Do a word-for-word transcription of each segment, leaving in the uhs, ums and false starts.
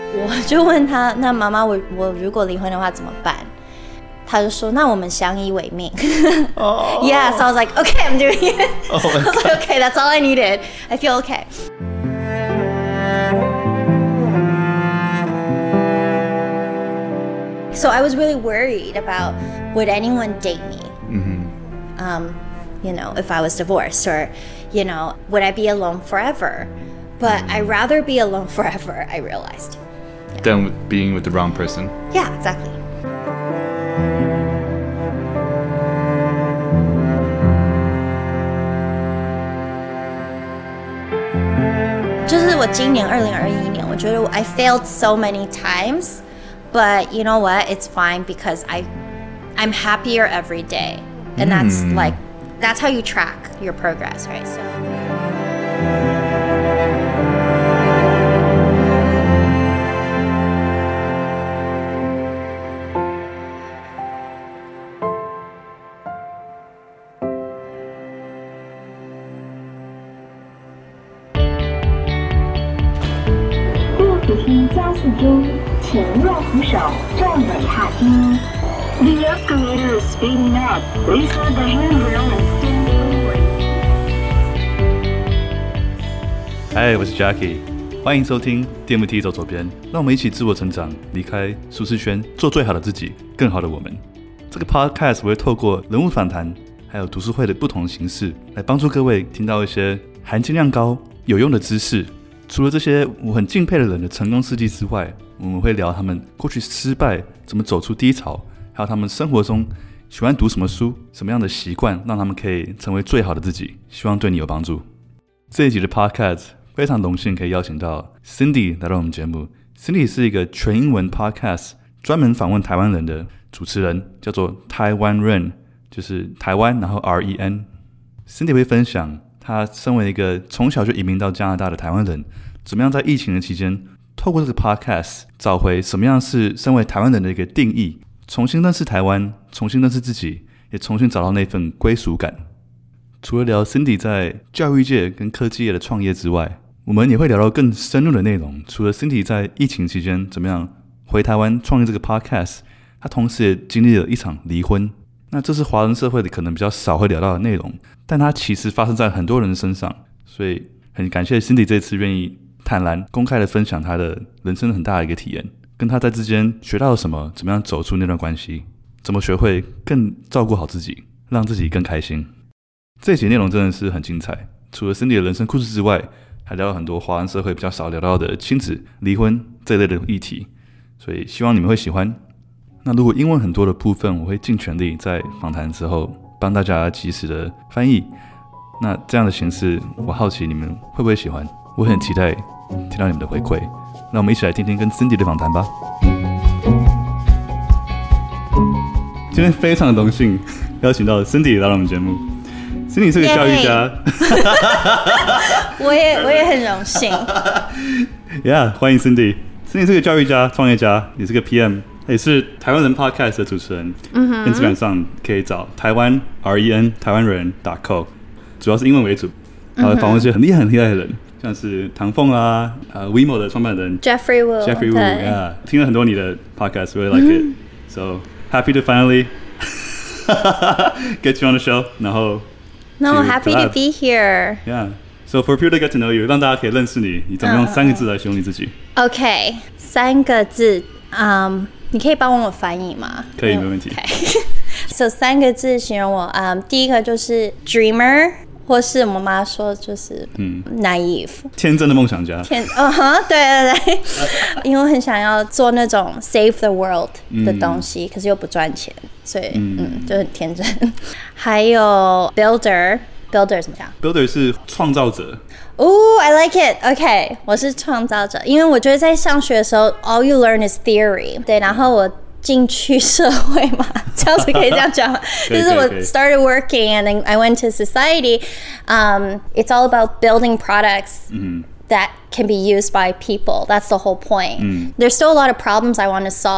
我就問他，那媽媽，我我如果離婚的話怎麼辦？他就說，那我們相依為命。oh. Yeah, so I was like, okay, I'm doing it. Oh my God. I was like, okay, that's all I needed. I feel okay. So I was really worried about would anyone date me? Mm-hmm. Um, you know, if I was divorced, or, you know, would I be alone forever? But I'd rather be alone forever, I realized. Yeah. Than being with the wrong person? Yeah, exactly. 就是我今年二零二一年，我覺得 I failed so many times, but you know what? It's fine because I, I'm happier every day, and that's mm. like, that's how you track your progress, right? So. 加速中，请右扶手站稳踏梯。The escalator is speeding up. Please hold the handrail and stand forward. Hi, 我是 Jackie， 歡迎收聽 D M T 走左邊，讓我們一起自我成長，離開舒適圈，做最好的自己，更好的我們。這個 podcast 我會透過人物訪談，還有讀書會的不同形式，來幫助各位聽到一些含金量高、有用的知識。除了這些我很敬佩的人的成功事跡之外，我們會聊他們過去失敗怎麼走出低潮，還有他們生活中喜歡讀什麼書，什麼樣的習慣讓他們可以成為最好的自己，希望對你有幫助。這一集的 podcast 非常榮幸可以邀請到 Cindy 來到我們節目。 Cindy 是一個全英文 podcast， 專門訪問台灣人的主持人，叫做台灣人，就是台灣然後 R E N。 Cindy 會分享他身為一個從小就移民到加拿大的台灣人，怎麼樣在疫情的期間，透過這個 podcast 找回什麼樣是身為台灣人的一個定義，重新認識台灣，重新認識自己，也重新找到那份歸屬感。除了聊 Cindy 在教育界跟科技業的創業之外，我們也會聊到更深入的內容。除了 Cindy 在疫情期間怎麼樣回台灣創立這個 podcast， 他同時也經歷了一場離婚。那這是華人社會的可能比較少會聊到的內容，但它其實發生在很多人的身上，所以很感謝 Cindy 這次願意坦然公開的分享她的人生很大的一個體驗，跟她在之間學到了什麼，怎麼樣走出那段關係，怎麼學會更照顧好自己，讓自己更開心。這一集內容真的是很精彩，除了 Cindy 的人生故事之外，還聊了很多華人社會比較少聊到的親子、離婚這一類的議題，所以希望你們會喜歡。那如果英文很多的部分，我會盡全力在訪談之後幫大家及時的翻譯。那這樣的形式，我好奇你們會不會喜歡？我很期待聽到你們的回饋。那我們一起來聽聽跟 Cindy 的訪談吧。今天非常的榮幸邀請到 Cindy 來到我們節目。Cindy 是個教育家， yeah, 我也我也很榮幸。 Yeah， 歡迎 Cindy。Cindy 是個教育家、創業家，也是個 P M。也是台灣人 Podcast 的主持人，嗯 Instagram 上可以找台灣 R E N 台灣人 .co， 主要是英文為主，然後訪問一些很厲害很厲害的人，像是唐鳳啊，呃 WeMo 的創辦人 Jeffrey Wu，Jeffrey Wu，yeah， 聽了很多你的 Podcast，really like it，so happy to finally get you on the show， 然後 No happy to be here，yeah，so for people to get to know you， 讓大家可以認識你，你怎麼用三個字來形容你自己 ？OK， 三個字，嗯。你可以幫我翻譯嗎？ 可以，沒問題。 Okay. So 三個字形容我，嗯，第一個就是 dreamer， 或是我媽說就是嗯 naive， 天真的夢想家。 天，嗯哼，對對對，因為我很想要做那種 save the world 的東西，嗯、可是又不賺錢，所以嗯，嗯就很天真。還有 builder，builder 怎麼講 ？builder 是創造者。 Oh, I like it. OK， 我是創造者，因為我覺得在上學的時候 ，all you learn is theory。對，然後我進去社會嘛，這樣子可以這樣講嗎？就是我 started working and then I went to society. Um, it's all about building products that can be used by people. That's the whole point. Mm. There's still a lot of problems I want to solve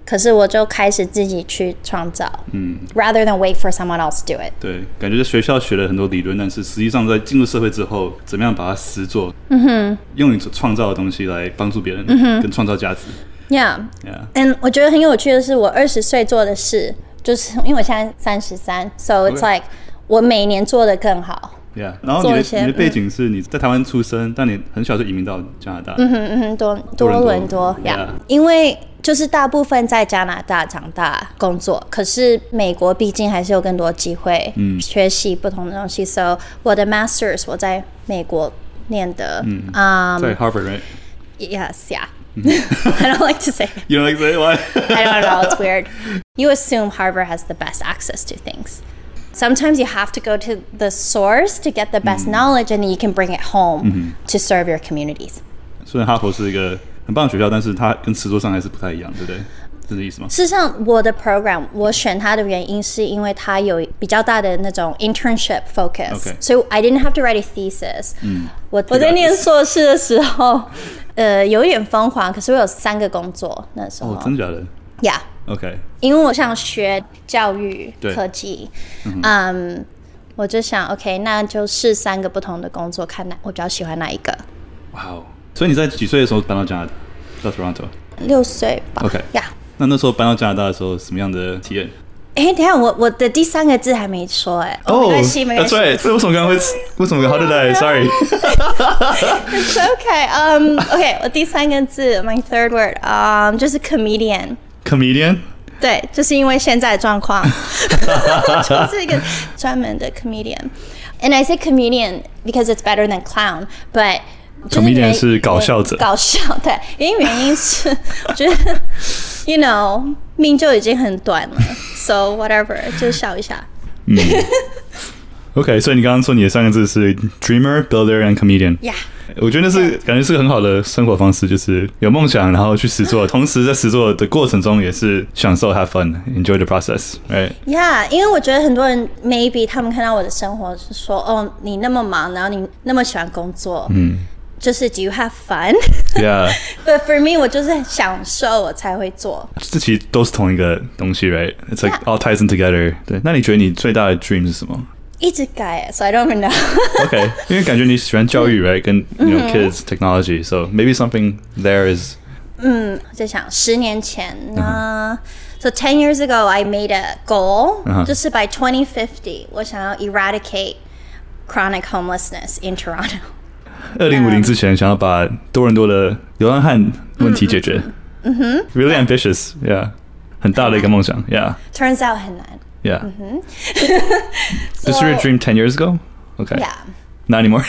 可是我就開始自己去創造，嗯 ，rather than wait for someone else to do it。 對，感覺在學校學了很多理論，但是實際上在進入社會之後，怎麼樣把它實做？嗯哼，用你所創造的東西來幫助別人，嗯哼，跟創造價值。 Yeah，yeah。And 我覺得很有趣的是，我二十歲做的事，就是因為我現在三十三 ，so it's like、okay. 我每年做得更好。 Yeah， 然後你的你的背景是你在台灣出生，嗯、但你很小就移民到加拿大。 嗯哼嗯哼，多多倫多呀， yeah, 因為就是大部分在加拿大長大工作，可是美國畢竟還是有更多機會，嗯，學習不同的東西。So 我的 Masters 我在美國念的，嗯， um, 在 Harvard right? Yes, yeah. I don't like to say it. You don't like to say it? Why? I don't know. It's weird. You assume Harvard has the best access to things.Sometimes you have to go to the source to get the best、嗯、knowledge, and then you can bring it home、嗯、to serve your communities. 虽然哈佛是一個很棒的學校，但是它跟實作上還是不太一樣，對不對？是這意思嗎？ 事實上，我的 program 我選它的原因是因為它有比較大的那種 internship focus， okay. so I didn't have to write a thesis、嗯、我, 我在念碩士的時候呃，有一點瘋狂，可是我有三個工作那時候。 哦，真的假的？ Yeah。OK， 因為我想學教育科技，嗯， um, 我就想 OK， 那就試三個不同的工作，看哪我比較喜歡哪一個。 哇哦！所以你在幾歲的時候搬到加拿大，到 Toronto？ 六歲吧。 OK， 呀、yeah 。 那那時候搬到加拿大的時候，什麼樣的體驗？ 哎，等一下，我我的第三個字還沒說哎。哦、oh, ，沒關係，沒關係。 對，所以為什麼剛剛會？為什麼 ？How did I? Sorry. It's okay. Um, OK， 我第三個字 ，my third word， um, 就是 comedian。Comedian？ 對，就是因為現在的狀況，就是一個專門的 comedian。And I say comedian because it's better than clown, but comedian 是搞笑者， 搞笑對，因為原因是我覺得 ，you know， 命就已經很短了 ，so whatever， 就笑一下。嗯 OK， 所以你剛剛說你的三個字是 dreamer, builder and comedian。Yeah。我覺得那是、yeah. 感覺是個很好的生活方式，就是有夢想，然後去實作，同時在實作的過程中也是享受 have fun, enjoy the process, right? Yeah， 因為我覺得很多人 maybe 他們看到我的生活是說，哦，你那麼忙，然後你那麼喜歡工作，嗯，就是 do you have fun? Yeah. But for me， 我就是享受我才會做。 這其實都是同一個東西 ，right? It's like、yeah. all ties in together. 對，那你覺得你最大的 dream 是什麼？ 一直改 ，so I don't even know. Okay， 因為感覺你喜歡教育 ，right？ 跟 you know kids technology, so maybe something there is. 嗯，我在想十年前呢、uh, ，so ten years ago I made a goal，、uh-huh. 就是 by twenty fifty 我想要 eradicate chronic homelessness in Toronto。 二零五零之前想要把多倫多的流浪漢問題解決。嗯哼 ，really ambitious， yeah， 很大的一個夢想 ，yeah。Turns out 很難。 Yeah. Mm-hmm. so, this was your dream ten years ago? Okay. Yeah. Not anymore?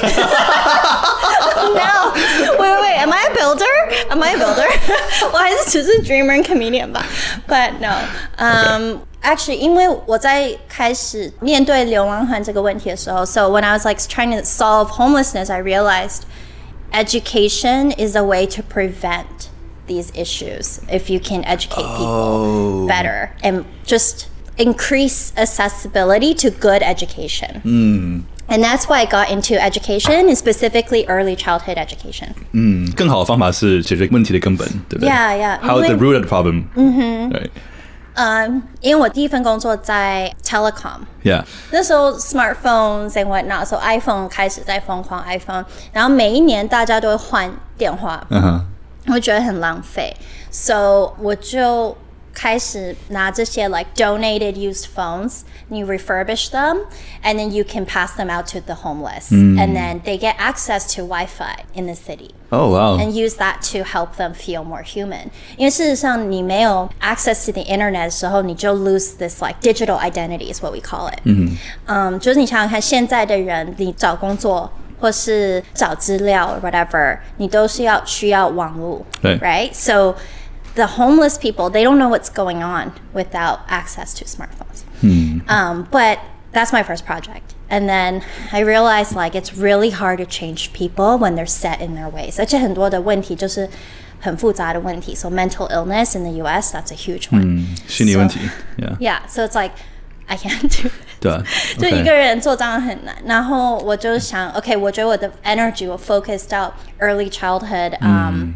No. Wait, wait, wait. Am I a builder? Am I a builder? 我還是只是 dreamer and comedian 吧。But no. Um, okay. Actually, 因為我在開始面對流浪漢這個問題的時候 so when I was like trying to solve homelessness, I realized education is a way to prevent these issues if you can educate people、oh. better and just increase accessibility to good education. Mm. And that's why I got into education, and specifically early childhood education. 嗯，更好的方法是解決問題的根本，對不對 ？Yeah, yeah. How the root of the problem. 嗯哼。 對。 嗯，因為我第一份工作在 telecom. Yeah. 那時候 smartphones and whatnot, so iPhone 開始在瘋狂 iPhone， 然後每一年大家都會換電話，嗯哼，我覺得很浪費 ，so 我就開始拿這些 like donated used phones, you refurbish them, and then you can pass them out to the homeless, mm. and then they get access to Wi-Fi in the city. Oh wow! And use that to help them feel more human. 因為事實上你沒有 access to the internet 的時候，你就 lose this like digital identity is what we call it. 嗯嗯，就是你想想看，現在的人，你找工作或是找資料 or whatever， 你都是要需要網絡，對 ，right? So the homeless people, they don't know what's going on without access to smartphones. Hmm. Um, but that's my first project. And then I realized like it's really hard to change people when they're set in their ways. 而且很多的問題就是很複雜的問題. So mental illness in the U S, that's a huge one. 嗯，心理問題 so, yeah. Yeah, so it's like I can't do it. 對啊， 就一個人做這樣很難。然後我就想 ，OK， 我覺得我的 energy 我 focus 到 early childhood, um,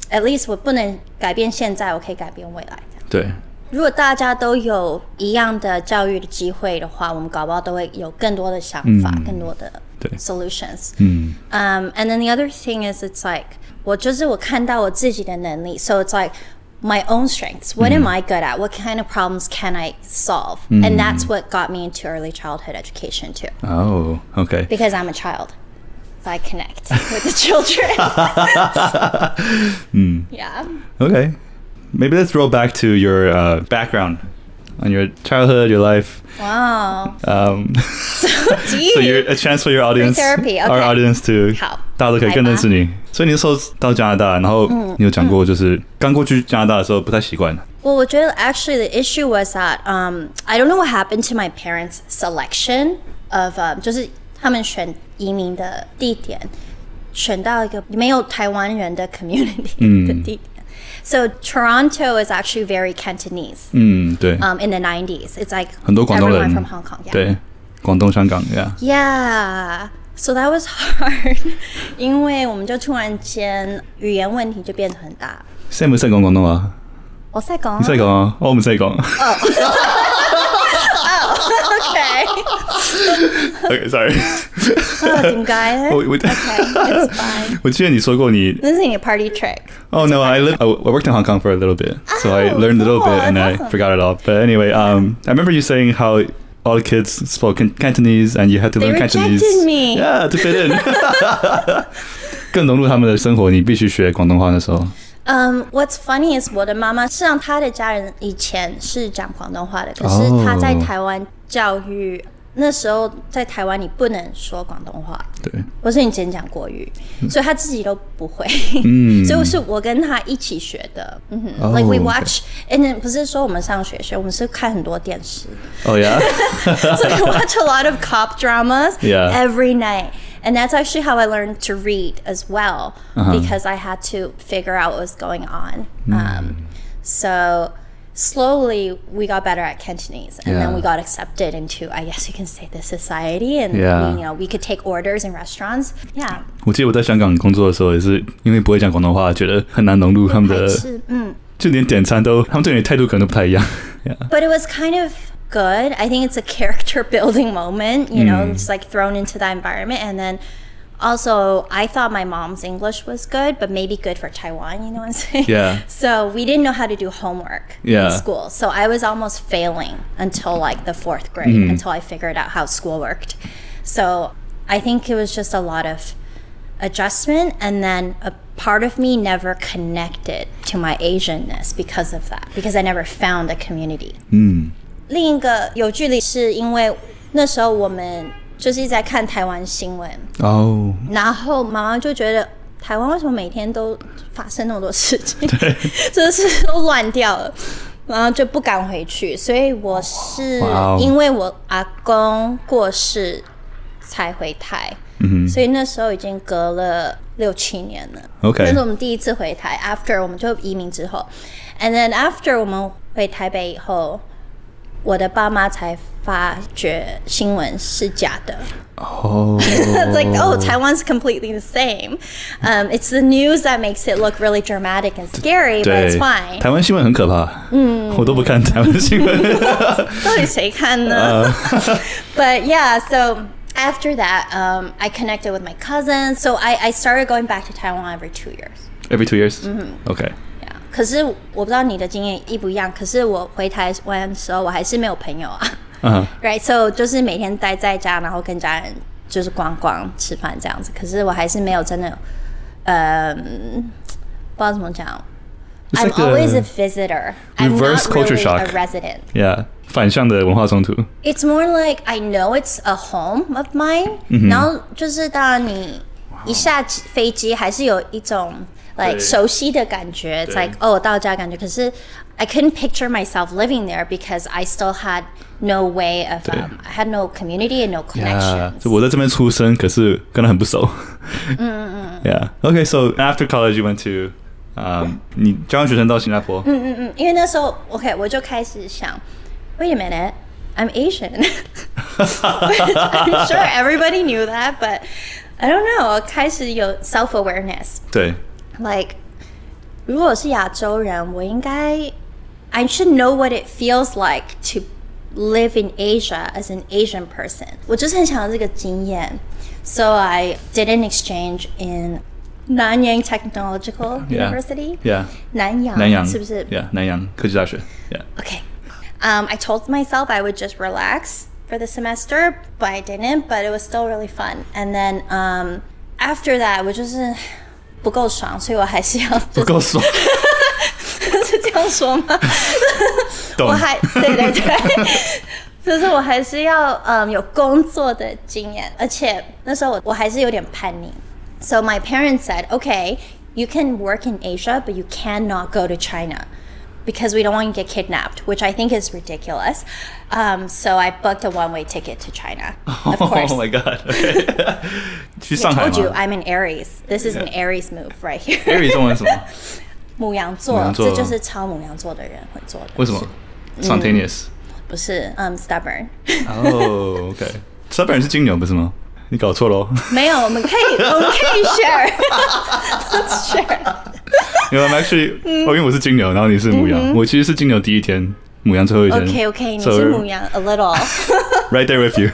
at least 我不能改變現在，我可以改變未來。 對。 如果大家都有一樣的教育的機會的話，我們搞不好都會有更多的想法，嗯、更多的 solutions。嗯。Um, and then the other thing is, it's like 我就是我看到我自己的能力 ，so it's like my own strengths. What am I good at? What kind of problems can I solve? And that's what got me into early childhood education too. Oh, okay. Because I'm a child, so I connect with the children. mm. Yeah. Okay. Maybe let's roll back to your uh, background on your childhood, your life. Wow. Um, so deep. So you're a chance for your audience, Free therapy. Okay. our audience to 好， 大家都可以更認識你。所以你那時候到加拿大，然後你有講過，就是剛過去加拿大的時候不太習慣。 Well, 我覺得 actually the issue was that um, I don't know what happened to my parents' selection of um, 就是他們選移民的地點，選到一個沒有台灣人的 community 的地點。So Toronto is actually very Cantonese. 嗯，对。Um, in the nineties, it's like 很多廣東人 everyone from Hong Kong. Yeah. 對，廣東、香港 ，Yeah. Yeah. So that was hard. 因為我們就突然間語言問題就變得很大。 現在唔識講廣東話？ 我識講。 你識講啊？我唔識講。 Okay. Okay, sorry. 哦，點解呢？我我 Okay, it's fine. 我記得你說過你。 這是你的 party trick. Oh no, I lived. I worked in Hong Kong for a little bit, so I learned a little bit and I forgot it all. But anyway, um, I remember you saying how all the kids spoke Cantonese and you had to learn Cantonese. They rejected me. Yeah, to fit in. 更融入他們的生活，你必須學廣東話的時候。 Um, what's funny is 我的媽媽，事實上她的家人以前是講廣東話的，可是她在台灣教育、oh. 那時候在台灣你不能說廣東話，對，或是你只能講國語，嗯、所以她自己都不會，嗯、所以是我跟她一起學的。嗯哼、oh, like we watch， and then 不是說我們上學學，我們是看很多電視。Oh yeah. So we watch a lot of cop dramas yeah. every night. And that's actually how I learned to read as well, uh-huh. because I had to figure out what was going on. Mm. Um, so slowly we got better at Cantonese, and yeah. then we got accepted into, I guess you can say, the society, and yeah. we, you know, we could take orders in restaurants. Yeah. 我記得我在香港工作的時候，也是因為不會講廣東話，覺得很難融入他們的，嗯，就連點餐都，他們對你態度可能都不太一樣。Yeah. But it was kind of good. I think it's a character building moment, you know, mm. just like thrown into that environment. And then also I thought my mom's English was good, but maybe good for Taiwan, you know what I'm saying? Yeah. So we didn't know how to do homework yeah. in school. So I was almost failing until like the fourth grade, mm. until I figured out how school worked. So I think it was just a lot of adjustment, and then a part of me never connected to my Asianness because of that, because I never found a community. Mm. 另一個有距離是因為那時候我們就是一直在看台灣新聞哦， oh. 然後媽媽就覺得台灣為什麼每天都發生那麼多事情，對，就是都亂掉了，然後就不敢回去，所以我是因為我阿公過世才回台， wow. 所以那時候已經隔了六七年了。Okay. 那是我們第一次回台 ，after 我們就移民之後 ，and then after 我們回台北以後。我的爸媽才發覺新聞是假的。Oh. It's like, oh, Taiwan's completely the same. Um, it's the news that makes it look really dramatic and scary, but it's fine. 台灣新聞很可怕。嗯，我都不看台灣新聞。 到底誰看呢？ uh. But yeah, so after that, um, I connected with my cousins. So I, I started going back to Taiwan every two years. Every two years? Mm-hmm. Okay. 可是我不知道你的經驗一不一樣，可是我回台灣的時候我還是沒有朋友啊。Uh-huh. Right, so 就是每天待在家，然後跟家人就是逛逛、吃飯這樣子。可是我還是沒有真的，嗯，不知道怎麼講。I'm always a visitor. Reverse I'm not culture really shock. a resident. Yeah, 反向的文化衝突。 It's more like I know it's a home of mine. Mm-hmm. 然後就是當然你一下飛機還是有一種。Like 熟悉的感覺 It's like, oh, 到家感覺可是 I couldn't picture myself living there because I still had no way of, um, I had no community and no connections. Yeah, 我在這邊出生可是跟他很不熟。嗯嗯嗯 Yeah, okay, so after college you went to, um, 你交換學生到新加坡。 嗯嗯嗯，因為那時候 OK 我就開始想 Wait a minute, I'm Asian. I'm sure everybody knew that, but I don't know, 我開始有 self-awareness. 對。 Like, 如果我是亞洲人，我應該 I should know what it feels like to live in Asia as an Asian person. 我就是很想要這個經驗 So I did an exchange in Nanyang Technological University. Yeah. 南洋南洋是不是 Yeah, 南洋科技大學 Yeah. Okay. Um, I told myself I would just relax for the semester, but I didn't, but it was still really fun. And then um, after that, 我就是不夠爽，所以我還是要、就是、 不夠爽是這樣說嗎？我還對對對，就是我還是要嗯有工作的經驗，而且那時候我我還是有點叛逆。So my parents said, okay, you can work in Asia, but you cannot go to China because we don't want you to get kidnapped, which I think is ridiculous. Um, so I booked a one-way ticket to China, of course. Oh my god! Okay. 去上海嗎？ I told you I'm an Aries. This is an Aries move right here. Aries 中文是什麼？ 牡羊座，這就是超牡羊座的人會做的。 為什麼 ？Spontaneous、 嗯、不是，嗯、um, ，stubborn。 哦、oh, ，OK，stubborn、okay. 是金牛不是嗎？你搞錯嘍。沒有， 我們可以，我們可以 share。Let's share。 因為 I'm actually，、嗯、哦，因為我是金牛，然後你是牡羊，嗯、我其實是金牛第一天，牡羊最後一天。 OK OK， 你是牡羊 a little。 Right there with you 。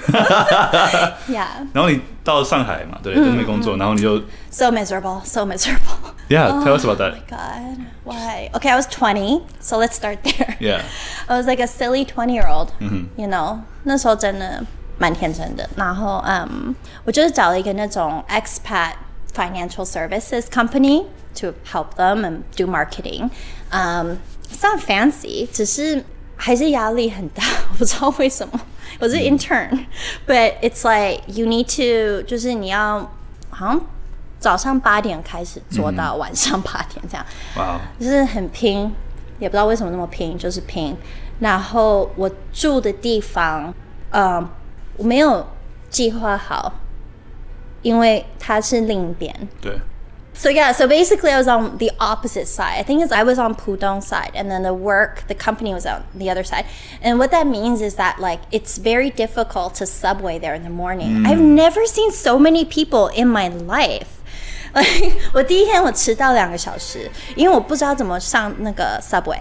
Yeah。 然後你到上海嘛，對，在那邊工作，然後你就 So miserable, so miserable. Yeah, tell us about that. Oh my god, why? Okay, I was twenty, so let's start there. Yeah. I was like a silly twenty-year-old, mm-hmm. you know. 那時候真的蠻天真的。然後，嗯，我就是找了一個那種 expat financial services company to help them and do marketing. Um, it's not fancy, 只是還是壓力很大，我不知道為什麼。我是 intern, but it's like you need to 就是你要好像早上八點開始做到晚上八點這樣，哇、wow. 就是很拼，也不知道為什麼那麼拼，就是拼。然後我住的地方，呃，我沒有計劃好，因為它是另一邊。對。So yeah, so basically I was on the opposite side. I think it's, I was on Pudong side, and then the work, the company was on the other side. And what that means is that like it's very difficult to subway there in the morning. Mm. I've never seen so many people in my life. Like 我第一天我遲到兩個小時，因為我不知道怎麼上那個 subway.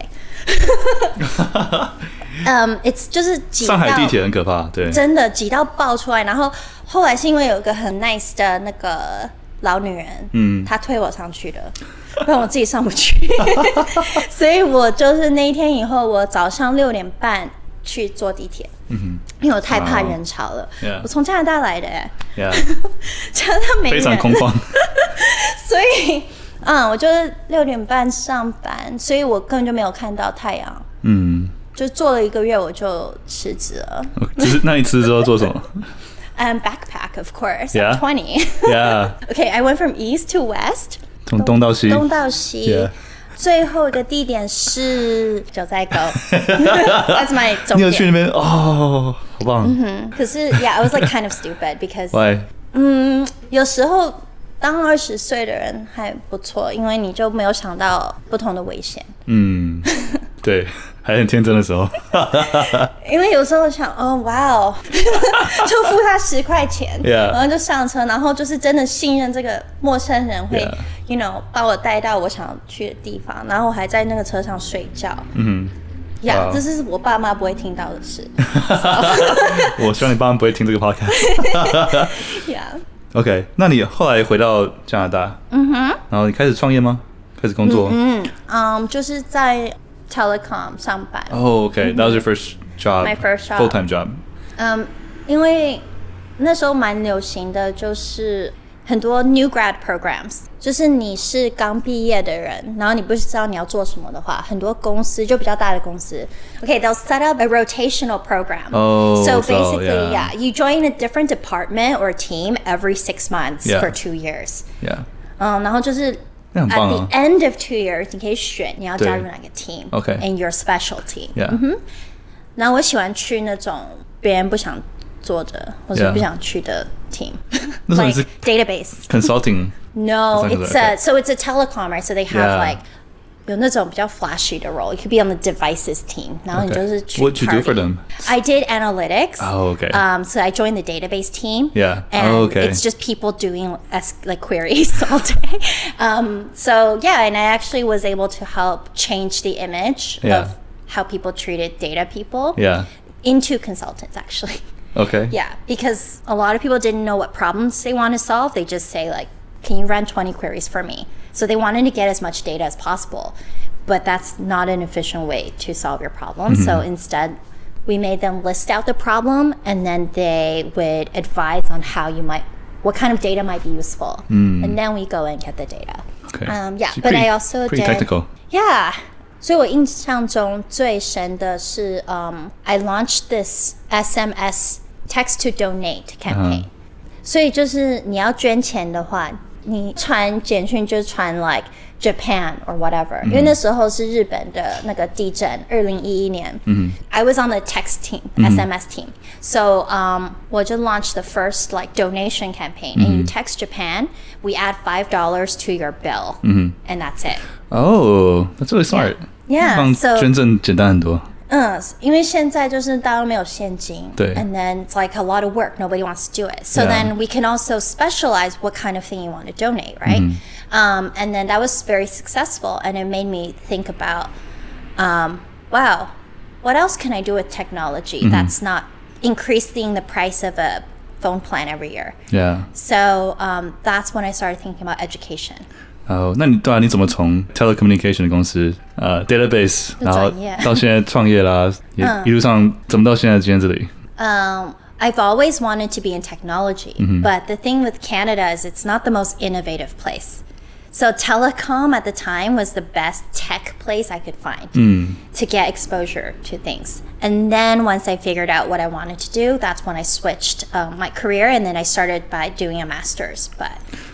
um, it's 就是擠到上海地鐵很可怕，對，真的擠到爆出來。然後後來是因為有一個很 nice 的那個老女人，嗯，她推我上去的，不然我自己上不去。所以我就是那一天以後，我早上六點半去坐地鐵，嗯哼，因為我太怕人潮了。Oh, yeah. 我從加拿大來的，哎 ，Yeah. 加拿大沒人，非常空曠。所以，嗯，我就是六點半上班，所以我根本就沒有看到太陽。嗯，就做了一個月，我就辭職了。只是那你辭職之後做什麼？Um, backpack, of course. Yeah. I'm twenty. Yeah. Okay, I went from east to west. 從東到西。東到西。Yeah. 最後一個地點是九寨溝。That's my 重點。你有去那邊？哦，好棒。嗯哼。可是 ，Yeah, I was like kind of stupid because. Why? 嗯，有時候當二十歲的人還不錯，因為你就沒有想到不同的危險。嗯，對。還很天真的時候，因為有時候想，哦，哇哦，就付他十塊錢， yeah. 然後就上車，然後就是真的信任這個陌生人會 ，you know， 把我帶到我想去的地方，然後我還在那個車上睡覺。嗯呀，這是我爸媽不會聽到的事。我希望你爸媽不會聽這個 podcast。Yeah. OK， 那你後來回到加拿大，嗯哼，然後你開始創業嗎？開始工作？嗯嗯， um, 就是在。Telecom 上班。Oh, okay. That was your first job. My first job. Full-time job. 嗯、um, 因為那時候蠻流行的，就是很多 new grad programs， 就是你是剛畢業的人，然後你不知道你要做什麼的話，很多公司就比較大的公司 ，Okay, they'll set up a rotational program. Oh, so basically, so, yeah. yeah, you join a different department or team every six months yeah. for two years. Yeah. 嗯，然後就是。At the end of two years, 你可以選你要加入哪個 team okay. in your specialty. Yeah. 嗯哼。然後我喜歡去那種別人不想做的或者不想去的 team. Yeah. Like database. Consulting. No, it's a, so it's a telecom, right? So they have yeah. like 有那種比較 flashy 的 role. You could be on the devices team. 然後你就是去 What'd you do for them? I did analytics. Oh, okay. Um, so I joined the database team. Yeah. And oh, okay. it's just people doing like queries all day. Um, so yeah, and I actually was able to help change the image yeah. of how people treated data people yeah. into consultants actually. Okay. Yeah, because a lot of people didn't know what problems they want to solve. They just say like, can you run twenty queries for me? So they wanted to get as much data as possible, but that's not an efficient way to solve your problem. Mm-hmm. So instead, we made them list out the problem, and then they would advise on how you might, what kind of data might be useful. Mm. And then we go and get the data. Okay. Um, yeah, so but pretty, I also pretty did. technical. Yeah. 所以我印象中最深的是 um, I launched this S M S text to donate campaign. 所以就是你要捐錢的話，你傳簡訊就傳 like Japan or whatever，、嗯、因為那時候是日本的那個地震，二零一一年。嗯、I was on the text team, S M S team. So um, 我就 launched the first like donation campaign. And you text Japan, we add five dollars to your bill, and that's it. Oh, that's really smart. Yeah, 讓 so 捐贈簡單很多。 嗯，因為現在就是大家都沒有現金， 對 and then it's like a lot of work, nobody wants to do it. So yeah. then we can also specialize what kind of thing you want to donate, right? Mm-hmm. Um, and then that was very successful, and it made me think about, um, wow, what else can I do with technology mm-hmm. that's not increasing the price of a phone plan every year? Yeah. So um, that's when I started thinking about education. 哦，那你对啊，你怎么从 telecommunication 的公司呃 database， 然後到現在創業啦，也一路上怎麼到現在今天這裡？ Um, I've always wanted to be in technology, mm-hmm. but the thing with Canada is it's not the most innovative place. So telecom at the time was the best tech place I could find mm. to get exposure to things. And then once I figured out what I wanted to do, that's when I switched um, my career, and then I started by doing a master's. But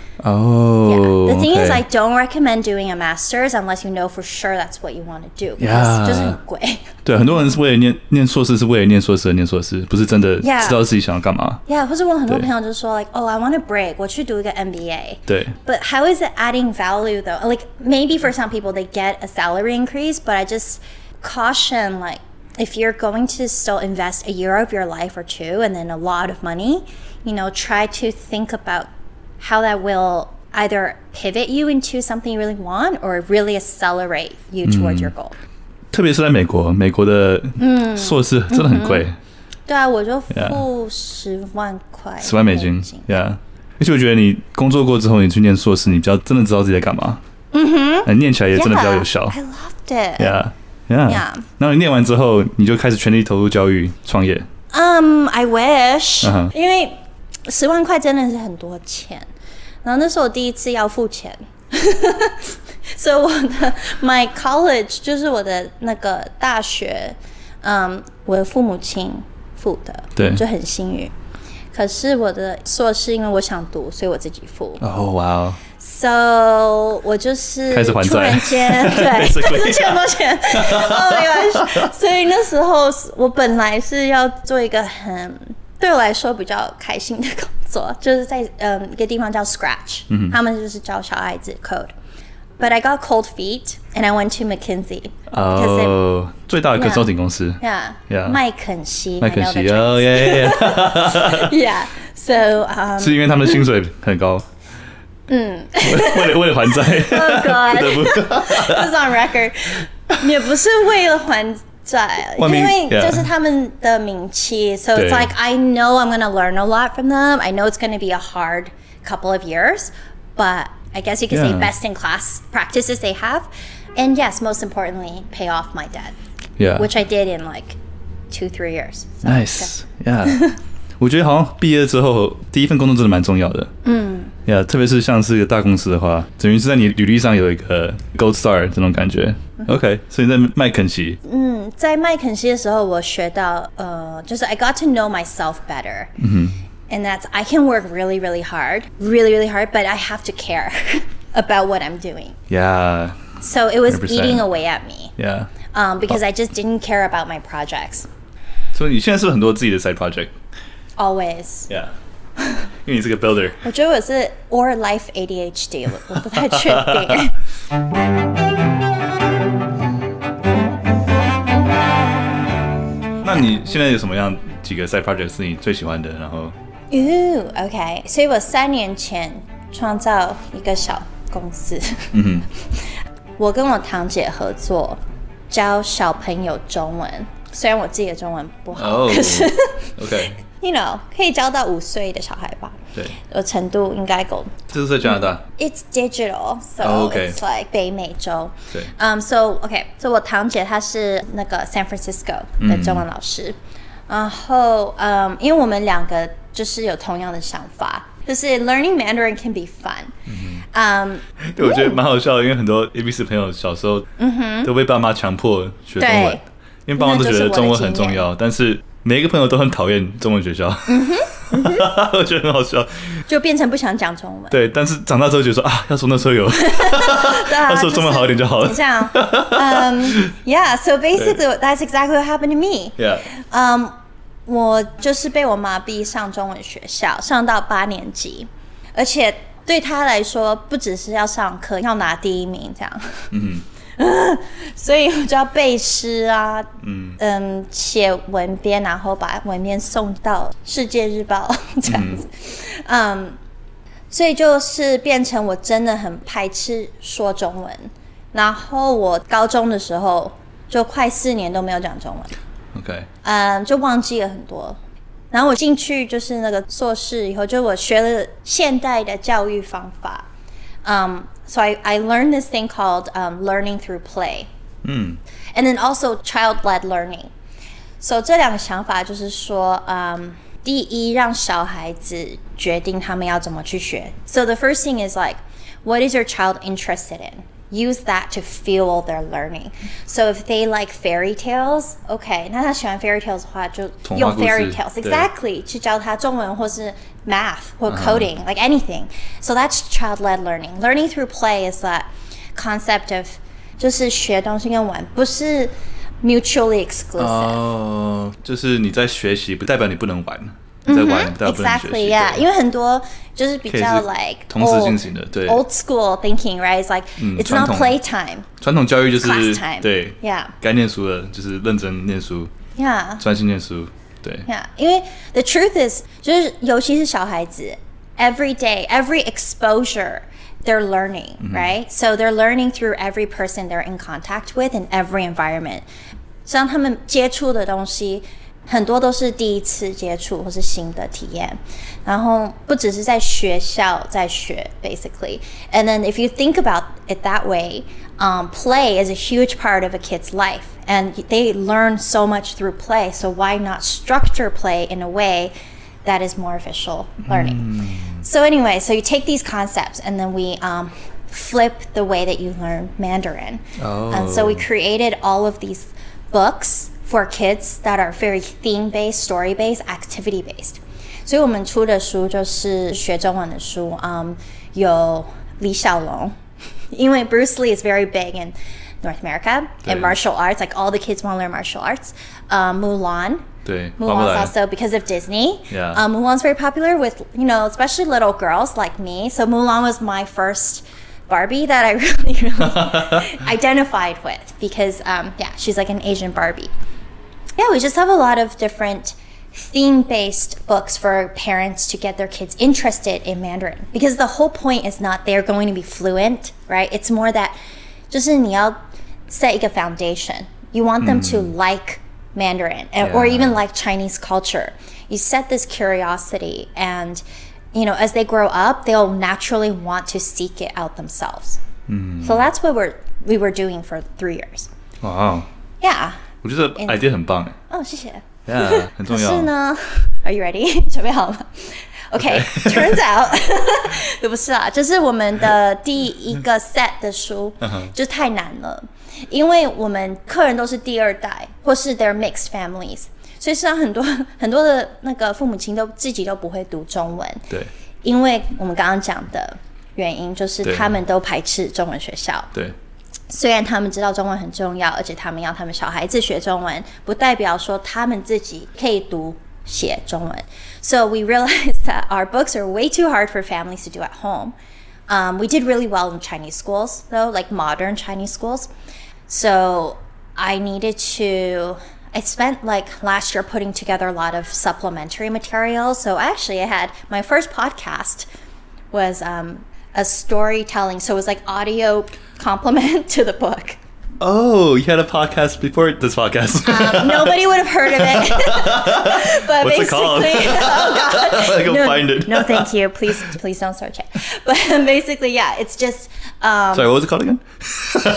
Oh, yeah. The thing okay. is, I don't recommend doing a master's unless you know for sure that's what you want to do. Yeah. 就是很貴。 對，很多人是為了念念碩士，是為了念碩士而念碩士，不是真的知道自己想要幹嘛。 Yeah, 或者我很多朋友就說 like, oh, I want to break, 我去讀一個 M B A. 對。 But how is it adding value though? Like maybe for some people they get a salary increase, but I just caution like if you're going to still invest a year of your life or two and then a lot of money, you know, try to think about how that will either pivot you into something you really want or really accelerate you towards your goal. 特別是在美國，美國的碩士真的很貴。 對啊，我就付十萬塊， 十萬美金 ，Yeah。而且我覺得你工作過之後，你去念碩士，你比較真的知道自己在幹嘛。嗯哼，念起來也真的比較有效。 I loved it. Yeah, yeah. 然後你念完之後，你就開始全力投入教育創業。 Um, I wish. Uh-huh. 因為十萬塊真的是很多錢。然後那是我第一次要付錢，所以我的 my college 就是我的那個大學，嗯，我的父母親付的， 對， 就很幸運。可是我的碩士因為我想讀，所以我自己付。 哦，哇哦 ！So 我就是開始還債， 突然間對，開始欠很多錢。Oh my gosh！所以那時候我本來是要做一個很對我來說比較開心的工作，就是在嗯一個地方叫 Scratch，、嗯、他們就是教小孩子 code。But I got cold feet and I went to McKinsey. 哦，最大的 consulting 公司。 Yeah, yeah. 麥肯錫。 麥肯錫，哦耶。 Yeah, so um. 是因為他們的薪水很高。嗯。為了為了還債。 Oh God. 不得不。 It's on record. 也不是為了還債，因為就是他們的名氣 ，so it's like I know I'm gonna learn a lot from them. I know it's gonna be a hard couple of years, but I guess you could say best in class practices they have, and yes, most importantly, pay off my debt. Yeah, which I did in like two, three years. So, nice. Yeah. 我覺得好像畢業之後第一份工作真的蠻重要的。嗯。Yeah， 特別是像是一個大公司的話，等於是在你履歷上有一個 Gold Star 這種感覺。OK， 所以在麥肯錫。嗯， 在麥肯錫的時候，我學到呃，就是 I got to know myself better. 嗯 And that's I can work really, really hard, really, really hard, but I have to care about what I'm doing. Yeah. So it was one hundred percent. Eating away at me. Yeah. Um, because I just didn't care about my projects. 所以你現在是不是很多自己的 side project? Always. Yeah. 因為你是個 builder. 我覺得我是 or life A D H D， 我我不太確定。 現在有什麼樣幾個 side project 是你最喜歡的？然後， 哦 ，OK， 所以我三年前創造一個小公司，嗯哼，我跟我堂姐合作教小朋友中文，雖然我自己的中文不好， oh, 可是 ，OK，You know， 可以教到五歲的小孩吧？ 對， 我程度應該夠。 這是在加拿大。 It's digital, so、oh, okay. it's like 北美洲。 對。 Um, so OK, so 我堂姐她是那個 San Francisco 的中文老師，嗯、然後嗯，因為我們兩個就是有同樣的想法，就是 learning Mandarin can be fun。嗯。Um, 對，我覺得蠻好笑的，因為很多 A B C 朋友小時候都被爸媽強迫學中文，因為爸媽都覺得中文很重要，但是每一個朋友都很討厭中文學校。嗯哼。我覺得很好笑， 就變成不想講中文。 對，但是長大之後覺得說啊，要說那時候有，要說中文好一點就好了。這樣， 嗯 ，Yeah. So basically, that's exactly what happened to me. Yeah. 嗯、um, ，我就是被我媽逼上中文學校，上到八年級，而且對她來說，不只是要上課，要拿第一名這樣。嗯。所以我就要背詩啊，嗯嗯，寫文編，然後把文編送到《世界日報》這樣子，嗯, 嗯，所以就是變成我真的很排斥說中文。然後我高中的時候就快四年都沒有講中文 ，OK， 嗯，就忘記了很多。然後我進去就是那個碩士以後，就我學了現代的教育方法，嗯。So I, I learned this thing called um, learning through play. Mm. And then also child-led learning. So 這兩個想法就是說，嗯，第一，讓小孩子決定他們要怎麼去學。So the first thing is like, what is your child interested in? Use that to fuel their learning. So if they like fairy tales, okay, 那他喜歡 fairy tales 的話，就用 fairy tales exactly 去教他中文或是 math 或 coding, uh-huh. like anything. So that's child-led learning. Learning through play is that concept of 就是學東西跟玩，不是 mutually exclusive. 哦，就是你在學習，不代表你不能玩。你在玩，代表不能學習。 Exactly, yeah. 因為很多就是比較 like 同時進行的，對 old school thinking, right? It's like、嗯、it's not playtime. 傳統教育就是 class time. 對 ，yeah. 該念書了就是認真念書 ，yeah. 專心念書，對 ，yeah. 因為 the truth is 就是尤其是小孩子 ，every day, every exposure, they're learning, mm-hmm. right? So they're learning through every person they're in contact with in every environment. 讓他們接觸的東西。很多都是第一次接觸或是新的體驗，然後不只是在學校在學 basically. And then if you think about it that way, um, play is a huge part of a kid's life, and they learn so much through play. So why not structure play in a way that is more official learning? Mm. So anyway, so you take these concepts and then we um, flip the way that you learn Mandarin. Oh. And so we created all of these books for kids that are very theme-based, story-based, activity-based. 所以我們出的書就是學中文的書，嗯，有李小龍，因為 Bruce Lee is very big in North America in martial arts, like all the kids want to learn martial arts. Um, Mulan, 對 Mulan's also because of Disney. Yeah. Um, Mulan's very popular with, you know, especially little girls like me. So Mulan was my first Barbie that I really, really identified with because, um, yeah, she's like an Asian Barbie. Yeah, we just have a lot of different theme-based books for parents to get their kids interested in Mandarin. Because the whole point is not they're going to be fluent, right? It's more that 就是你要 set 一個 foundation. You want them mm. to like Mandarin and, yeah. or even like Chinese culture. You set this curiosity and, you know, as they grow up, they'll naturally want to seek it out themselves. Mm. So that's what we're, we were doing for three years. Wow. Yeah. 我覺得 idea 很棒哎。 哦，謝謝。 Yeah, 很重要。 可是呢 ，Are you ready？ 準備好了嗎 ？OK, turns out 不是啊，就是我們的第一個 set 的書就太難了，因為我們客人都是第二代或是 they're mixed families， 所以實際上很多很多的那個父母親都自己都不會讀中文。 對。因為我們剛剛講的原因就是他們都排斥中文學校。 對。 雖然他們知道中文很重要，而且他們要他們小孩子學中文，不代表說他們自己可以讀寫中文。So we realized that our books are way too hard for families to do at home. Um, we did really well in Chinese schools, though, like modern Chinese schools. So I needed to I spent like last year putting together a lot of supplementary materials. So actually I had my first podcast was um, a storytelling. So it was like audio complement to the book. Oh, you had a podcast before this podcast. um, nobody would have heard of it. But What's basically, it called? Oh God, I go no, find it. No, thank you. Please, please don't search it. But basically, yeah, it's just. Um, Sorry, what was it called again? well,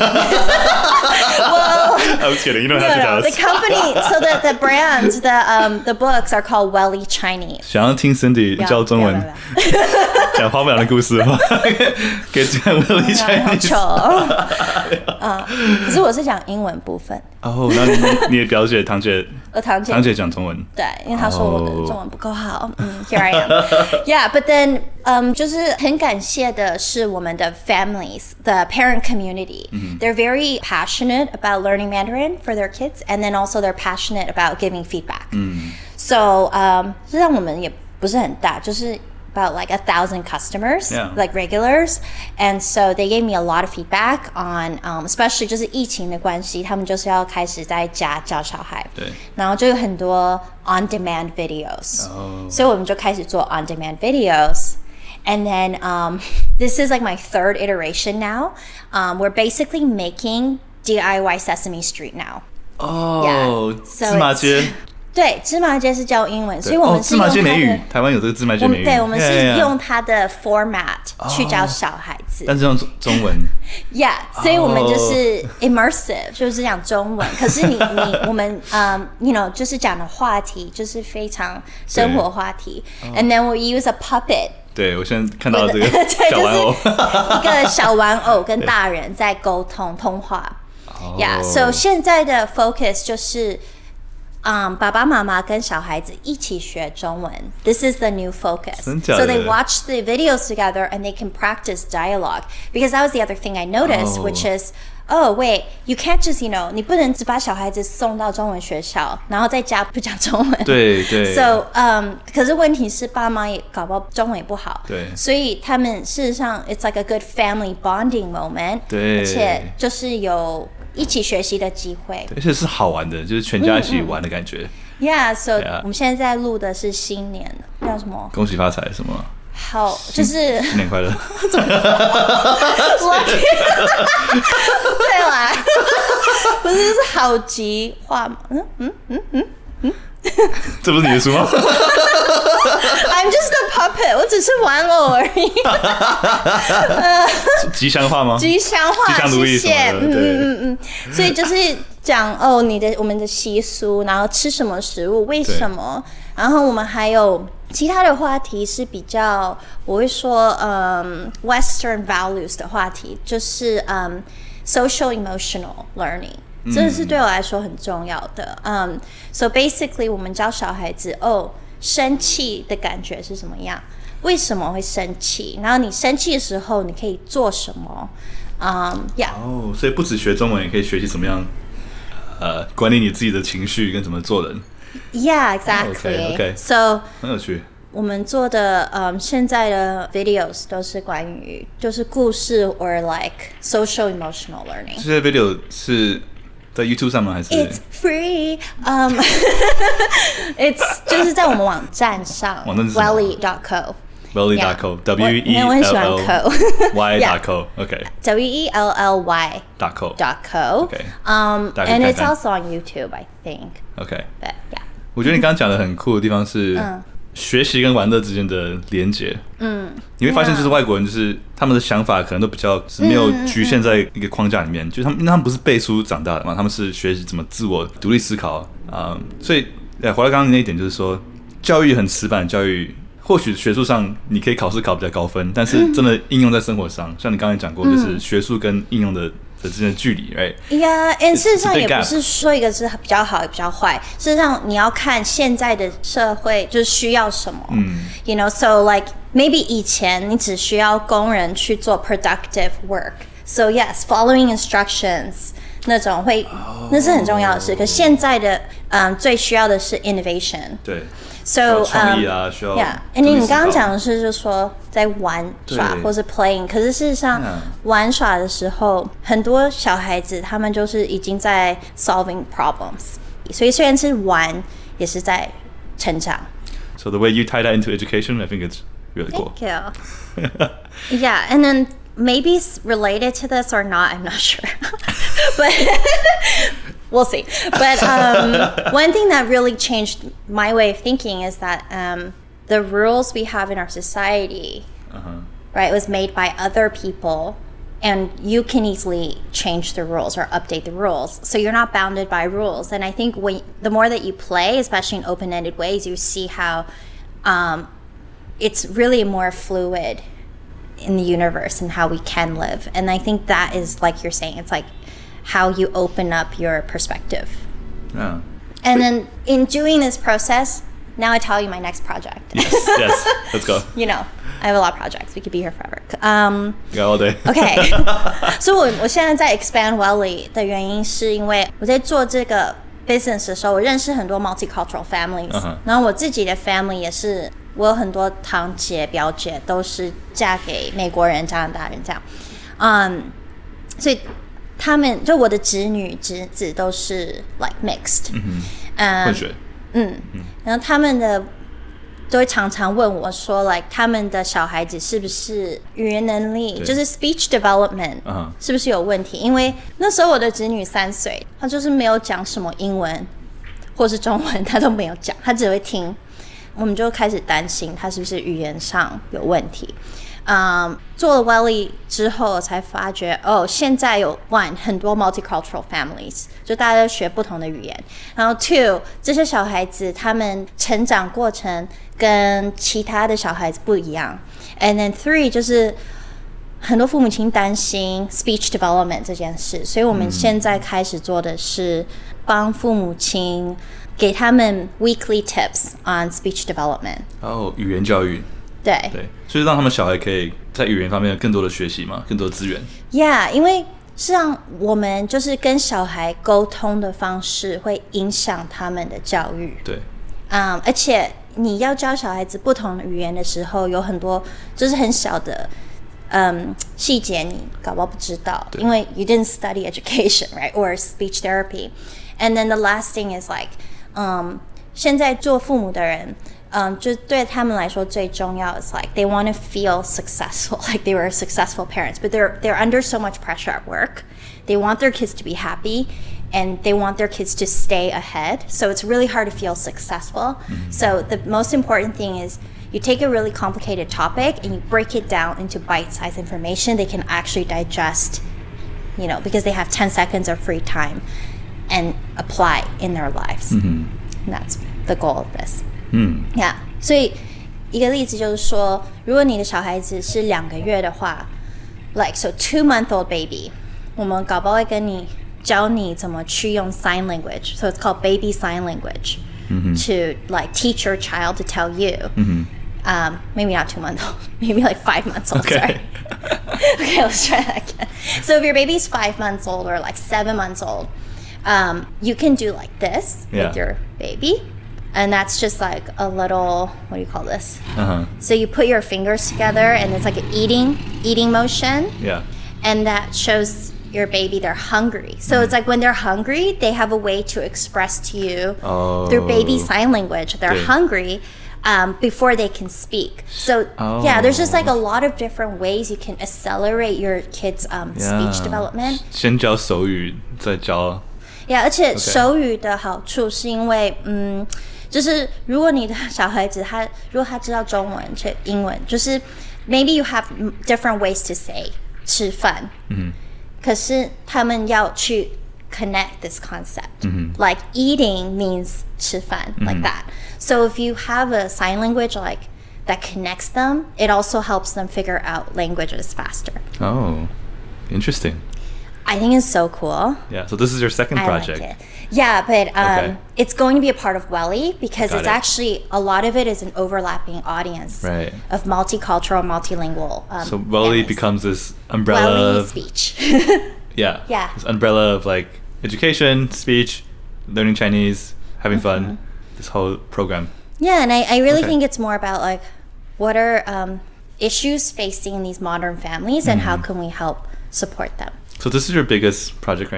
I was kidding. You don't no, have to no, tell us. the company. So the the brands, the um the books are called Welly Chinese. 想要听 Cindy 教中文，講花木蘭的故事的話，可以講 Welly Chinese。 好醜。啊，可是我是講英文部分。 哦，那你你的表姐堂姐， 我堂姐堂姐講中文。 對，因為她說我的中文不夠好。嗯 ，Here I am. Yeah, but then, 嗯，就是很感謝的是我們的 families, the parent community. They're very passionate about learning Mandarin for their kids, and then also they're passionate about giving feedback. So, 嗯，這讓我們也不是很大，就是。About like a thousand customers, yeah. like regulars, and so they gave me a lot of feedback on, um, especially 就是疫情的關係，他們就是要開始在家教小孩， 對， 然後就有很多 on-demand videos，、oh. 所以我們就開始做 on-demand videos. And then um, this is like my third iteration now. Um, we're basically making D I Y Sesame Street now. Oh, yeah. So 芝麻街。 对，芝麻街是教英文，所以我们是用它的、 哦、芝麻街美語，台灣有這個芝麻街美語。 對，我們是用它的 format、oh, 去教小孩子， 但是用中文。 Yeah， 所以我們就是 immersive，、oh. 就是講中文。可是你你我們嗯、um, ，you know， 就是講的話題就是非常生活話題。And then we use a puppet。 對，我現在看到這個小玩偶， 一個小玩偶跟大人在溝通通話。 Oh. Yeah，so 現在的 focus 就是。Um, 爸爸媽媽跟小孩子一起學中文 This is the new focus. So they watch the videos together and they can practice dialogue. Because that was the other thing I noticed, oh. which is, oh, wait, you can't just, you know, 你不能只把小孩子送到中文學校，然後在家不講中文。 對對。 So, um, 可是問題是爸媽也搞不好中文也不好。 對。 所以他們事實上 it's like a good family bonding moment. 對。 而且就是有一起學習的機會， 而且是好玩的，就是全家一起玩的感覺。 嗯嗯、yeah, so yeah. 我們現在在錄的是新年，叫什麼？ 恭喜發財什麼？ 好，就是新年快樂。 對啦，不是是好吉話嗎？嗯嗯嗯嗯嗯。 這不是你的書嗎 ？I'm just a puppet， 我只是玩偶而已。 吉祥話嗎？ 吉祥話， 吉祥如意什麼的， 謝謝。嗯嗯嗯，所以就是講哦，你的我們的習俗，然後吃什麼食物，為什麼？然後我們還有其他的話題是比較，我會說，嗯 ，Western values 的話題，就是嗯 ，social emotional learning。這是對我來說很重要的。嗯、um, ，so basically 我們教小孩子哦，生氣的感覺是什麼樣？為什麼會生氣？然後你生氣的時候你可以做什麼？嗯、um, ，yeah。 哦，所以不只學中文，也可以學習怎麼樣，呃，管理你自己的情緒跟怎麼做人。 Yeah, exactly. Oh, okay, okay. So 很有趣。 我們做的嗯，現在的 videos 都是關於就是故事 or like social emotional learning。 這些 video 是。在 YouTube 上嗎？還是 It's free. Um, it's 就是在我們網站上 welly dot co welly dot co W E L L Y dot co OK W E L L Y dot co dot co OK um and it's also on YouTube I think OK but yeah 我覺得你剛剛講的很酷的地方是嗯學習跟玩樂之間的連結， 嗯， 你會發現就是外國人就是他們的想法可能都比較是沒有局限在一個框架裡面，嗯嗯嗯就他們因為他們不是背書長大的嘛，他們是學習怎麼自我獨立思考啊、嗯，所以回來剛剛那一點就是說，教育很死板的教育，或許學術上你可以考試考比較高分，但是真的應用在生活上，嗯、像你剛才講過，就是學術跟應用的。的之間的距離 ，right？ Yeah， 事實上也不是說一個是比較好，也比較壞。事實上，你要看現在的社會就是需要什麼。嗯 ，You know，so like maybe 以前你只需要工人去做 productive work，so yes，following instructions 那種會， oh. 那是很重要的事。可現在的嗯，最需要的是 innovation。對。So, 創意啊，需要 yeah， 你你剛剛講的是，就是說在玩耍或是 playing， 可是事實上玩耍的時候，很多小孩子他們就是已經在 solving problems， 題。所以雖然是玩，也是在成長。 So the way you tie that into education, I think it's really cool. Thank you. Yeah, and then maybe it's related to this or not, I'm not sure. But we'll see. But um, one thing that really changed my way of thinking is that um, the rules we have in our society, uh-huh. right, was made by other people, and you can easily change the rules or update the rules. So you're not bounded by rules. And I think when, the more that you play, especially in open-ended ways, you see how um, it's really more fluid in the universe and how we can live. And I think that is, like you're saying, it's like how you open up your perspective. Yeah. And then in doing this process, now I tell you my next project. Yes, yes, let's go. You know, I have a lot of projects. We could be here forever. Um, yeah, all day. Okay. 所以我我现在在 expand Welly 的原因是因为我在做这个 business 的时候，我認識很多 multicultural families，、uh-huh. 然後我自己的 family 也是，我有很多堂姐表姐都是嫁給美國人、加拿大人這樣，嗯，所以他們就我的侄女侄子都是 like mixed， 嗯嗯， 混血， 嗯，然後他們的都會常常問我說 like 他們的小孩子是不是語言能力就是 speech development、uh-huh. 是不是有問題，因為那時候我的侄女三歲，她就是沒有講什麼英文或是中文，她都沒有講，她只會聽，我們就開始擔心她是不是語言上有問題。Um, 做了 Welly 之後才發覺哦，現在有 one 很多 multicultural families， 就大家都學不同的語言，然後 two 這些小孩子他們成長過程跟其他的小孩子不一樣， and then three 就是很多父母親擔心 speech development 這件事，所以我們現在開始做的是幫父母親給他們 weekly tips on speech development。 哦，語言教育。 對對，所以讓他們小孩可以在語言方面有更多的學習嘛，更多的資源。 Yeah， 因為實際上我們就是跟小孩溝通的方式會影響他們的教育。 對， 嗯，而且你要教小孩子不同的語言的時候，有很多就是很小的嗯細節你搞不好不知道，因為 you didn't study education, right, or speech therapy. And then the last thing is like， 嗯，現在做父母的人。Um, 就對他們來說最重要 is like they want to feel successful, like they were successful parents, but they're they're under so much pressure at work. They want their kids to be happy, and they want their kids to stay ahead. So it's really hard to feel successful. Mm-hmm. So the most important thing is you take a really complicated topic and you break it down into bite-sized information they can actually digest, you know, because they have ten seconds of free time and apply in their lives. Mm-hmm. And that's the goal of this. 嗯 ，Yeah， 所以一個例子就是說，如果你的小孩子是兩個月的話 ，like so two month old baby， 我們搞不好會跟你教你怎麼去用 sign language， so it's called baby sign language， mm-hmm. to like teach your child to tell you， mm-hmm. um, maybe not two months old, maybe like five months old. Okay. Sorry. Okay, let's try that again. So if your baby's five months old or like seven months old, um, you can do like this yeah. with your baby. And that's just like a little, what do you call this? Uh-huh. So you put your fingers together and it's like an eating, eating motion. Yeah. And that shows your baby they're hungry. So mm. it's like when they're hungry, they have a way to express to you oh. through baby sign language. They're okay. hungry um, before they can speak. So oh. yeah, there's just like a lot of different ways you can accelerate your kids' um, yeah. speech development. 先教手語，再教。 Yeah, 而且手語的好處是因為，嗯。就是如果你的小孩子他如果他知道中文且英文，就是 maybe you have different ways to say 吃飯，嗯，可是他們要去 connect this concept，嗯，like eating means 吃飯，嗯，like that. So if you have a sign language like that connects them, it also helps them figure out languages faster. Oh, interesting. I think it's so cool. Yeah, so this is your second I project. Like it. Yeah, but um, okay. it's going to be a part of Welly because Got it's it. actually, a lot of it is an overlapping audience right. of multicultural, multilingual um, So Welly families. becomes this umbrella Welly of... speech. yeah. Yeah. This umbrella of like education, speech, learning Chinese, having fun, mm-hmm. this whole program. Yeah, and I, I really okay. think it's more about like, what are um, issues facing these modern families and mm-hmm. how can we help support them? So this is your biggest project right now?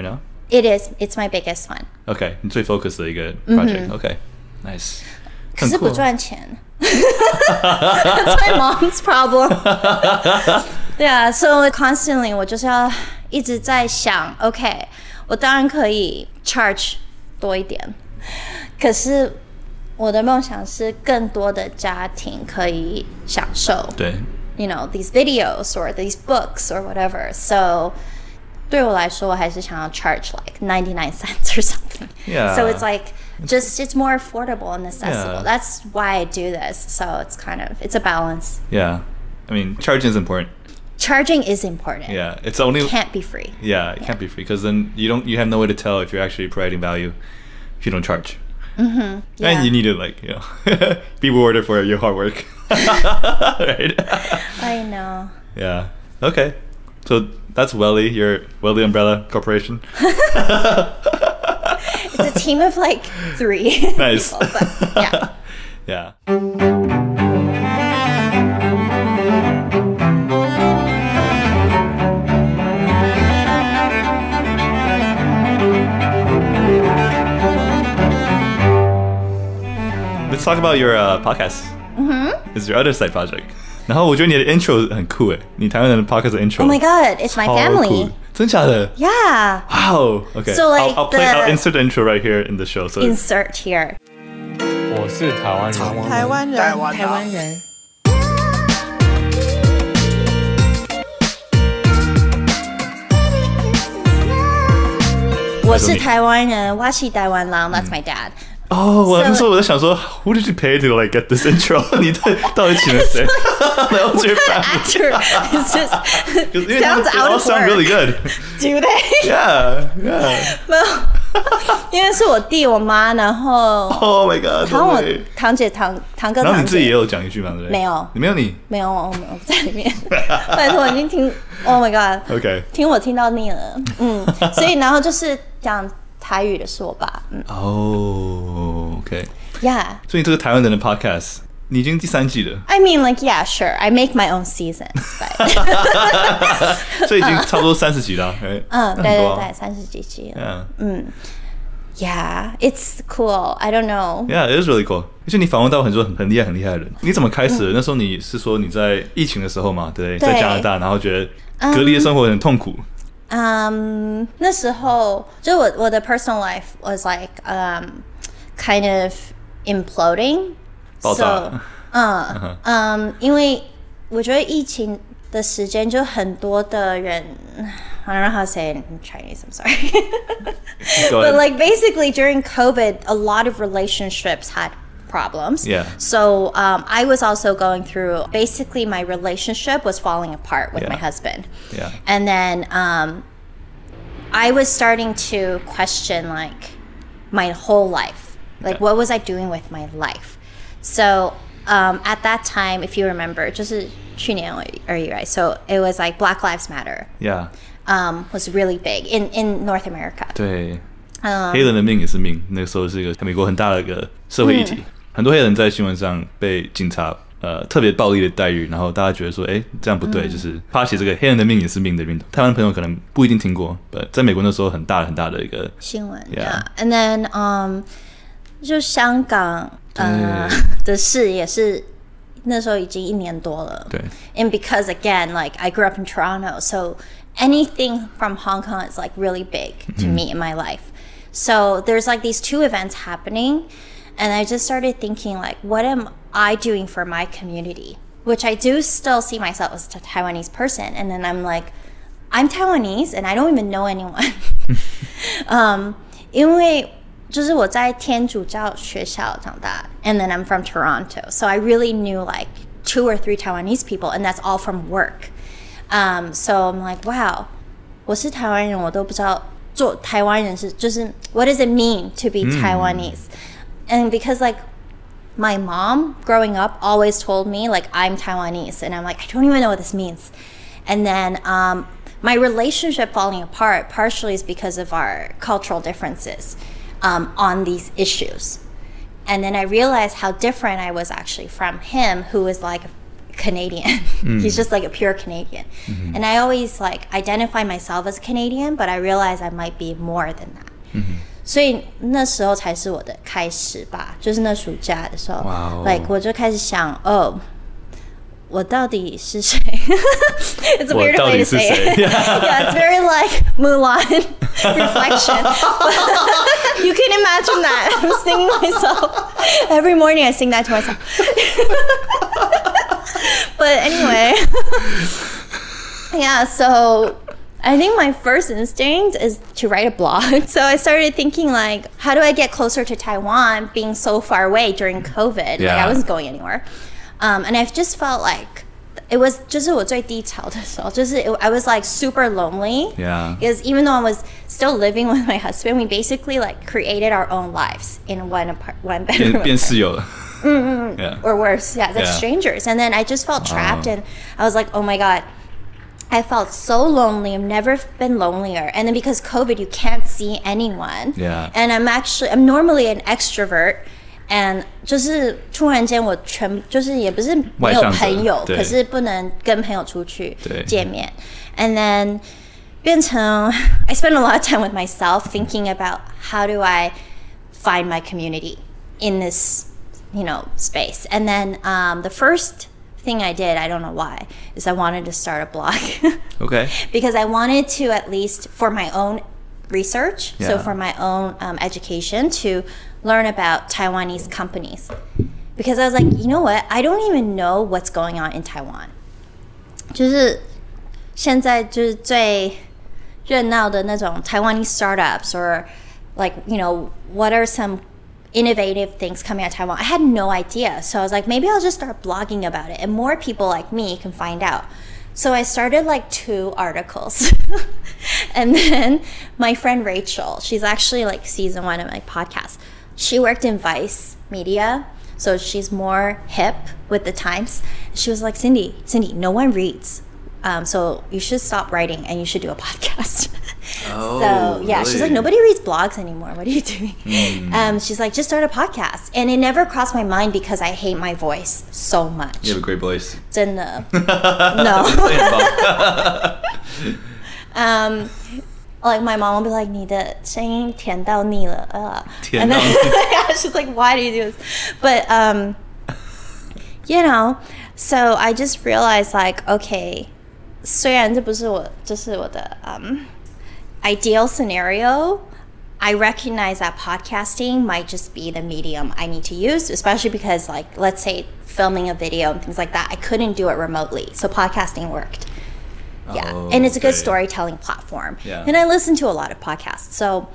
It is. It's my biggest one. Okay, 你最 focus 的一個 project. Mm-hmm. Okay, nice. 可是不賺錢。That's my mom's problem. Yeah, so constantly 我就是要一直在想 ，OK， 我當然可以 charge 多一點，可是我的夢想是更多的家庭可以享受。 對。 You know, these videos or these books or whatever. So 對我來說，我還是想要 charge like ninety-nine cents or something. Yeah. So it's like just it's more affordable and accessible. Yeah. That's why I do this. So it's kind of it's a balance. Yeah. I mean, charging is important. Charging is important. Yeah. It's only it can't be free. Yeah, it yeah. can't be free because then you don't you have no way to tell if you're actually providing value if you don't charge. Mm-hmm. Yeah. And you need to like, you know, be rewarded for your hard work. Right? I know. Yeah. Okay. So that's Welly, your Welly Umbrella Corporation. It's a team of like three. Nice. People, but yeah. Yeah. Let's talk about your uh, podcast. Mm-hmm. It's your other side project. 然後我覺得你的 intro 很酷誒，你台灣人的 podcast 的 intro. Oh my god, it's my family. 酷，真假的 Yeah. Wow. Okay. So like I'll, I'll play. the, I'll insert the intro right here in the show. So insert here. 我是台灣人， 台灣人， 台灣人。 我是台灣人，我是台灣人 That's my dad. Oh, 我那時候我在想說 ，Who did you pay to like get this intro? 你到底請了誰？然後這個 actor is just sounds they out all of sound work. really good. Do they? Yeah, yeah. 沒有，因為是我弟我媽，然後 Oh my god. 然後我堂姐堂堂哥堂姐， 然後你自己也有講一句嗎？對不對？ 沒有， 你沒有你沒有，我我不在裡面。拜託，我已經聽 ，Oh my god. Okay. 聽我聽到膩了，嗯，所以然後就是講台語的是我爸，嗯。 Oh, okay. Yeah. 所以這個台灣人的 podcast 你已經第三季了。 I mean, like, yeah, sure. I make my own seasons, but 所以已經差不多三十集了，right? 嗯，對對對，三十幾集了。 Yeah. 嗯 ，Yeah, it's cool. I don't know. Yeah, it is really cool. 而且你訪問到很多很很厲害很厲害的人。你怎麼開始的？那時候你是說你在疫情的時候嘛，對，在加拿大，然後覺得隔離的生活很痛苦。 Um, 那時候就我我的 personal life was like um kind of imploding. 爆炸。 嗯嗯，因為我覺得疫情的時間就很多的人 I don't know how to say it in Chinese, I'm sorry. But like basically during COVID, a lot of relationships had problems. Yeah. So um, I was also going through, basically my relationship was falling apart with yeah. my husband. Yeah. And then um, I was starting to question like my whole life. Like yeah. what was I doing with my life? So um, at that time, if you remember, 就是去年而已, right? So it was like Black Lives Matter. Yeah. Um, was really big in, in North America. 对，嗯、黑人的命也是命。那個時候是一個美國很大的一個社會議題，嗯、很多黑人在新聞上被警察呃特別暴力的待遇，然後大家覺得說，哎，這樣不對，嗯、就是發起這個黑人的命也是命的運動。台灣朋友可能不一定聽過，但在美國那時候很大很大的一個新聞。 Yeah. And then um, 就香港呃的事也是那時候已經一年多了。對。And because again, like I grew up in Toronto, so anything from Hong Kong is like really big to mm. me in my life. So there's like these two events happening, and I just started thinking like, what am I doing for my community? Which I do still see myself as a Taiwanese person, and then I'm like, I'm Taiwanese and I don't even know anyone. um, 因為就是我在天主教學校長大, and then I'm from Toronto, so I really knew like two or three Taiwanese people, and that's all from work. Um, so I'm like, wow, 我是台灣人，我都不知道做台灣人是就是 what does it mean to be Taiwanese? Mm. And because like my mom growing up always told me like I'm Taiwanese, and I'm like, I don't even know what this means. And then um, my relationship falling apart partially is because of our cultural differences um, on these issues. And then I realized how different I was actually from him, who was like Canadian. Mm. He's just like a pure Canadian. Mm-hmm. And I always like identify myself as Canadian, but I realize I might be more than that. Mm-hmm. 所以那時候才是我的開始吧，就是那暑假的時候 wow. like 我就開始想哦我到底是誰？It's a weird way to say it. Yeah, it's very like Mulan reflection. You can imagine that. I'm singing myself. Every morning I sing that to myself. But anyway. Yeah, so I think my first instinct is to write a blog. So I started thinking like, how do I get closer to Taiwan being so far away during COVID? Yeah. Like I wasn't going anywhere. Um, and I've just felt like it was 就是我最低潮的时候，就是 it, I was like super lonely. Yeah. Because even though I was still living with my husband, we basically like created our own lives in one apart, one bedroom. 变室友了。 Mm-hmm. Yeah. Or worse, yeah, like yeah. strangers. And then I just felt trapped, oh. and I was like, oh my god. I felt so lonely. I've never been lonelier. And then because COVID, you can't see anyone. Yeah. And I'm actually, I'm normally an extrovert. And 就是突然間我全就是也不是没有朋友，可是不能跟朋友出去見面。And then 變成 I spend a lot of time with myself thinking about how do I find my community in this, you know, space. And then um, the first thing I did, I don't know why, is I wanted to start a blog. Okay. Because I wanted to, at least for my own research, yeah. so for my own um, education, to learn about Taiwanese companies. Because I was like, you know what? I don't even know what's going on in Taiwan. 就是现在就是最热鬧的那種 Taiwanese startups, or like, you know, what are some innovative things coming out of Taiwan? I had no idea. So I was like, maybe I'll just start blogging about it and more people like me can find out. So I started like two articles. And then my friend Rachel, she's actually like season one of my podcast. She worked in Vice Media, so she's more hip with the times. She was like, Cindy, Cindy, no one reads. Um, so you should stop writing and you should do a podcast. Oh, so yeah, really? She's like, nobody reads blogs anymore. What are you doing? Mm. Um, she's like, just start a podcast. And it never crossed my mind because I hate my voice so much. You have a great voice. 真的 No. um, like my mom will be like, 你的聲音甜到膩了 uh. 甜到膩 yeah, she's like, why do you do this? But um, you know, so I just realized like, okay, 虽然这不是我就是我的 um, ideal scenario, I recognize that podcasting might just be the medium I need to use, especially because like, let's say filming a video and things like that, I couldn't do it remotely. So podcasting worked. Yeah. Oh, and it's a good okay. storytelling platform. Yeah. And I listen to a lot of podcasts. So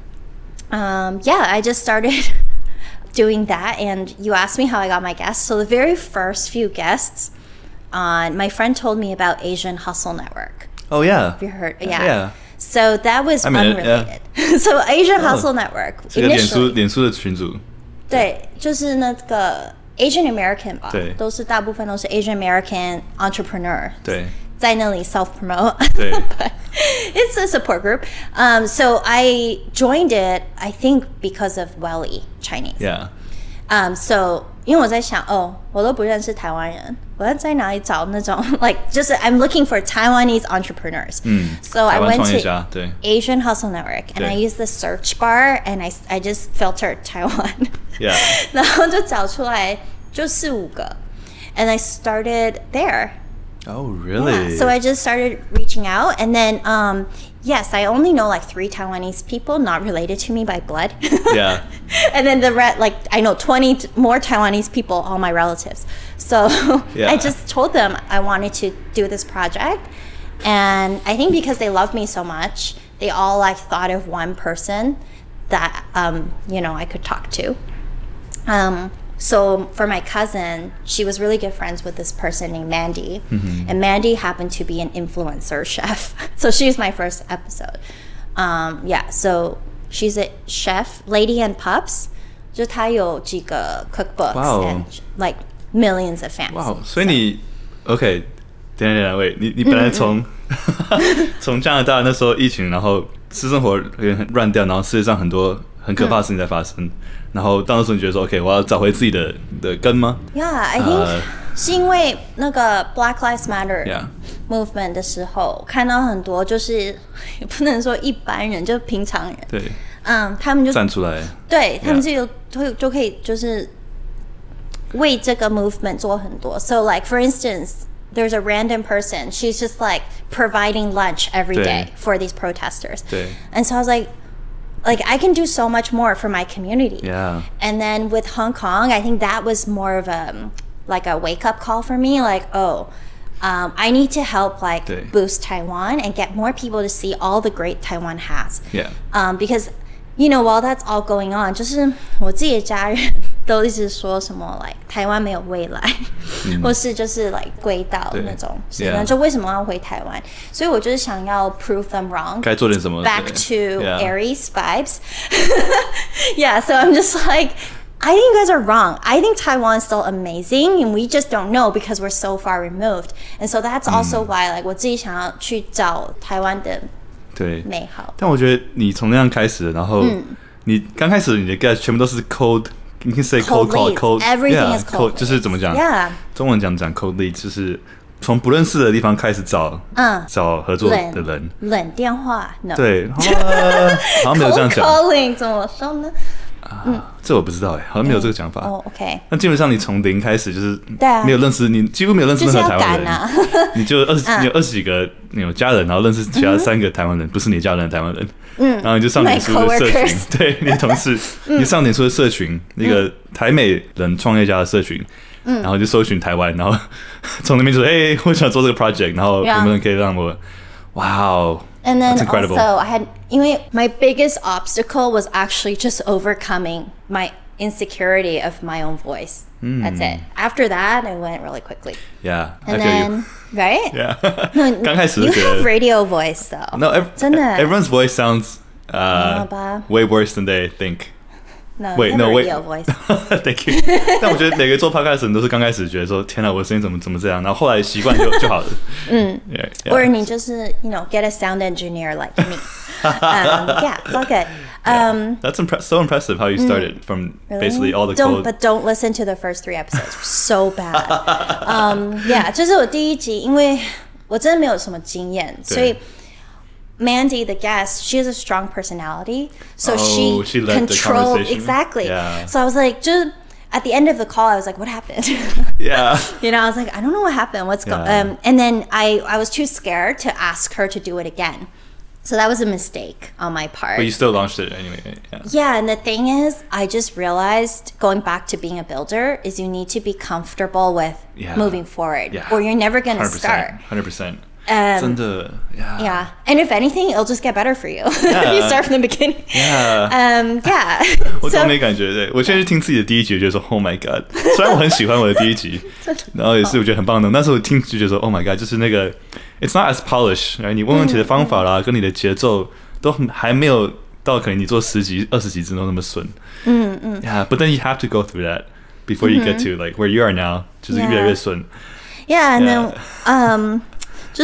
um, yeah, I just started doing that. And you asked me how I got my guests. So the very first few guests, on my friend told me about Asian Hustle Network. Oh yeah. Have you heard? Yeah. Yeah. So that was I mean, unrelated. Yeah. So Asian oh. Hustle Network. 这個臉書臉書的群組。 對，就是那個 Asian American 吧， 對， 都是大部分都是 Asian American entrepreneur。 對， 在那裡 self promote. 對。 But it's a support group. Um, so I joined it, I think, because of Welly Chinese. Yeah. Um, so 因為我在想，哦，我都不認識台灣人，我要在哪裡找那種 like 就是 I'm looking for Taiwanese entrepreneurs. 嗯 So I went to 對 Asian Hustle Network and I used the search bar and I I just filtered Taiwan. Yeah. 然後就找出來就四五個 and I started there. Oh, really? Yeah. So I just started reaching out, and then um, yes, I only know like three Taiwanese people not related to me by blood. Yeah. And then the rest, like I know twenty t- more Taiwanese people, all my relatives. So yeah. I just told them I wanted to do this project, and I think because they love me so much, they all like thought of one person that um, you know I could talk to. Um, So for my cousin, she was really good friends with this person named Mandy. Mm-hmm. And Mandy happened to be an influencer chef. So she was my first episode. Um, yeah, so she's a chef, Lady and Pups. 就她有幾個 cookbooks wow. and like millions of fans. Wow, 所以你 OK， 等一下等一下，喂，你你本來從從加拿大那時候疫情，然後私生活有點很亂掉，然後世界上很多很可怕的事情在發生。嗯然後到那時候你覺得說 OK 我要找回自己的的根嗎 Yeah, I think、uh, 是因為那個 Black Lives Matter Yeah. movement 的時候，看到很多就是也不能說一般人，就平常人， 對， 嗯，他們就站出來， 對 Yeah. 他們就有就就可以就是為這個 movement 做很多。So like for instance.There's a random person. She's just like providing lunch every day for these protesters. 對 And so I was like, like I can do so much more for my community. Yeah. And then with Hong Kong, I think that was more of a like a wake up call for me. Like, oh, um, I need to help like 对 boost Taiwan and get more people to see all the great Taiwan has. Yeah. Um, because you know, while that's all going on, 就是我自己的家人都一直说什麼 like 台灣沒有未來，嗯、或是就是 like 軌道那種，是那就為什麼要回台灣？所以我就是想要 prove them wrong， 該做點什麼 back to yeah. Aries vibes. Yeah, so I'm just like, I think you guys are wrong. I think Taiwan is still amazing, and we just don't know because we're so far removed. And so that's also、嗯、why like 我自己想要去找台灣的對美好。 但我覺得你從那樣開始，然後、嗯、你剛開始你的 guess 全部都是 cold。You can say cold call, cold, everything yeah, is cold. 就是怎麼講？ Yeah. 中文講講 cold lead， 就是從不認識的地方開始找，嗯，找合作的人。 冷電話 ，no。 對，好像沒有這樣講。 Cold calling 怎麼說呢？ 嗯，這我不知道哎，好像沒有這個講法。 哦 ，OK。 那基本上你從零開始就是， 對啊， 沒有認識你，幾乎沒有認識任何台灣人， 啊、 你就二十，你有二十幾個你有家人，然後認識其他三個台灣人，不是你家人的台灣人。嗯，然後你就上臉書的社群，對你同事，你上臉書的社群，那個台美人創業家的社群，嗯，然後就搜尋台灣，然後從那邊就說，哎，我想做這個 project， 然後能不能可以讓我，哇哦 And then that's incredible. Also, I had, 因為 my biggest obstacle was actually just overcoming my insecurity of my own voice. Mm. That's it. After that, it went really quickly. Yeah, and I then, feel you. Right? Yeah. 剛開始 You have radio voice though. No, ev- 真的 everyone's voice sounds uh, way worse than they think. No, wait, no, wait. Radio voice. Thank you. 但我覺得每個做 podcast 的人都是剛開始覺得說，天哪，我的聲音怎麼怎麼這樣，然後後來習慣就就好了。嗯 yeah, yeah. Or 你就是 you know get a sound engineer like me. um, yeah, it's all good. Um, yeah. That's impre- so impressive how you started mm, from really? basically all the don't, code. But don't listen to the first three episodes. So bad. um, yeah, 就是我第一集，因為我真的沒有什麼經驗，所以。Mandy, the guest, she has a strong personality, so oh, she, she led controlled the exactly. Yeah. So I was like, just at the end of the call, I was like, "What happened?" Yeah. You know, I was like, "I don't know what happened. What's yeah. going?" Um, and then I, I was too scared to ask her to do it again. So that was a mistake on my part. But you still launched it anyway. Yeah. Yeah, and the thing is, I just realized going back to being a builder is you need to be comfortable with yeah. moving forward, yeah. or you're never going to start. one hundred percent. Um, 真的 yeah. yeah. And if anything, it'll just get better for you yeah. if you start from the beginning. Yeah. Um, yeah. 我都沒感覺對，我現在去聽自己的第一集，我覺得說 Oh my God。雖然我很喜歡我的第一集，然後也是我覺得很棒的，但是我聽就覺得說 Oh my God， 就是那個 It's not as polished，right？ 你問問題的方法啦，嗯、跟你的節奏都還沒有到可能你做十集、二十集之後那麼順。嗯嗯。Yeah, but then you have to go through that before you get to like where you are now， 就是越來越順。 Yeah, and then um. 就是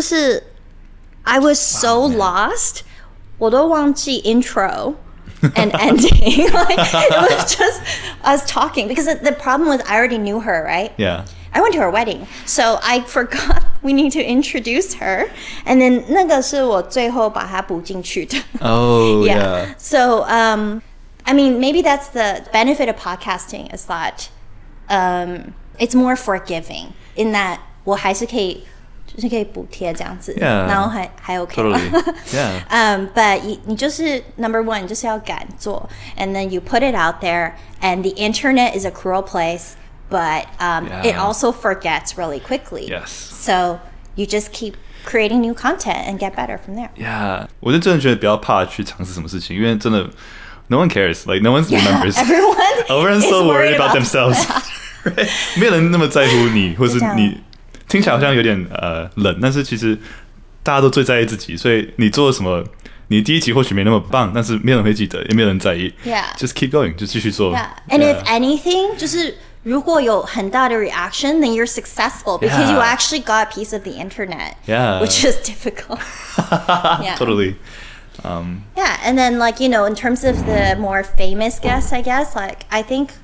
I was so wow, lost 我都忘記 intro and ending like it was just us talking because the problem was I already knew her right yeah I went to her wedding so I forgot we need to introduce her and then 那個是我最後把它補進去的 oh yeah, yeah. So um I mean maybe that's the benefit of podcasting is that um it's more forgiving in that 我還是可以就是可以補貼這樣子， yeah, 然後還還 OK 嗎 totally, yeah. um, But 你你就是 number one 就是要敢做 and then you put it out there and the internet is a cruel place but um, yeah. it also forgets really quickly yes. So you just keep creating new content and get better from there yeah. 我是真的覺得不要怕去嘗試什麼事情因為真的 no one cares like no one remembers yeah, everyone everyone's so worried about, about themselves right? 沒有人那麼在乎你或是你聽起來好像有點呃冷，但是其實大家都最在意自己，所以你做什麼，你第一集或許沒那麼棒，但是沒有人會記得，也沒有人在意。 Yeah. Just keep going， 就繼續做。 Yeah. And yeah. if anything， 就是如果有很大的 reaction， then you're successful because yeah. you actually got a piece of the internet. Yeah. Which is difficult. yeah. Totally. Um, yeah, and then like you know, in terms of the more famous guests, I guess like I think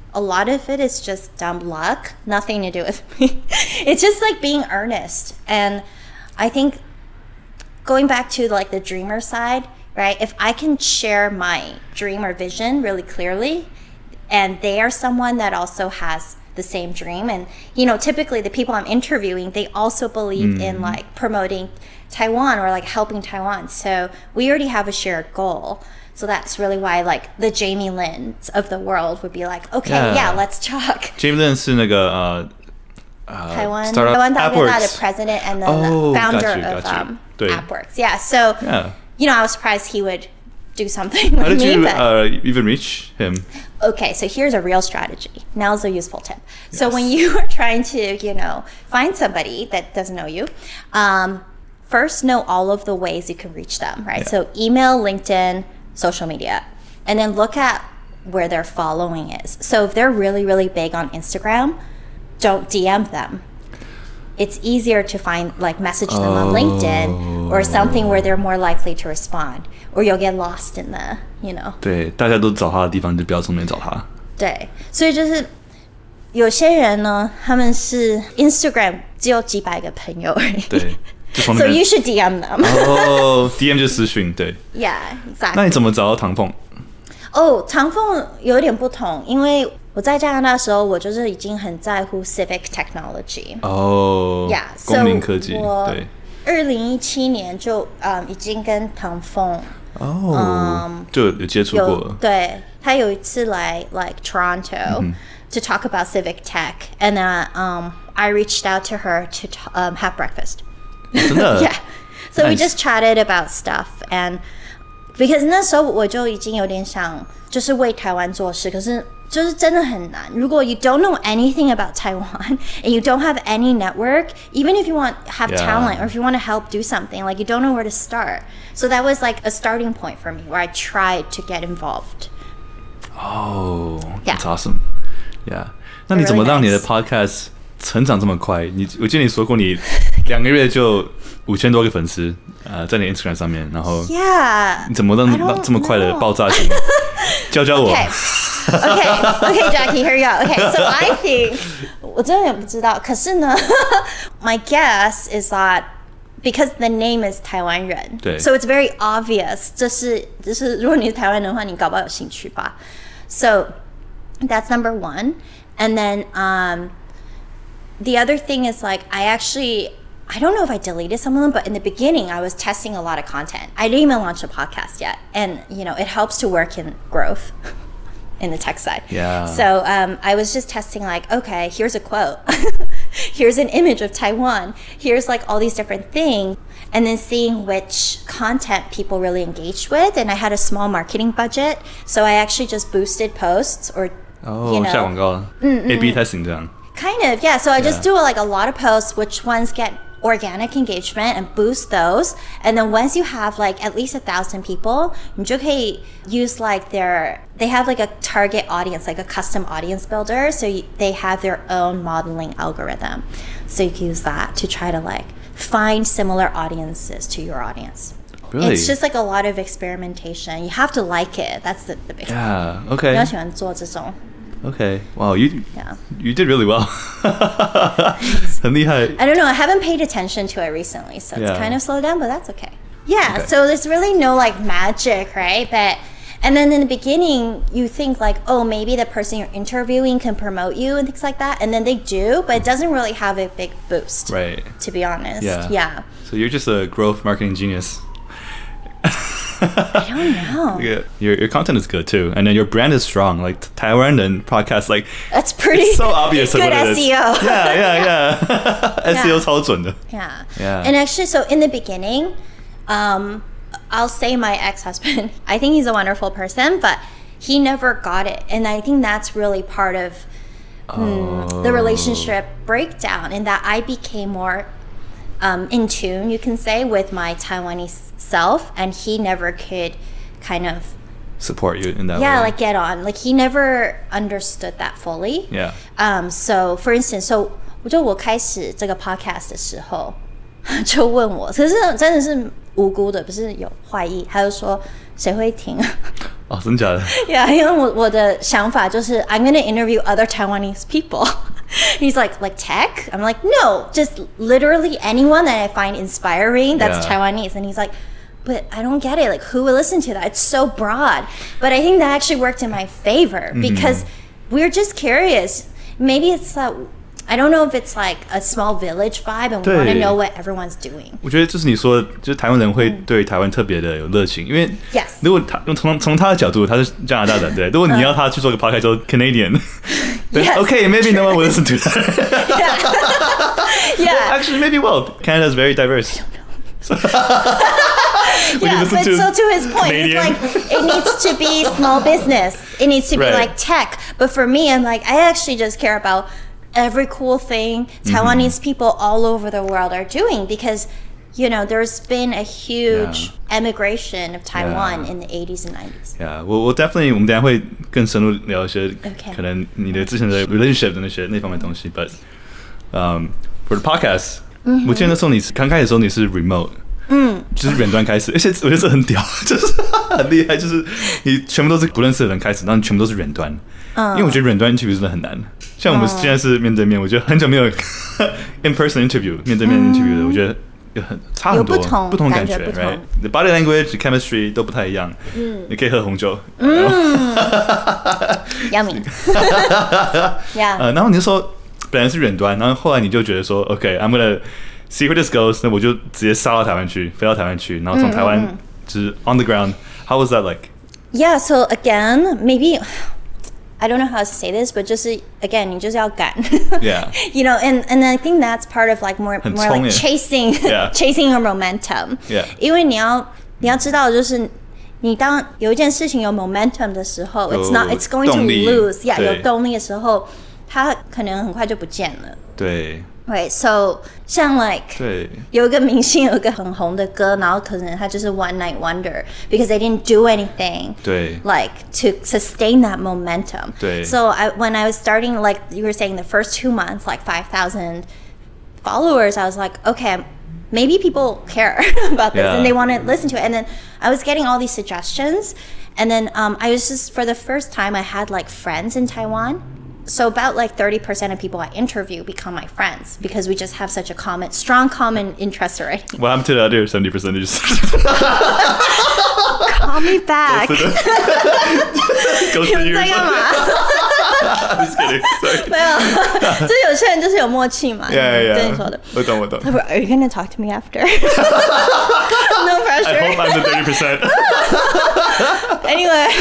a lot of it is just dumb luck, nothing to do with me. It's just like being earnest. And I think going back to like the dreamer side, right? If I can share my dream or vision really clearly, and they are someone that also has the same dream, and you know, typically the people I'm interviewing, they also believe mm. in like promoting Taiwan or like helping Taiwan. So we already have a shared goal. So that's really why like the Jamie Lins of the world would be like, okay, yeah, yeah let's talk. Jamie Lin 是那个呃呃台湾台湾大哥大的 president and then oh, the founder got you, of got um, you. AppWorks. Yeah, so yeah. you know, I was surprised he would do something with How did me, you but, uh, even reach him? Okay, so here's a real strategy. Now's a useful tip. Yes. So when you are trying to, you know, find somebody that doesn't know you, um, first know all of the ways you can reach them, right? Yeah. So email, LinkedIn, social media, and then look at where their following is. So if they're really, really big on Instagram, don't D M them. It's easier to find, like, message them oh. on LinkedIn or something where they're more likely to respond, or you'll get lost in the, you know. 对，大家都找他的地方就不要从那边找他。 对，所以就是有些人呢，他们是 Instagram 只有几百个朋友而已。 对。 So you should D M them. 哦 ，D M 就私訊，对。 Yeah, exactly. 那你怎麼找到唐鳳？ 哦，唐鳳有點不同，因為我在加拿大的時候，我就是已經很在乎 civic technology。 哦 ，Yeah， 公民科技，對。 二零一七年就嗯已經跟唐鳳哦， 嗯就有接觸過了。 對，他有一次來 like Toronto、嗯、to talk about civic tech, and then um I reached out to her to um, have breakfast. Yeah, so nice. We just chatted about stuff, and because 那時候我就已經有點想就是為台灣做事，可是就是真的很難。如果 you don't know anything about Taiwan and you don't have any network, even if you want have yeah. talent or if you want to help do something, like you don't know where to start. So that was like a starting point for me where I tried to get involved. Oh, yeah. That's awesome. Yeah. 那你怎麼讓你的 podcast 成長這麼快？你我記得你說過你兩個月就五千多個粉絲，呃，在你 Instagram 上面，然後 Yeah， 你怎麼讓讓這麼快的爆炸性？教教我。 Okay, okay, okay, Jackie, here you go. Okay, so I think 我真的也不知道，可是呢，my guess is that because the name is 台灣人， 對 ，so it's very obvious. 這是就是如果你是台灣人的話，你搞不好有興趣吧。So that's number one, and then um. The other thing is like I actually I don't know if I deleted some of them, but in the beginning I was testing a lot of content. I didn't even launch a podcast yet, and you know it helps to work in growth in the tech side. Yeah. So um, I was just testing like, okay, here's a quote, here's an image of Taiwan, here's like all these different things, and then seeing which content people really engaged with. And I had a small marketing budget, so I actually just boosted posts or oh, you know, 下廣告 A B testing 這樣。 Kind of, yeah. So I just yeah. do like a lot of posts, which ones get organic engagement and boost those. And then once you have like at least a thousand people, you can use like their, they have like a target audience, like a custom audience builder. So you, they have their own modeling algorithm. So you can use that to try to like find similar audiences to your audience. Really? It's just like a lot of experimentation. You have to like it. That's the, the big thing. Yeah, okay. 你要喜歡做這種 Okay. Wow, you yeah. you did really well. 很厲害 I don't know. I haven't paid attention to it recently, so yeah. it's kind of slowed down, but that's okay. Yeah. Okay. So there's really no like magic, right? But and then in the beginning, you think like, oh, maybe the person you're interviewing can promote you and things like that, and then they do, but it doesn't really have a big boost. Right. To be honest. Yeah. Yeah. So you're just a growth marketing genius. I don't know. Yeah, your your content is good too, and then your brand is strong. Like Taiwan and podcast, like that's pretty. It's so obvious. Good what it S E O. Is. Yeah, yeah, yeah. S E O 超準的 Yeah. Yeah. And actually, so in the beginning, um, I'll say my ex-husband. I think he's a wonderful person, but he never got it, and I think that's really part of oh. mm, the relationship breakdown. In that I became more um, in tune, you can say, with my Taiwanese self, and he never could kind of support you in that yeah, way. like get on. Like he never understood that fully. Yeah. Um. So for instance, so 我就我開始這個 podcast 的時候，就問我，可是真的是無辜的，不是有壞意，他就說誰會聽？ 哦，真假的 ？Yeah， 因為我我的想法就是 I'm gonna interview other Taiwanese people. He's like, like tech? I'm like, no, just literally anyone that I find inspiring that's yeah. Taiwanese. And he's like, but I don't get it. Like, who will listen to that? It's so broad. But I think that actually worked in my favor because mm-hmm. we're just curious. Maybe it's uh, I don't know if it's like a small village vibe and we want to know what everyone's doing. 我觉得就是你說的，就是台灣人會對台灣特別的有熱情，因為 yes. 如果他從從他的角度，他是加拿大人，對，如果你要他去做個 podcast 做 Canadian， 對 yes. okay, maybe no one will listen to that. yeah. yeah. Actually, maybe well. Canada is very diverse. yeah, but to so to his point, Canadian. It's like it needs to be small business. It needs to be right. like tech. But for me, I'm like I actually just care about every cool thing Taiwanese mm-hmm. people all over the world are doing because, you know, there's been a huge yeah. emigration of Taiwan yeah. in the eighties and nineties. Yeah, 我我 definitely 我們等一下會更深入聊一些 okay. 可能你的之前的 relationship 的那些那方面的東西。But um, for the podcast，、嗯、我記得那時候你剛開始的時候你是 remote， 嗯，就是遠端開始，而且我覺得這很屌，就是很厲害，就是你全部都是不認識的人開始，然後你全部都是遠端。嗯、因為我覺得遠端 interview 真的很難，像我們現在是面對面，我覺得很久沒有 in person interview 面對面 interview 的，嗯、我覺得有很差很多， 有不同不同感覺 ，right？ The body language, the chemistry 都不太一樣。嗯，你可以喝紅酒。 嗯 ，Yummy。yeah。 呃，然後你就說本來是遠端，然後後來你就覺得說 ，OK，I'm、okay, gonna see where this goes， 那我就直接殺到台灣去，飛到台灣去，然後從台灣就是 on the ground。How was that like? Yeah. So again, maybe. I don't know how to say this, but 就是 again, 你就是要趕 yeah. You know, and and I think that's part of like more more like chasing yeah. chasing your momentum. Yeah. 因為你要你要知道，就是你當有一件事情有 momentum 的時候 ，it's not it's going to lose. Yeah, 有動力的時候，它可能很快就不見了。 對。 Right, so 像 like 有一個明星有一個很紅的歌，然後可能他就是 one night wonder because they didn't do anything 對 like to sustain that momentum. 對 So I, when I was starting, like you were saying, the first two months, like five thousand followers, I was like, okay, maybe people care about this yeah. and they want to listen to it. And then I was getting all these suggestions, and then um, I was just for the first time I had like friends in Taiwan. So about like thirty percent of people I interview become my friends because we just have such a common, strong common interest already. What happened to the other seventy percent? Call me back. Go to you. I'm just kidding. Sorry. 沒有，就是有些人就是有默契嘛。 Yeah, yeah. 對你說的。 我懂，我懂。 Are you going to talk to me after? No pressure. I hope I'm the thirty percent. Anyway,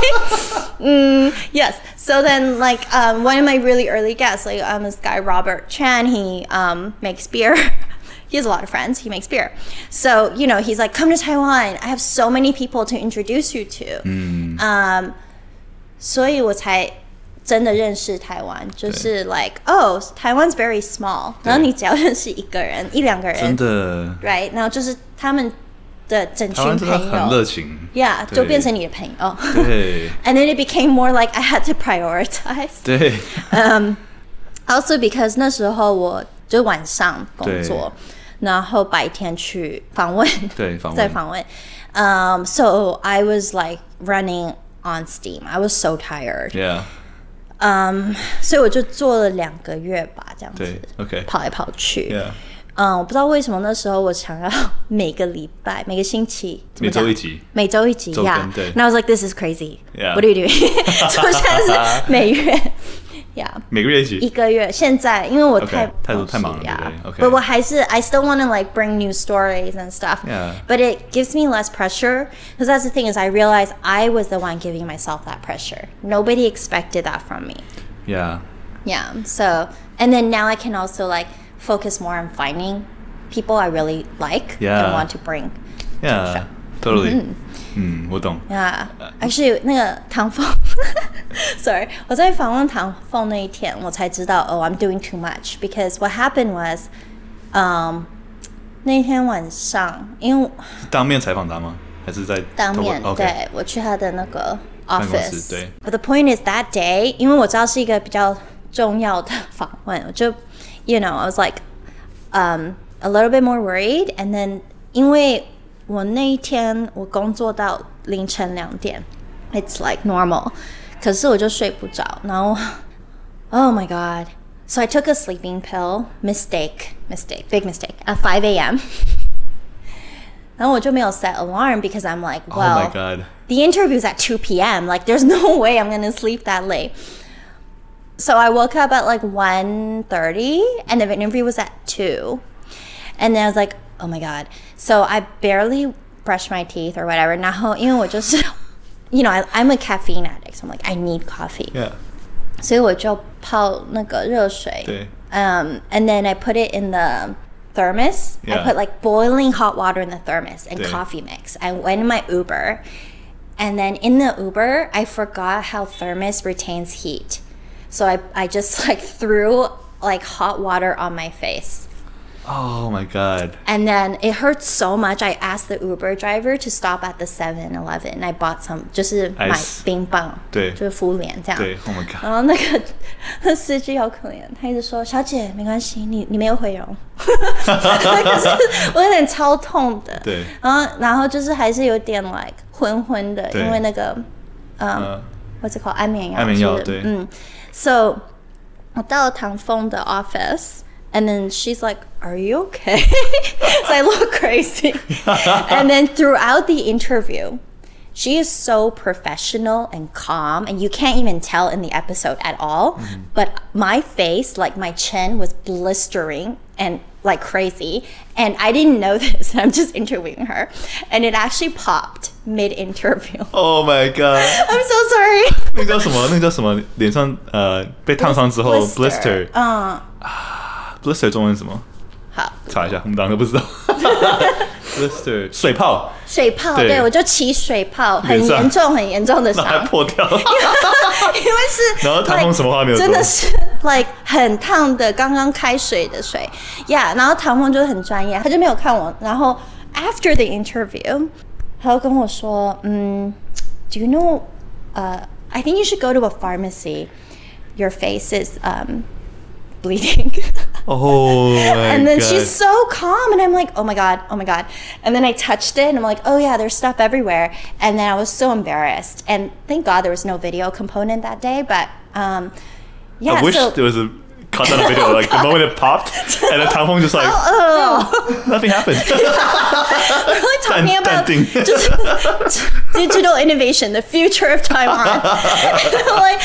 mm, yes. So then, like, um, one of my really early guests, like, um, this guy Robert Chan, he um, makes beer. He has a lot of friends. He makes beer. So, you know, he's like, come to Taiwan. I have so many people to introduce you to. Mm. Um, 所以我才真的認識台灣，就是 like, oh, Taiwan's very small. 然後你只要認識一個人、一兩個人， 真的 ，right？ 然後就是他們的整群朋友， 很熱情 ，yeah， 就變成你的朋友。 對。 And then it became more like I had to prioritize. 對。 Um, also because 那時候我就晚上工作，然後白天去訪問， 對，訪問， 在訪問。Um, so I was like running on steam. I was so tired. Yeah. Um, 所以我就做了兩個月吧，這樣子。 對 ，OK。 跑來跑去。 Yeah. 嗯，我不知道為什麼那時候我想要每個禮拜、每個星期， 每週一集， 每週一集呀。 對。 And I was like, this is crazy. Yeah. What are you doing? 所以現在是每月，yeah. 每個月一集。 一個月，現在因為我太太太忙了，呀。 But 我還是 I still want to like bring new stories and stuff. Yeah. But it gives me less pressure because that's the thing is I realized I was the one giving myself that pressure. Nobody expected that from me. Yeah. Yeah. So and then now I can also like focus more on finding people I really like yeah. and want to bring. Yeah, totally. 嗯，我懂。 Yeah, actually 那個唐鳳 ，sorry， 我在訪問唐鳳那一天，我才知道，oh, I'm doing too much because what happened was, um, 那天晚上，因為當面採訪他嗎？還是在當面？ okay. 對，我去他的那個 office。 對。 But the point is that day， 因為我知道是一個比較重要的訪問，我就 ，you know, I was like, um, a little bit more worried, and then 因為我那一天我工作到凌晨兩點， it's like normal. 可是我就睡不着，然後 oh my god. So I took a sleeping pill. Mistake, mistake, big mistake. At five a.m. 然後我就沒有 set alarm because I'm like, well, oh my god. The interview's at two p.m. Like, there's no way I'm gonna sleep that late. So I woke up at like one thirty, and the interview was at two. And then I was like, oh my god. So I barely brushed my teeth or whatever. 然後因為我就是 you know, I, I'm a caffeine addict, so I'm like, I need coffee. Yeah. 所以我就泡那個熱水。 對。 Um, and then I put it in the thermos. Yeah. I put like boiling hot water in the thermos and 對 coffee mix. I went in my Uber. And then in the Uber, I forgot how thermos retains heat. So I, I just like threw like hot water on my face. Oh my god. And then it hurt so much. I asked the Uber driver to stop at the seven eleven. I bought some, 就是买冰棒， 对， 就是敷臉這樣。 對 ，Oh my god。 然後那個那司機好可憐，他一直說：“小姐，沒關係，你你沒有毀容。”可是我有點超痛的。對。然後然後就是還是有點 like 昏昏的，因為那個嗯 ，what's it called 安眠藥。安眠藥對。嗯 ，So 我到了唐鳳的 office。And then she's like, are you okay? So I look crazy. And then throughout the interview, she is so professional and calm. And you can't even tell in the episode at all. Mm-hmm. But my face, like my chin was blistering and like crazy. And I didn't know this. I'm just interviewing her. And it actually popped mid-interview. Oh my god. I'm so sorry. 那个叫什麼？那個叫什麼？臉上呃被燙傷之後 blister。嗯。Blister 中文是什麼？好，查一下，我們兩個不知道。Blister 水泡， 水泡，對，我就起水泡，很嚴重，很嚴重的傷， 還破掉。因為是， 然後唐鳳什麼話沒有說， 真的是 like 很燙的，剛剛開水的水，yeah。然後唐鳳就是很專業，他就沒有看我。然後 after the interview，他就跟我說，嗯 ，Do you know? Uh, I think you should go to a pharmacy. Your face is um. bleeding. Oh my And then god. She's so calm and I'm like, oh my god, oh my god. And then I touched it and I'm like, oh yeah, there's stuff everywhere. And then I was so embarrassed. And thank God there was no video component that day. But um, yeah. I wish so, there was a cut on the video, like the moment it popped and then Tang Feng just like, oh, oh. Nothing happened. We're really talking about just digital innovation, the future of Taiwan. Like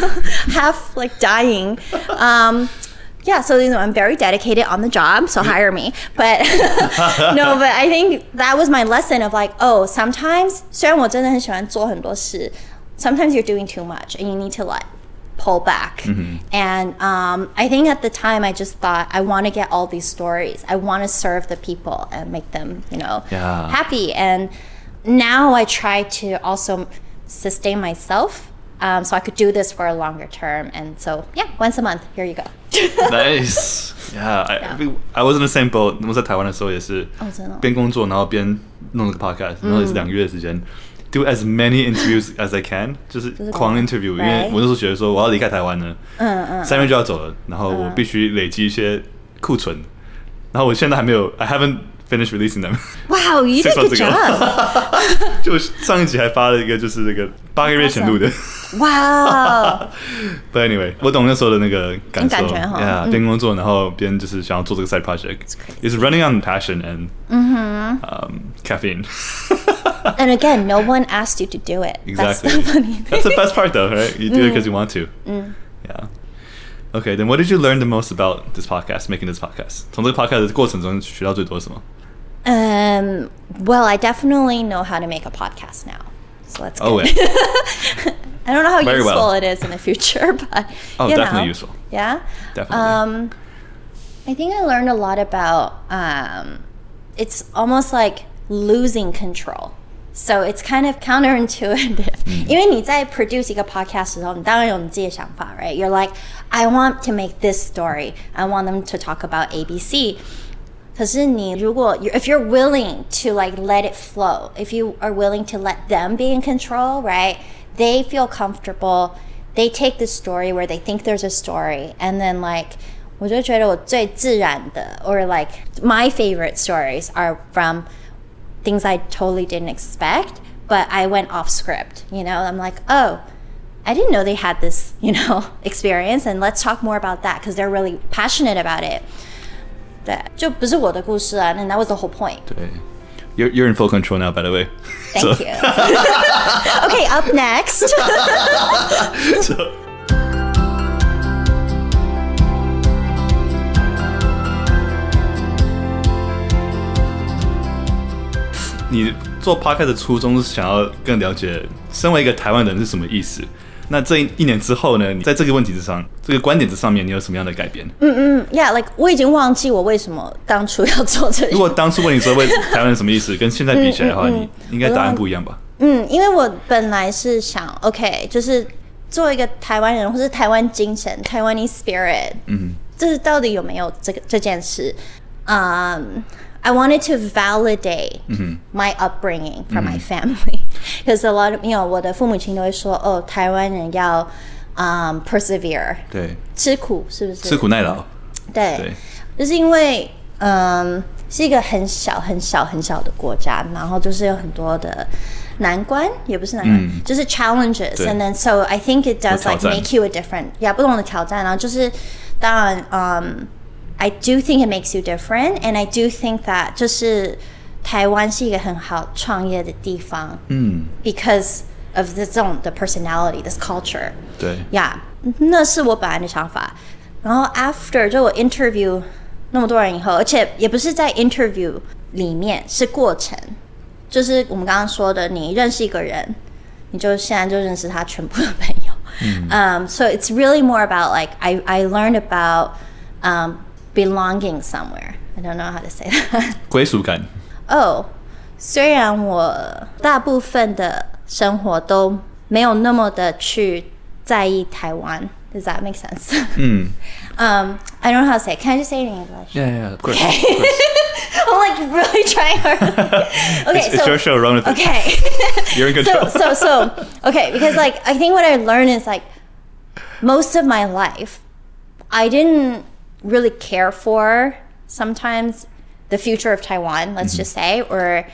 half like dying. Um, Yeah, so you know, I'm very dedicated on the job, so hire me. But no, but I think that was my lesson of like, oh, sometimes 虽然我真的很喜歡做很多事 sometimes you're doing too much and you need to like pull back. Mm-hmm. And um, I think at the time I just thought I want to get all these stories. I want to serve the people and make them, you know, yeah. happy. And now I try to also sustain myself. Um, so I could do this for a longer term. And so, yeah, once a month, here you go. Nice. Yeah, I, yeah. I was in the same boat. 我在台灣的時候也是邊工作然後邊弄這個 podcast， 然後也是兩個月的時間 do as many interviews as I can， 就是狂 interview， 因為我那時候覺得說我要離開台灣了，嗯嗯，三月就要走了，然後我必須累積一些庫存，然後我現在還沒有 I haven't finished releasing them. Wow, you did a good job. 就上一集還發了一個就是那個八個月前錄的。 Wow. But anyway, 我懂那時候的那個感受。 感覺哈。 Yeah, 邊工作然後邊就是想要做這個 side project. It's running on passion and um, caffeine. And again, no one asked you to do it. Exactly. That's the funny thing. That's the best part though, right? You do it because you want to. Mm. Yeah. Okay, then what did you learn the most about this podcast, making this podcast? 從這個 podcast 的過程中學到最多什麼？ Um, well, I definitely know how to make a podcast now. So that's good. Oh, yeah. I don't know how Very useful well. it is in the future, but oh, you definitely know. useful. Yeah? Definitely. Um, I think I learned a lot about, um, it's almost like losing control. So it's kind of counterintuitive. Mm. 因為你在 produce 一個 podcast 的時候，你當然有你自己的想法 right? You're like, I want to make this story. I want them to talk about A B C. 可是你如果 if you're willing to like let it flow, if you are willing to let them be in control, right? They feel comfortable. They take the story where they think there's a story, and then like 我就覺得我最自然的 or like my favorite stories are from things I totally didn't expect, but I went off script. You know, I'm like, oh, I didn't know they had this, you know, experience, and let's talk more about that because they're really passionate about it. 对，就不是我的故事啊，and that was the whole point. 对。You're, you're in full control now, by the way. Thank so. you. Okay, up next. so, 你做 podcast 的初衷是想要更了解身為一個台灣人是什麼意思。那這一年之後呢？你在這個問題之上，這個觀點之上面，你有什麼樣的改變？ 嗯嗯 ，Yeah，like 我已經忘記我為什麼當初要做這個。 如果當初問你說為台灣人什麼意思，跟現在比起來的話，嗯嗯嗯、你應該答案不一樣吧？ 嗯，因為我本來是想 ，OK， 就是做一個台灣人，或是台灣精神 （Taiwanese spirit）。嗯，這到底有沒有這個這件事？嗯。I wanted to validate mm-hmm. my upbringing from mm-hmm. my family, because a lot of, you know, 我的父母親都會說，哦，台灣人要、um, persevere， 對，吃苦是不是？ 吃苦耐勞， 對，對，就是因為嗯是一個很小很小很小的國家，然後就是有很多的難關，也不是難關，嗯、就是 challenges，and then so I think it does like make you a different， yeah， 不同的挑戰，然後就是當然嗯。I do think it makes you different, and I do think that 就是台灣是一個很好創業的地方，嗯 ，because of this own the personality, this culture， 對 ，Yeah， 那是我本來的想法。然後 after 就我 interview 那麼多人以後，而且也不是在 interview 裡面，是過程，就是我們剛剛說的，你認識一個人，你就現在就認識他全部的朋友。嗯 um, so it's really more about like I I learned about um. belonging somewhere. I don't know how to say that. 歸屬感。 哦，雖然我大部分的生活都沒有那麼的去在意台灣。Does that make sense? 嗯。um, I don't know how to say it. Can I just say it in English? Yeah, yeah, of course. Okay. Of course. I'm like really trying hard. Okay, it's, so, it's your show. Run with it. Okay. You're in control. So, so, so, okay, because like I think what I learned is like most of my life, I didn't really care for sometimes the future of Taiwan, let's mm-hmm. just say, or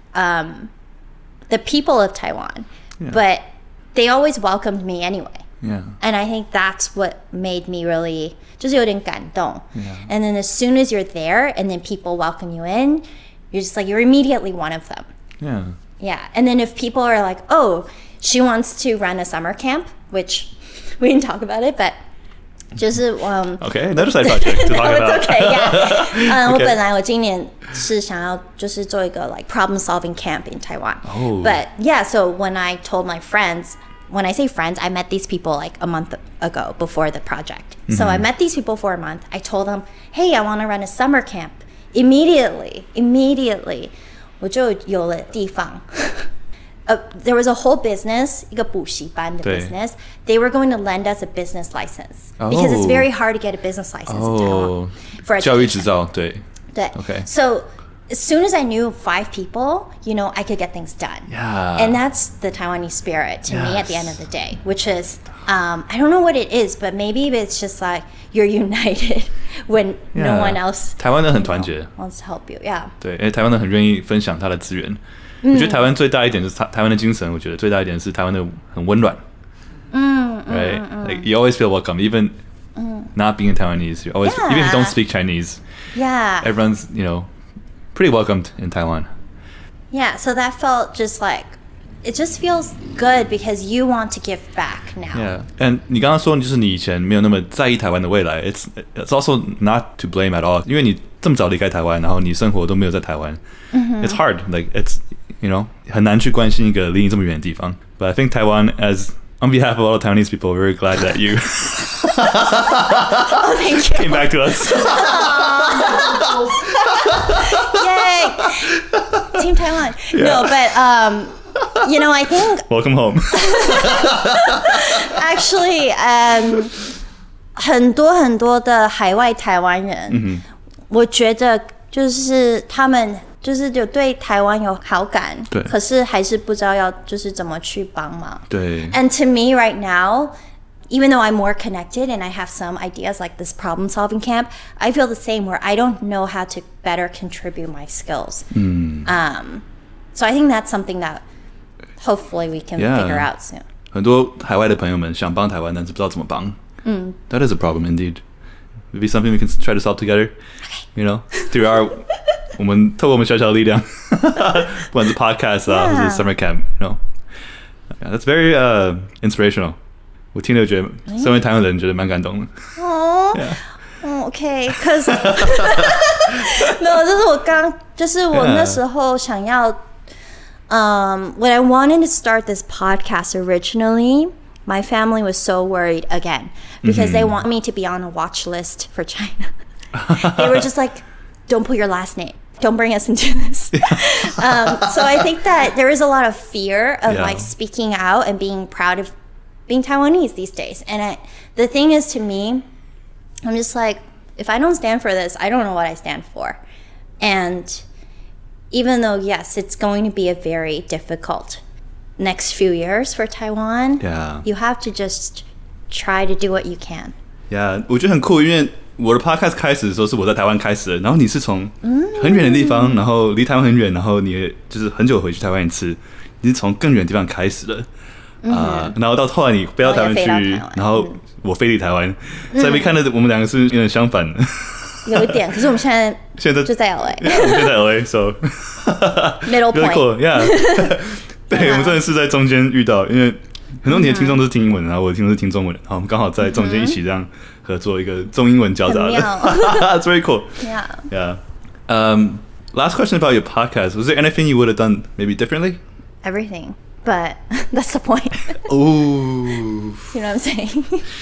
um, the people of Taiwan. Yeah. But they always welcomed me anyway. Yeah. And I think that's what made me really 就是有點感動. Yeah. And then as soon as you're there and then people welcome you in, you're just like, you're immediately one of them. Yeah. Yeah. And then if people are like, oh, she wants to run a summer camp, which we didn't talk about it, but 就是嗯 Okay, another side project to talk no, about. It's okay, yeah. 嗯， okay. 我本來我今年是想要就是做一個 like problem solving camp in Taiwan. Oh. But yeah, so when I told my friends, when I say friends, I met these people like a month ago before the project. Mm-hmm. So I met these people for a month. I told them, hey, I want to run a summer camp. Immediately, immediately, 我就有了地方。Uh, there was a whole business, 一個補習班的 business. They were going to lend us a business license oh. because it's very hard to get a business license oh. in Taiwan. For 教育執照，對。 對。Okay. So as soon as I knew five people, you know, I could get things done. Yeah. And that's the Taiwanese spirit to yes. me at the end of the day, which is, um, I don't know what it is, but maybe it's just like you're united when yeah. no one else 台灣人很團結 wants to help you. Yeah. 對，因為台灣人很願意分享他的資源。我覺得台灣最大一點就是台台灣的精神，我覺得最大一點是台灣的很溫暖。嗯 Right? 嗯 Like you always feel welcome, even 嗯 not being Taiwanese. You always, yeah. even if you don't speak Chinese. Yeah. Everyone's, you know, pretty welcomed in Taiwan. Yeah, so that felt just like, it just feels good because you want to give back now. Yeah, and 你剛剛說就是你以前沒有那麼在意台灣的未來 it's, it's also not to blame at all. 因為你這麼早離開台灣，然後你生活都沒有在台灣。Mm-hmm. It's hard, like it's, you know, 很難去關心一個離你這麼遠的地方。But I think Taiwan, as on behalf of all the Taiwanese people, we're very glad that you oh, thank you. came back to us. Yay! Team Taiwan. Yeah. No, but um, you know, I think welcome home. Actually, um, 很多很多的海外台灣人， mm-hmm. 我覺得就是他們就是有對台灣有好感，可是還是不知道要就是怎麼去幫忙。對。And to me right now, even though I'm more connected and I have some ideas like this problem solving camp, I feel the same where I don't know how to better contribute my skills. Mm. Um, so I think that's something that hopefully we can yeah. figure out soon. 很多海外的朋友们想帮台灣，但是不知道怎麼幫。 嗯 That is a problem indeed. Maybe something we can try to solve together. You know, through our 我們透過我們小小的力量，不管是 podcast 啊， yeah. 或是 summer camp, you know, yeah, that's very uh, inspirational. 我聽了覺得，身為台灣人覺得蠻感動的。 哦，嗯 ，OK，cause 沒有，就是我剛，就是我那時候想要。Um, when I wanted to start this podcast originally, my family was so worried again because mm-hmm. they want me to be on a watch list for China. They were just like, don't put your last name. Don't bring us into this. um, so I think that there is a lot of fear of yeah. like speaking out and being proud of being Taiwanese these days. And I, the thing is, to me, I'm just like, if I don't stand for this, I don't know what I stand for. And even though, yes, it's going to be a very difficult next few years for Taiwan, yeah. you have to just try to do what you can. Yeah, 我覺得很酷，因為我的 podcast 開始的時候是我在台灣開始的，然後你是從很遠的地方，嗯、然後離台灣很遠，然後你就是很久回去台灣一次，你是從更遠的地方開始的，啊、嗯呃，然後到後來你飛到台灣去，然 後, 然後我飛離台灣，嗯、所以看到我們兩個是有點相反的。 有一點，可是我們現在現在就在 L A， yeah, 我們就在 L A，so middle point， cool, yeah 對，我們真的是在中間遇到，因為很多你的聽眾都是聽英文，然後我的聽眾是聽中文的，然後我們剛好在中間一起這樣合作一個中英文交雜的，It's very cool. Yeah. Yeah. Um, last question about your podcast. Was there anything you would have done maybe differently? Everything, but that's the point. Ooh. You know what I'm saying?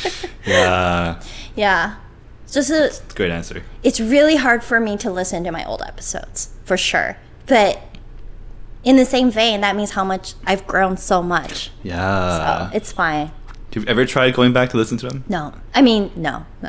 Yeah. Yeah. 就是 Great answer. It's really hard for me to listen to my old episodes, for sure. But in the same vein, that means how much I've grown so much. Yeah. So it's fine. Have you ever tried going back to listen to them? No. I mean, no. No.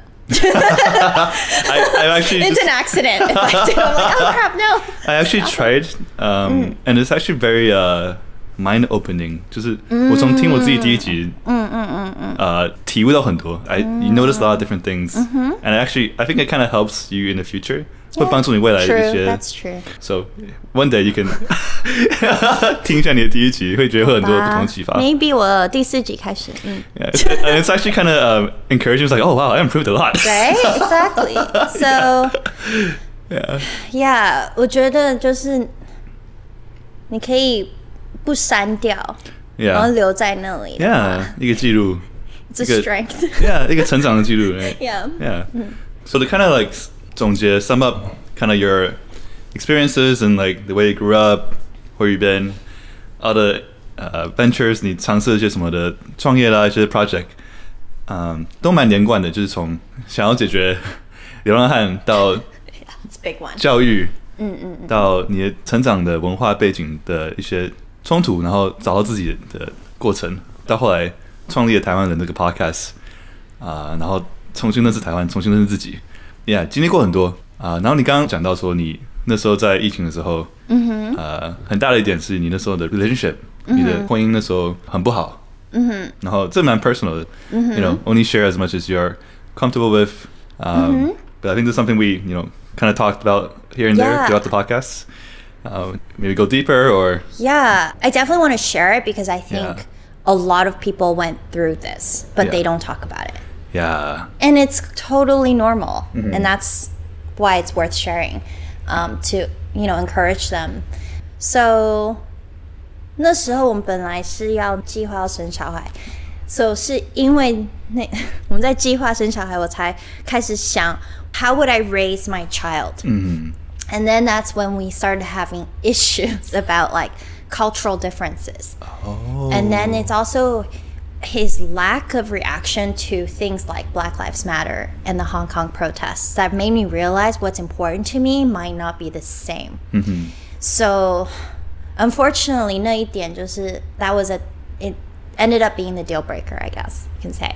I, I actually it's just, an accident if I do. I'm like, oh crap, no. I actually tried, um, mm. and it's actually very uh, mind-opening. 就是我從聽我自己第一集，嗯嗯嗯嗯，呃，體悟到很多。I you notice a lot of different things, mm-hmm. and actually, I think it kind of helps you in the future. Yeah, 會幫助你未來一些。 True, that's true. So one day you can 聽一下你的第一集，會覺得會很多不同啟發。 Maybe 我第四集開始。嗯 Yeah, it's, and it's actually kind of uh, encouraging. It's like, oh wow, I improved a lot. Right, exactly. So yeah, yeah, 我覺得就是你可以不刪掉， yeah. 然後留在那裡。 Yeah, 一個記錄。 It's a strength. Yeah, 一個成長的記錄。Right? Yeah. Yeah. Mm. So to kind of like 總結 sum up kind of your experiences and like the way you grew up, where you've been, all the uh, ventures 你嘗試一些什麼的創業啦，一些 project， 嗯，都蠻連貫的，就是從想要解決流浪漢到教育，嗯嗯，到你的成長的文化背景的一些衝突，然後找到自己的過程，到後來創立了台灣人這個 podcast， 啊、呃，然後重新認識台灣，重新認識自己。Yeah， 經歷過很多啊、呃，然後你剛剛講到說你那時候在疫情的時候，嗯哼，呃，很大的一點是你那時候的 relationship，、嗯、你的婚姻那時候很不好，嗯哼，然後這蠻 personal 的，嗯哼 ，you know only share as much as you're comfortable with， um, 嗯 but I think there's something we you know kind of talked about here and yeah. there throughout the podcast. Uh, maybe go deeper or yeah, I definitely want to share it because I think yeah. a lot of people went through this, but yeah. they don't talk about it. Yeah. And it's totally normal. Mm-hmm. And that's why it's worth sharing, um, to, you know, encourage them. So, 那時候我們本來是要計劃要生小孩 So 是因為那我們在計劃生小孩我才開始想 How would I raise my child? Mm-hmm. And then that's when we started having issues about like cultural differences. Oh. And then it's also his lack of reaction to things like Black Lives Matter and the Hong Kong protests that made me realize what's important to me might not be the same. Mm-hmm. So, unfortunately, 那一點就是 that was a it ended up being the deal breaker, I guess you can say.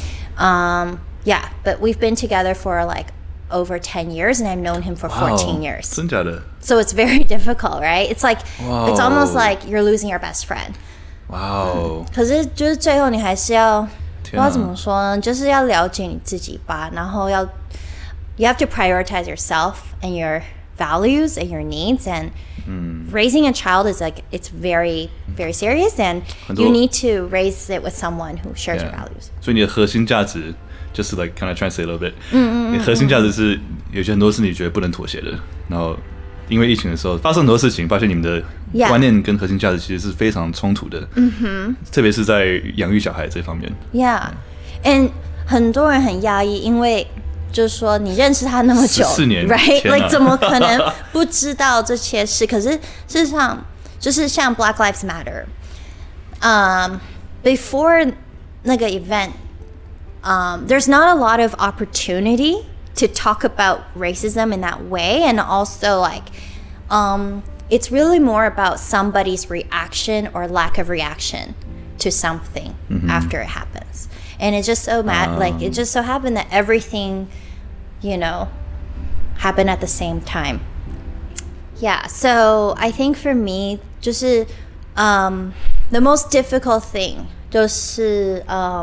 Um, yeah, but we've been together for like over ten years and I've known him for wow. fourteen years. 真假的? So it's very difficult, right? It's like wow. it's almost like you're losing your best friend. Wow. 可是就是最後你還是要不知道怎麼說呢，就是要了解你自己吧，然後要 you have to prioritize yourself and your values and your needs, and mm. raising a child is like it's very very serious, and you need to raise it with someone who shares yeah. your values. 所以你的核心价值就是 like kind of translate a little bit， 嗯嗯你核心價值是有些很多是你覺得不能妥協的，然後因為疫情的時候發生很多事情，發現你們的觀念跟核心價值其實是非常衝突的，嗯哼，特別是在養育小孩這方面。 Yeah，and 很多人很訝異，因為就是說你認識他那麼久， 十四年 ，right？Like 怎麼可能不知道這些事？可是事實上，就是像 Black Lives Matter， 嗯、um, ，before 那個 event。Um, there's not a lot of opportunity to talk about racism in that way, and also like um, it's really more about somebody's reaction or lack of reaction to something mm-hmm. after it happens. And it's just so mad um. like it just so happened that everything, you know, happened at the same time. Yeah, so I think for me 就是 um, the most difficult thing 就是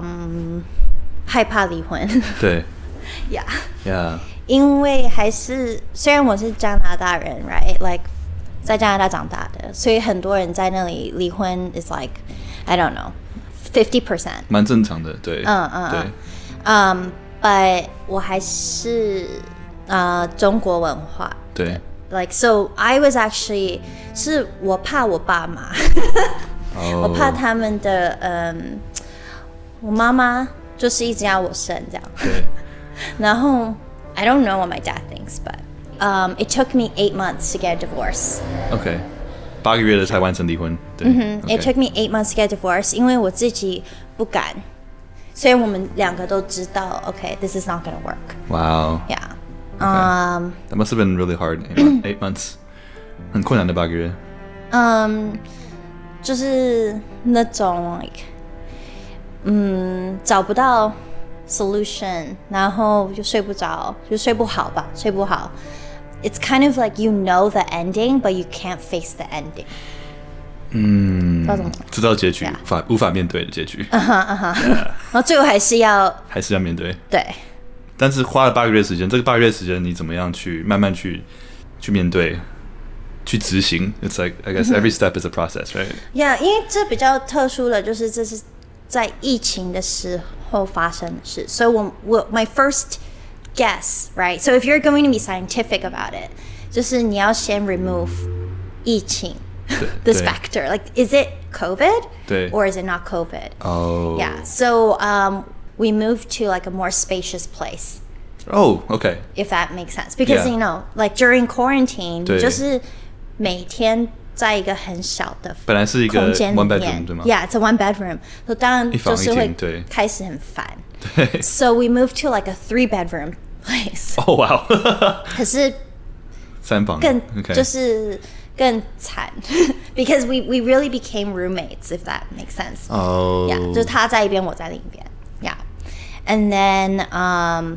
um, 害怕離婚。 對 Yeah Yeah 因為還是雖然我是加拿大人 right like 在加拿大長大的，所以很多人在那裡離婚 is like I don't know fifty percent 蠻正常的。對嗯嗯對嗯 but 我還是呃中國文化對 like so I was actually 是我怕我爸媽我怕他們的嗯我媽媽就是一直要我生這樣，對。然後 I don't know what my dad thinks, but um, it took me eight months to get a divorce. Okay, 八個月的才完成離婚。對。 Mm-hmm. Okay. It took me eight months to get a divorce, 因為我自己不敢，所以我們兩個都知道 ，Okay, this is not gonna work. Wow. Yeah. Okay. Um, that must have been really hard. Eight months. 很困難的八個月。 嗯，就是那種 like。嗯，找不到 solution， 然後就睡不着，就睡不好吧，睡不好。It's kind of like you know the ending, but you can't face the ending. 嗯，知道結局， yeah. 無法無法面對的結局。嗯哼嗯哼，然後最後還是要還是要面對。 對。 但是花了八個月時間，這個八個月時間你怎麼樣去慢慢去去面對？去執行 ，It's like I guess every step is a process, right? Yeah， 因為這比較特殊的就是這是。在疫情的時候發生的事，所以我我 my first guess, right? So if you're going to be scientific about it, 就是你要先 remove 疫情 this factor. Like, is it COVID? 對 or is it not COVID? Oh. Yeah. So um, we moved to like a more spacious place. Oh, okay. If that makes sense, because yeah. you know, like during quarantine, 就是每天。在一個很小的本來是一個空間裡面 one bedroom 對嗎 Yeah, it's a one bedroom. So 當然就是會開始很煩。So we moved to like a three bedroom place. Oh wow. 可是三房更就是更慘 because we we really became roommates, if that makes sense. Oh. Yeah, 就是他在一邊，我在另一邊。Yeah, and then um,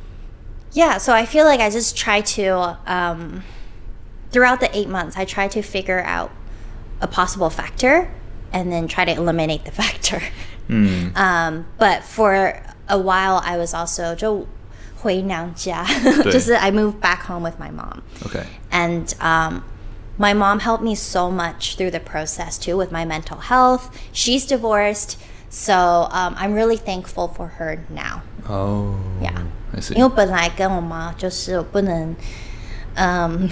yeah. So I feel like I just try to um. Throughout the eight months, I tried to figure out a possible factor and then try to eliminate the factor. Mm. Um, but for a while, I was also 就回娘家，就是 I moved back home with my mom. Okay. And um, my mom helped me so much through the process too with my mental health. She's divorced, so um, I'm really thankful for her now. Oh. Yeah. I see. 因為我本來跟我媽就是我不能。Um,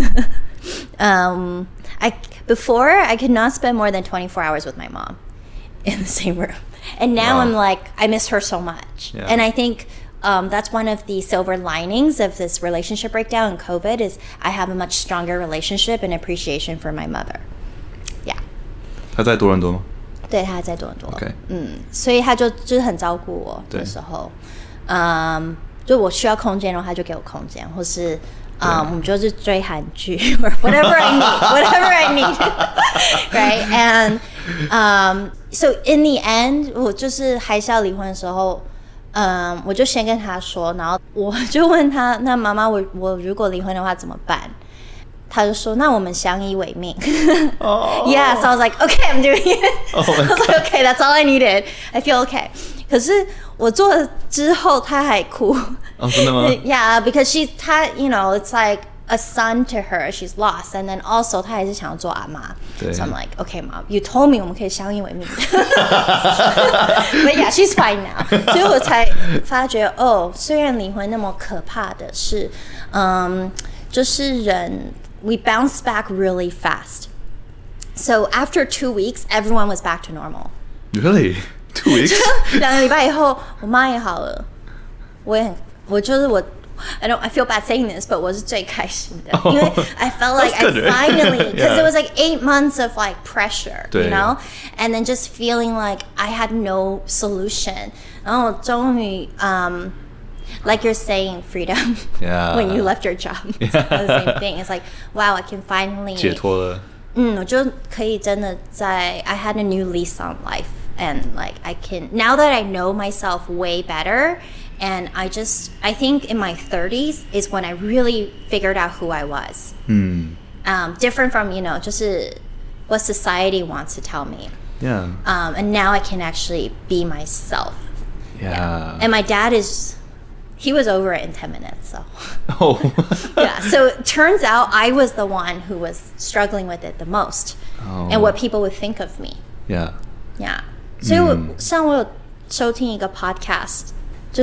um, I before I could not spend more than twenty-four hours with my mom in the same room, and now wow. I'm like I miss her so much. Yeah. And I think um, that's one of the silver linings of this relationship breakdown in COVID is I have a much stronger relationship and appreciation for my mother. Yeah. 她在多倫多嗎？ 對，她在多倫多。 Okay. 嗯，所以她就就是很照顧我的時候，嗯，就我需要空間的話，她就給我空間，或是。Um, 我們就是追韓劇 or whatever I need, whatever I need, right? And um, so in the end, 我就是還是要離婚的時候，嗯，我就先跟他說，然後我就問他，那媽媽，我我如果離婚的話怎麼辦？他就說，那我們相依為命。Oh. Yeah, so I was like, okay, I'm doing it. Oh I was like, okay, that's all I needed. I feel okay. 可是我做了之後，他還哭。 哦，真的嗎 Yeah, because she's 她 you know, it's like a son to her, she's lost, and then also 她還是想要做阿嬤。So I'm like, okay, mom, you told me 我們可以相依為命。But yeah, she's fine now. 所以我才發覺，哦，雖然離婚那麼可怕的是，嗯，就是人 we bounce back really fast. So after two weeks, everyone was back to normal. Really? Two weeks? 兩個禮拜以後，我媽也好了，我也很，我就是我。I don't. I feel bad saying this, but 我是最開心的，因為 I felt like I finally, because yeah. it was like eight months of like pressure, you know, and then just feeling like I had no solution. 然後終於 um, like you're saying, freedom. Yeah. When you left your job, it's the same thing. It's like, wow, I can finally 解脫了。 嗯，我就可以真的在 I had a new lease on life, and like I can now that I know myself way better. And I just, I think in my thirties is when I really figured out who I was. Mm. Um, different from, you know, 就是 what society wants to tell me. Yeah. Um, and now I can actually be myself. Yeah. yeah. And my dad is, he was over it in ten minutes, so. Oh. Yeah, so it turns out I was the one who was struggling with it the most. Oh. And what people would think of me. Yeah. Yeah. 所以我像我有收聽一個 podcast。就是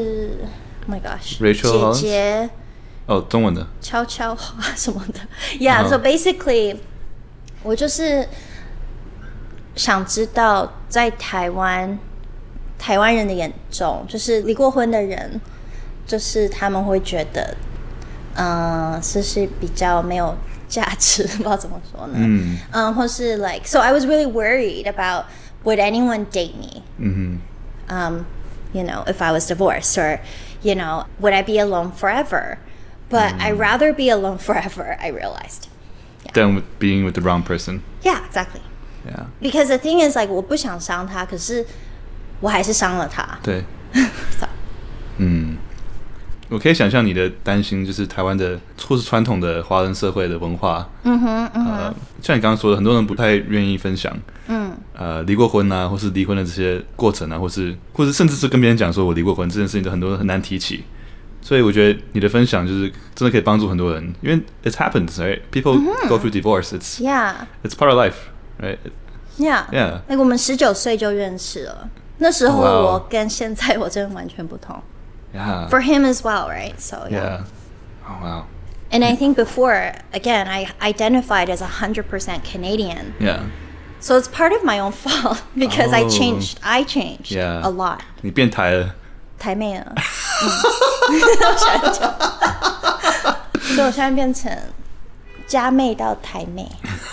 ，Oh my gosh， Rachel 姐姐， 哦，中文的， 悄悄話什麼的 ，Yeah， so basically， 我就是想知道在台灣，台灣人的眼中，就是離過婚的人，就是他們會覺得，嗯、呃，是是比較沒有價值，不知道怎麼說呢？嗯，嗯，或是 like，so I was really worried about would anyone date me？ 嗯哼，嗯。You know, if I was divorced, or, you know, would I be alone forever? But mm. I'd rather be alone forever, I realized. Yeah. Than with being with the wrong person. Yeah, exactly. Yeah. Because the thing is, like, 我不想傷他，可是我還是傷了他。 對。so. 嗯，我可以想象你的擔心，就是台灣的或是傳統的華人社會的文化。嗯哼，嗯哼。呃，像你剛剛說的，很多人不太願意分享。嗯，呃，離過婚啊，或是離婚的這些過程啊，或是，或是甚至是跟別人講說我離過婚這件事情，都很多人很難提起。所以我覺得你的分享就是真的可以幫助很多人，因為 it happens, right? People mm-hmm. go through divorce. It's yeah. It's part of life, right? Yeah. Yeah. Like 我們十九歲就認識了，那時候我跟現在我真的完全不同。 Yeah. For him as well, right? So yeah. Yeah. Oh wow. And I think before, again, I identified as one hundred percent Canadian. Yeah. So it's part of my own fault because oh. I changed. I changed yeah. a lot. 你變台了。 台妹了。嗯、我想講，所以我現在變成家妹到台妹。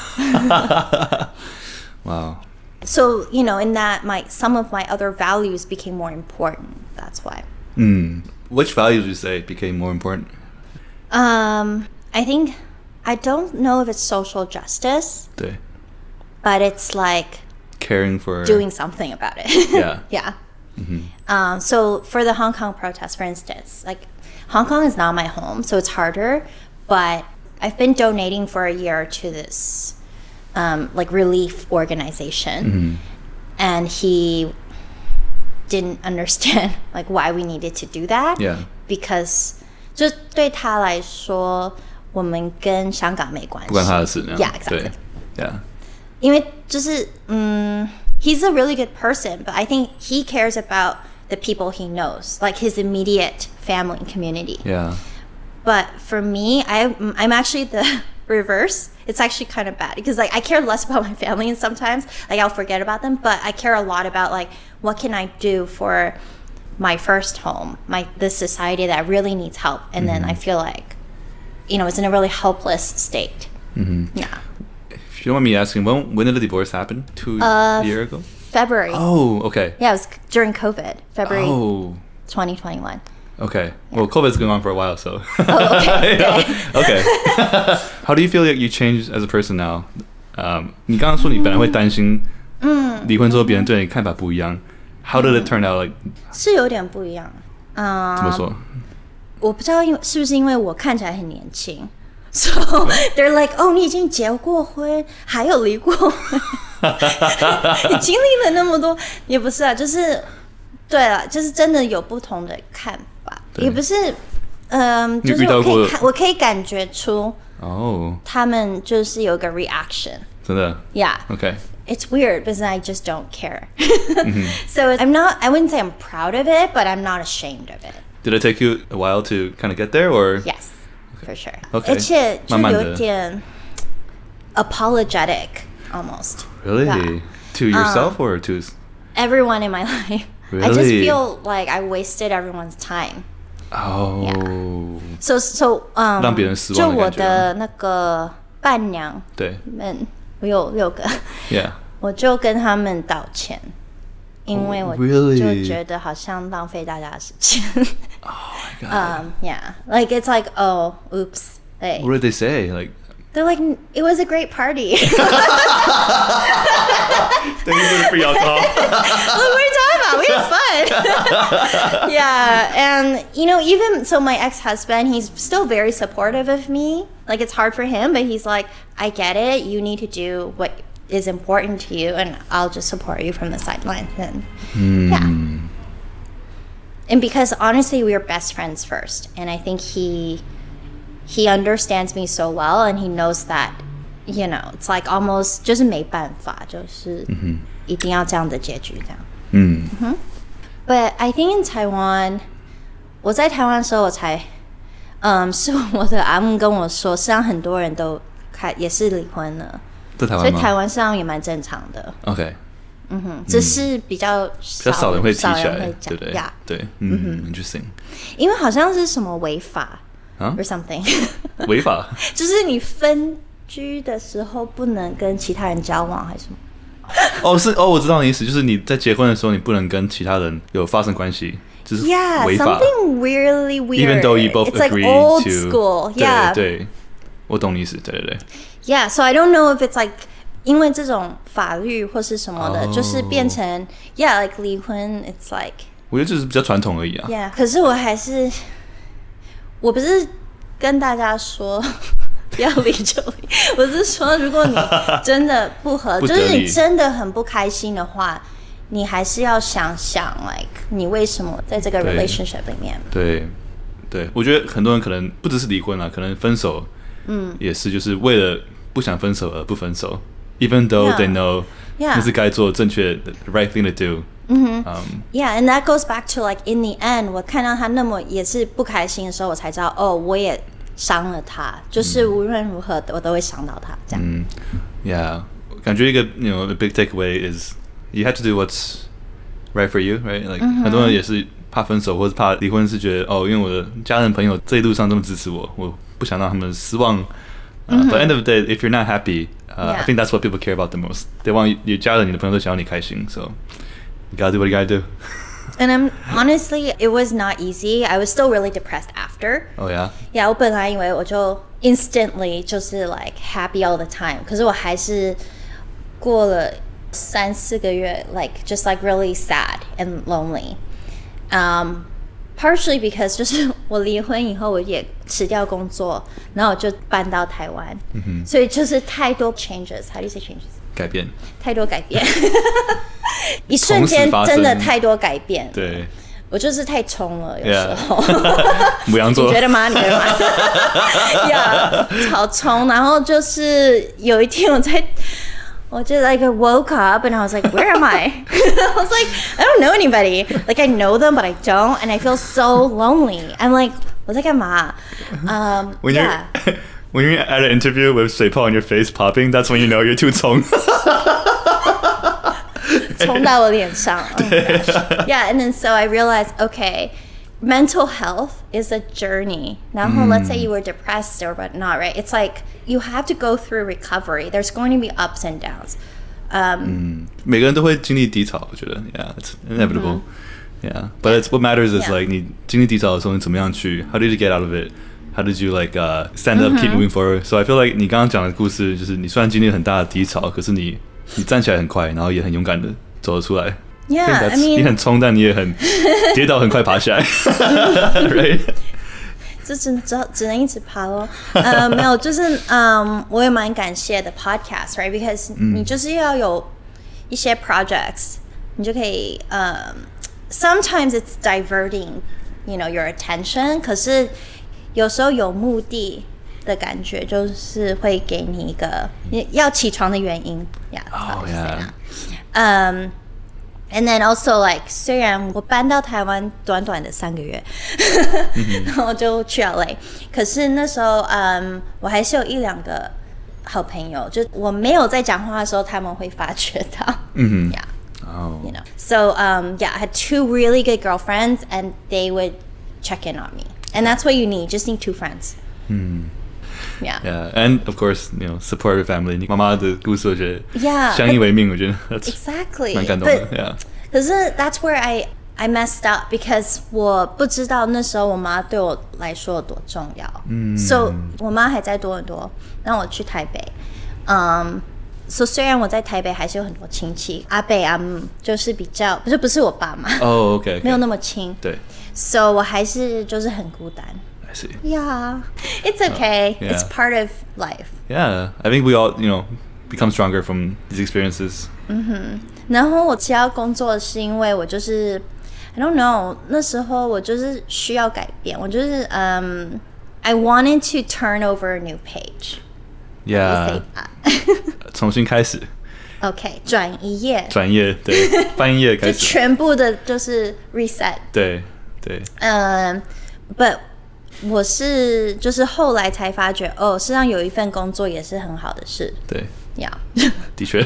Wow. So you know, in that, my some of my other values became more important. That's why. Mm. Which values would you say became more important? Um, I think I don't know if it's social justice. 對。 But it's like caring for doing something about it. Yeah. Yeah. Mm-hmm. Um, so for the Hong Kong protests, for instance, like Hong Kong is not my home, so it's harder. But I've been donating for a year to this um, like relief organization, mm-hmm. and he didn't understand like why we needed to do that. Yeah. Because 就对他來說，我們跟香港沒關係。 不關他的事。 Yeah, exactly. Yeah. 因為就是嗯 he's a really good person, but I think he cares about the people he knows, like his immediate family and community. Yeah. But for me, I I'm actually the reverse. It's actually kind of bad because like I care less about my family, and sometimes like I'll forget about them, but I care a lot about like what can I do for my first home, my this society that really needs help, and mm-hmm. then I feel like you know it's in a really helpless state. Mm-hmm. Yeah. If you don't mind me asking, when when did the divorce happen? Two uh, years ago? February. Oh, okay. Yeah, it was during COVID, February oh. twenty twenty-one. Okay. Yeah. Well, COVID's going on for a while, so. Oh, okay. yeah. Okay. How do you feel like you changed as a person now? Um, 你剛剛說你本來會擔心離婚之後別人對你看法不一樣。How did it turn out? Like 是有點不一樣。嗯。怎麼說？ 我不知道，因為是不是因為我看起來很年輕。So they're like, oh, 你已經結過婚，還有離過婚，你經歷了那麼多，也不是啊，就是對了，就是真的有不同的看法，也不是嗯，就是我可以看，我可以感覺出哦，他們就是有個 reaction。 真的 ？Yeah. Okay. It's weird, but I just don't care. mm-hmm. So I'm not. I wouldn't say I'm proud of it, but I'm not ashamed of it. Did it take you a while to kind of get there, or? Yes, okay. For sure. Okay. 而且就有點 apologetic almost. Really? Yeah. To yourself um, or to everyone in my life? Really? I just feel like I wasted everyone's time. Oh. Yeah. So so um. 讓別人失望的感覺。 就我的那個伴娘。 對。 們我有六個。 Yeah. 我就跟他們道歉。因為我就覺得好像浪費大家的時間。 Oh my god. Um, yeah, like it's like, oh, oops. Like, what did they say? Like, they're like, it was a great party. Thank you for the free alcohol. Look, what are you talking about? We had fun. Yeah, and you know, even so, my ex-husband, he's still very supportive of me. Like, it's hard for him, but he's like, I get it. You need to do what is important to you, and I'll just support you from the sidelines. And mm. yeah, and because honestly, we were best friends first, and I think he he understands me so well, and he knows that, you know, it's like almost 就是没办法，就是一定要這樣的結局這樣。嗯。Mm-hmm. But I think in Taiwan, 我在台灣的時候，我才，嗯，是我的阿姆跟我說，實際上很多人都開也是離婚了。 在台灣嗎？ 所以台灣上也蠻正常的。OK， 嗯哼，只是比較少，比較少人會提起來，對不對？ Yeah. 對，嗯哼 ，interesting。 因為好像是什麼違法啊 ，or something。 違法？ 就是你分居的時候不能跟其他人交往，還是什麼？ 哦，是哦，我知道你意思，就是你在結婚的時候，你不能跟其他人有發生關係，就是違法。 Yeah, something really weird. Even though you both It's agree like old to school. Yeah. 對對，我懂你意思，對對對。 Yeah, so I don't know if it's like 因為這種法律或是什麼的， oh. 就是變成 yeah like 離婚 it's like 我覺得這是比較傳統而已啊。 Yeah， 可是我還是我不是跟大家說不要離就離，我是說如果你真的不合，就是你真的很不開心的話，你還是要想想 like 你為什麼在這個 relationship 裡面。 對對，對，我覺得很多人可能不只是離婚啊，可能分手，嗯，也是就是為了不想分手而不分手 ，even though they know 那是該做正確的 the right thing to do。嗯哼 Yeah, and that goes back to like in the end， 我看到他那麼也是不開心的時候，我才知道哦，我也傷了他，就是無論如何我都會傷到他這樣。嗯 ，Yeah， 感覺一個 you know a big takeaway is you have to do what's right for you, right? Like、嗯、很多人也是怕分手或者怕離婚，是覺得哦，因為我的家人朋友這一路上這麼支持我，我不想讓他們失望。Uh, mm-hmm. But at the end of the day, if you're not happy, uh, yeah. I think that's what people care about the most. They want 你家人、你的朋友都想要你開心 ，so you gotta do what you gotta do. And I'm honestly, it was not easy. I was still really depressed after. Oh yeah. Yeah, 我本來以為我就 instantly 就是 like happy all the time， 可是我還是過了三四個月 like just like really sad and lonely. Um. Partially because 就是我離婚以後，我也辭掉工作，然後我就搬到台灣，嗯、所以就是太多 changes。How do you say changes？ 改變。 太多改變，一瞬間真的太多改變。 對， 我就是太衝了，有時候。 牡羊座， 你覺得嗎？你覺得嗎？呀，超衝，然後就是有一天我在。I just like I woke up and I was like, where am I? I was like, I don't know anybody. Like I know them, but I don't, and I feel so lonely. I'm like, 我在幹嘛? Um, when yeah. you're when you're at an interview with 水泡 on your face popping, that's when you know you're too 衝。 衝到我臉上。Oh my gosh. Yeah, and then so I realized, okay, mental health is a journey. 然後 let's say you were depressed or whatnot, right? It's like you have to go through recovery. There's going to be ups and downs. Um, 嗯，每個人都會經歷低潮，我覺得 Yeah, it's inevitable. Mm-hmm. Yeah, but it's what matters is yeah. like 你經歷低潮的時候，你怎麼樣去 How did you get out of it? How did you like uh, stand up, mm-hmm. keep moving forward? So I feel like 你剛剛講的故事，就是你雖然經歷很大的低潮，可是你你站起來很快，然後也很勇敢的走了出來。 Yeah, I mean, 你很衝，但你也很跌倒，很快爬起來。Right? 這只只只能一直爬咯。呃，沒有，就是嗯，我也蠻感謝的 podcast, right? Because、嗯、你就是要有一些 projects， 你就可以呃、um, ，sometimes it's diverting, you know, your attention. 可是有時候有目的的感覺，就是會給你一個要起床的原因。Yeah, oh yeah. Um, and then also like 雖然我搬到台灣短短的三個月，然後就去 L A， 可是那時候嗯，我還是有一兩個好朋友，就我沒有在講話的時候，他們會發覺到。嗯 Yeah. Oh. You know. So um, yeah, I had two really good girlfriends, and they would check in on me, and that's what you need. Just need two friends. Hmm. Yeah. Yeah, and of course, you know, support your family. 你媽媽的故事，我覺得 Yeah, 相依為命，我覺得 that's exactly 蠻感動的。 But, Yeah. 可是 that's where I I messed up because 我不知道那時候我媽對我來說有多重要。嗯。So 我媽還在多倫多，然後我去台北。嗯。So 雖然我在台北還是有很多親戚，阿伯阿姆就是比較不是不是我爸媽。 哦、oh, ，OK， okay. 沒有那麼親。對。So 我還是就是很孤單。 I see. Yeah, it's okay. Uh, yeah. It's part of life. Yeah, I think we all, you know, become stronger from these experiences. 嗯哼，然後我其他工作是因為我就是 I don't know， 那時候我就是需要改變，我就是嗯、um, I wanted to turn over a new page. Yeah. 重新開始。 OK， 轉一頁。轉頁，對，翻一頁開始。 就全部的就是 reset。對對。 嗯 ，But 我是就是後來才發覺，哦，實際上有一份工作也是很好的事。 對， 呀、 yeah. 的確，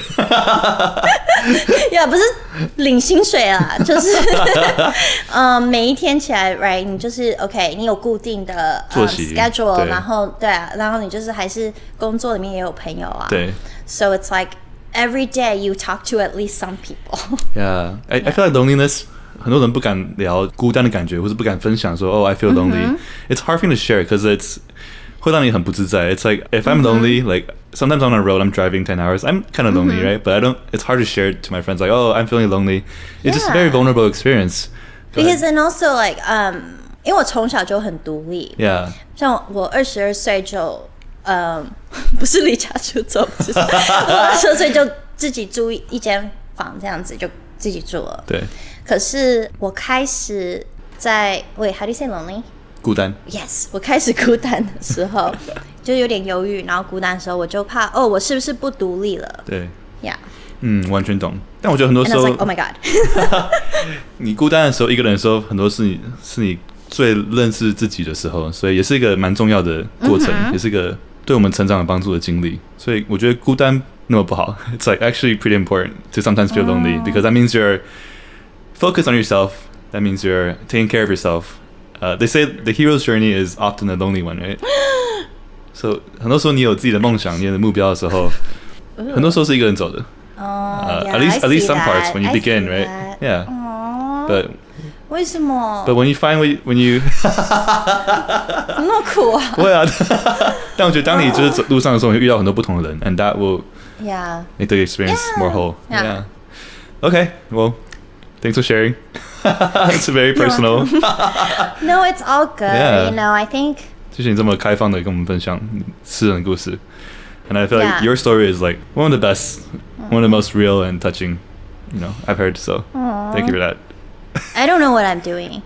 呀，不是領薪水啦，就是嗯，每一天起來 ，right， 你就是 OK， 你有固定的作息、 um, schedule， 然後對啊，然後你就是還是工作裡面也有朋友啊。 對 ，So it's like every day you talk to at least some people. Yeah, I I feel like loneliness. 很多人不敢聊孤單的感覺，或是不敢分享說 "Oh, I feel lonely." Mm-hmm. It's hard for me to share because it's 會讓你很不自在。It's like if I'm mm-hmm. lonely, like sometimes on a road I'm driving ten hours, I'm kind of lonely, mm-hmm. right? But I don't. It's hard to share it to my friends. Like, oh, I'm feeling lonely. It's yeah. just a very vulnerable experience. Go because ahead. and also like um, 因為我從小就很獨立。 Yeah. 像我二十二歲就嗯，不是離家出走，不是我二十二歲就自己租一間房這樣子就自己住了。 對。 可是我開始在 Wait, how do you say lonely? 孤單 Yes, 我開始孤單的時候就有點憂鬱，然後孤單的時候我就怕哦，我是不是不獨立了？ 對 Yeah. 嗯，完全懂。但我覺得很多時候 And I was like, oh my god. 你孤單的時候，一個人的時候，很多是你是你最認識自己的時候，所以也是一個蠻重要的過程， mm-hmm. 也是一個對我們成長有幫助的經歷。所以我覺得孤單那麼不好。It's like actually pretty important to sometimes feel lonely、oh. because that means you're focus on yourself. That means you're taking care of yourself. Uh, they say the hero's journey is often a lonely one, right? So 很多時候你有自己的夢想、你的目標的時候，很多時候是一個人走的。 Oh, uh, yeah, at least I at least some that. parts when you I begin, right? That. Yeah. Aww. But 為什麼 But when you find when you 怎麼那麼苦啊？ 不會啊，但我覺得當你就是走路上的時候，你會遇到很多不同的人 ，and that will yeah make the experience yeah. more whole. Yeah. yeah. Okay. Well. Thanks for sharing. It's very personal. No, it's all good. Yeah. You know, I think. 謝謝你這麼開放的跟我們分享私人的故事 and I feel yeah. like your story is like one of the best, mm-hmm. one of the most real and touching, you know, I've heard. So Aww. Thank you for that. I don't know what I'm doing.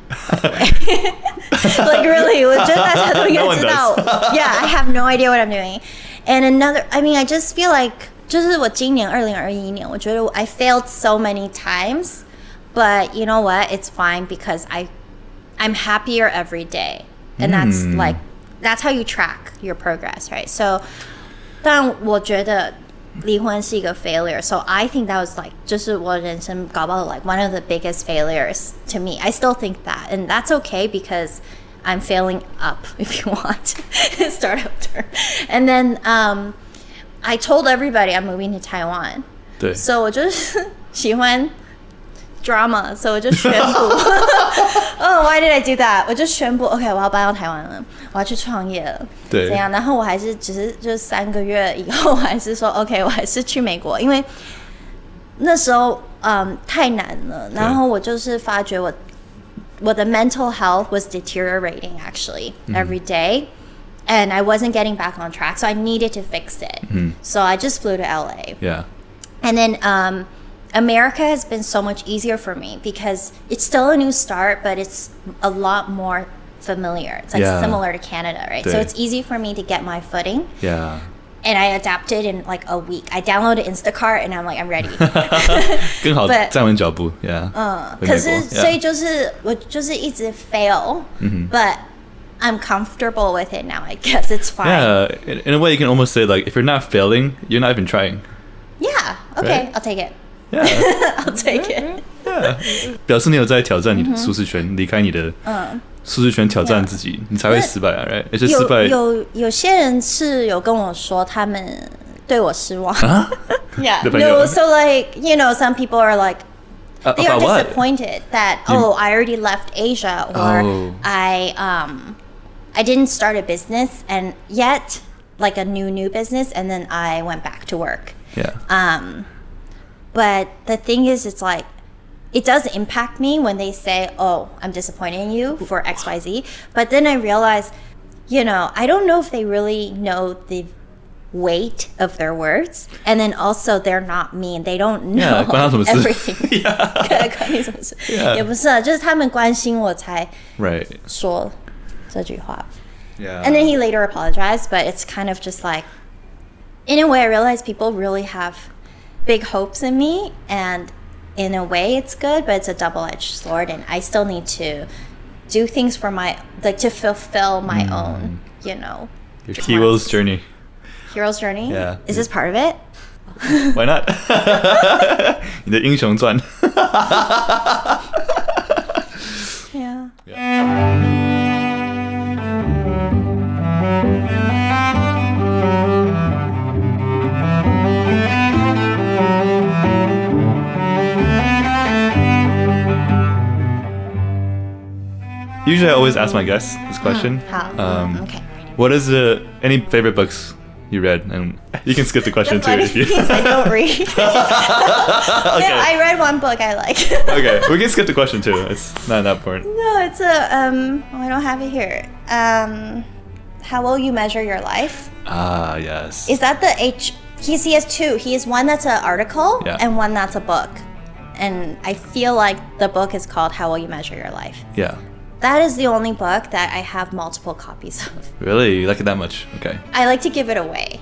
Like really, 我覺得大家都應該知道。No yeah, I have no idea what I'm doing. And another, I mean, I just feel like 就是我今年二零二一年，我覺得 I failed so many times. But you know what? It's fine because I, I'm happier every day, and that's mm. like, that's how you track your progress, right? So, 但我覺得離婚是一個 failure. So I think that was like, 就是我人生搞不好 like one of the biggest failures to me. I still think that, and that's okay because I'm failing up if you want. Start over. And then um, I told everybody I'm moving to Taiwan. 對 So 我就是喜歡drama, so 我就宣布 Oh, why did I do that? 我就宣布 OK, 我要搬到台灣了，我要去創業了， 對， 怎樣？然後我還是只是就三個月以後，我還是說 OK, 我還是去美國，因為那時候嗯太難了，然後我就是發覺我我的 mental health was deteriorating actually every day, and I wasn't getting back on track, so I needed to fix it. Mm-hmm. So I just flew to L A. Yeah. And then um America has been so much easier for me because it's still a new start, but it's a lot more familiar. It's like yeah. similar to Canada, right? 对 So it's easy for me to get my footing. Yeah. And I adapted in like a week. I downloaded Instacart and I'm like, I'm ready. 更好 But- 站稳脚步 Yeah. 嗯， 回美国可是 yeah. 所以就是我就是一直 fail， 嗯哼 but I'm comfortable with it now. I guess it's fine. Yeah, in, in a way you can almost say like if you're not failing, you're not even trying. Yeah. Okay, Right? I'll take it. Yeah. I'll take it. Yeah. 表示你有在挑战你的舒適圈，離開你的舒適圈挑戰自己，你才會失敗啊 right? 而且失敗有有有些人是有跟我說他們對我失望。 啊 Yeah. 的朋友 No, so like, you know, some people are like they are About what? disappointed that oh, I already left Asia or Oh. I um I didn't start a business and yet like a new new business and then I went back to work. Yeah. Um but the thing is it's like it does impact me when they say, "Oh, I'm disappointed in you for X Y Z." But then I realize, you know, I don't know if they really know the weight of their words, and then also they're not mean. They don't know Yeah, 關他什麼事 everything. Yeah. 關你什麼事 Yeah. 也不是啊，就是他們關心我才 Right. 說這句話。 Yeah. And then he later apologized, but it's kind of just like, in a way, I realize people really have big hopes in me, and in a way, it's good, but it's a double-edged sword, and I still need to do things for my, like, to fulfill my Mm. own, you know, Your hero's journey. hero's journey. Yeah. Is this part of it? Why not? 你的英雄傳 Yeah. Usually I always ask my guests this question. How? Um, Okay. What is the any favorite books you read? And you can skip the question The too funny if you. thing is I don't read. Okay. No, I read one book I like. Okay, we can skip the question too. It's not that important. No, it's a um. Oh, I don't have it here. Um, how will you measure your life? Ah, yes. Is that the H? He he has two. He has one that's an article Yeah. and one that's a book. And I feel like the book is called How Will You Measure Your Life. Yeah. That is the only book that I have multiple copies of. Really? You like it that much? Okay. I like to give it away.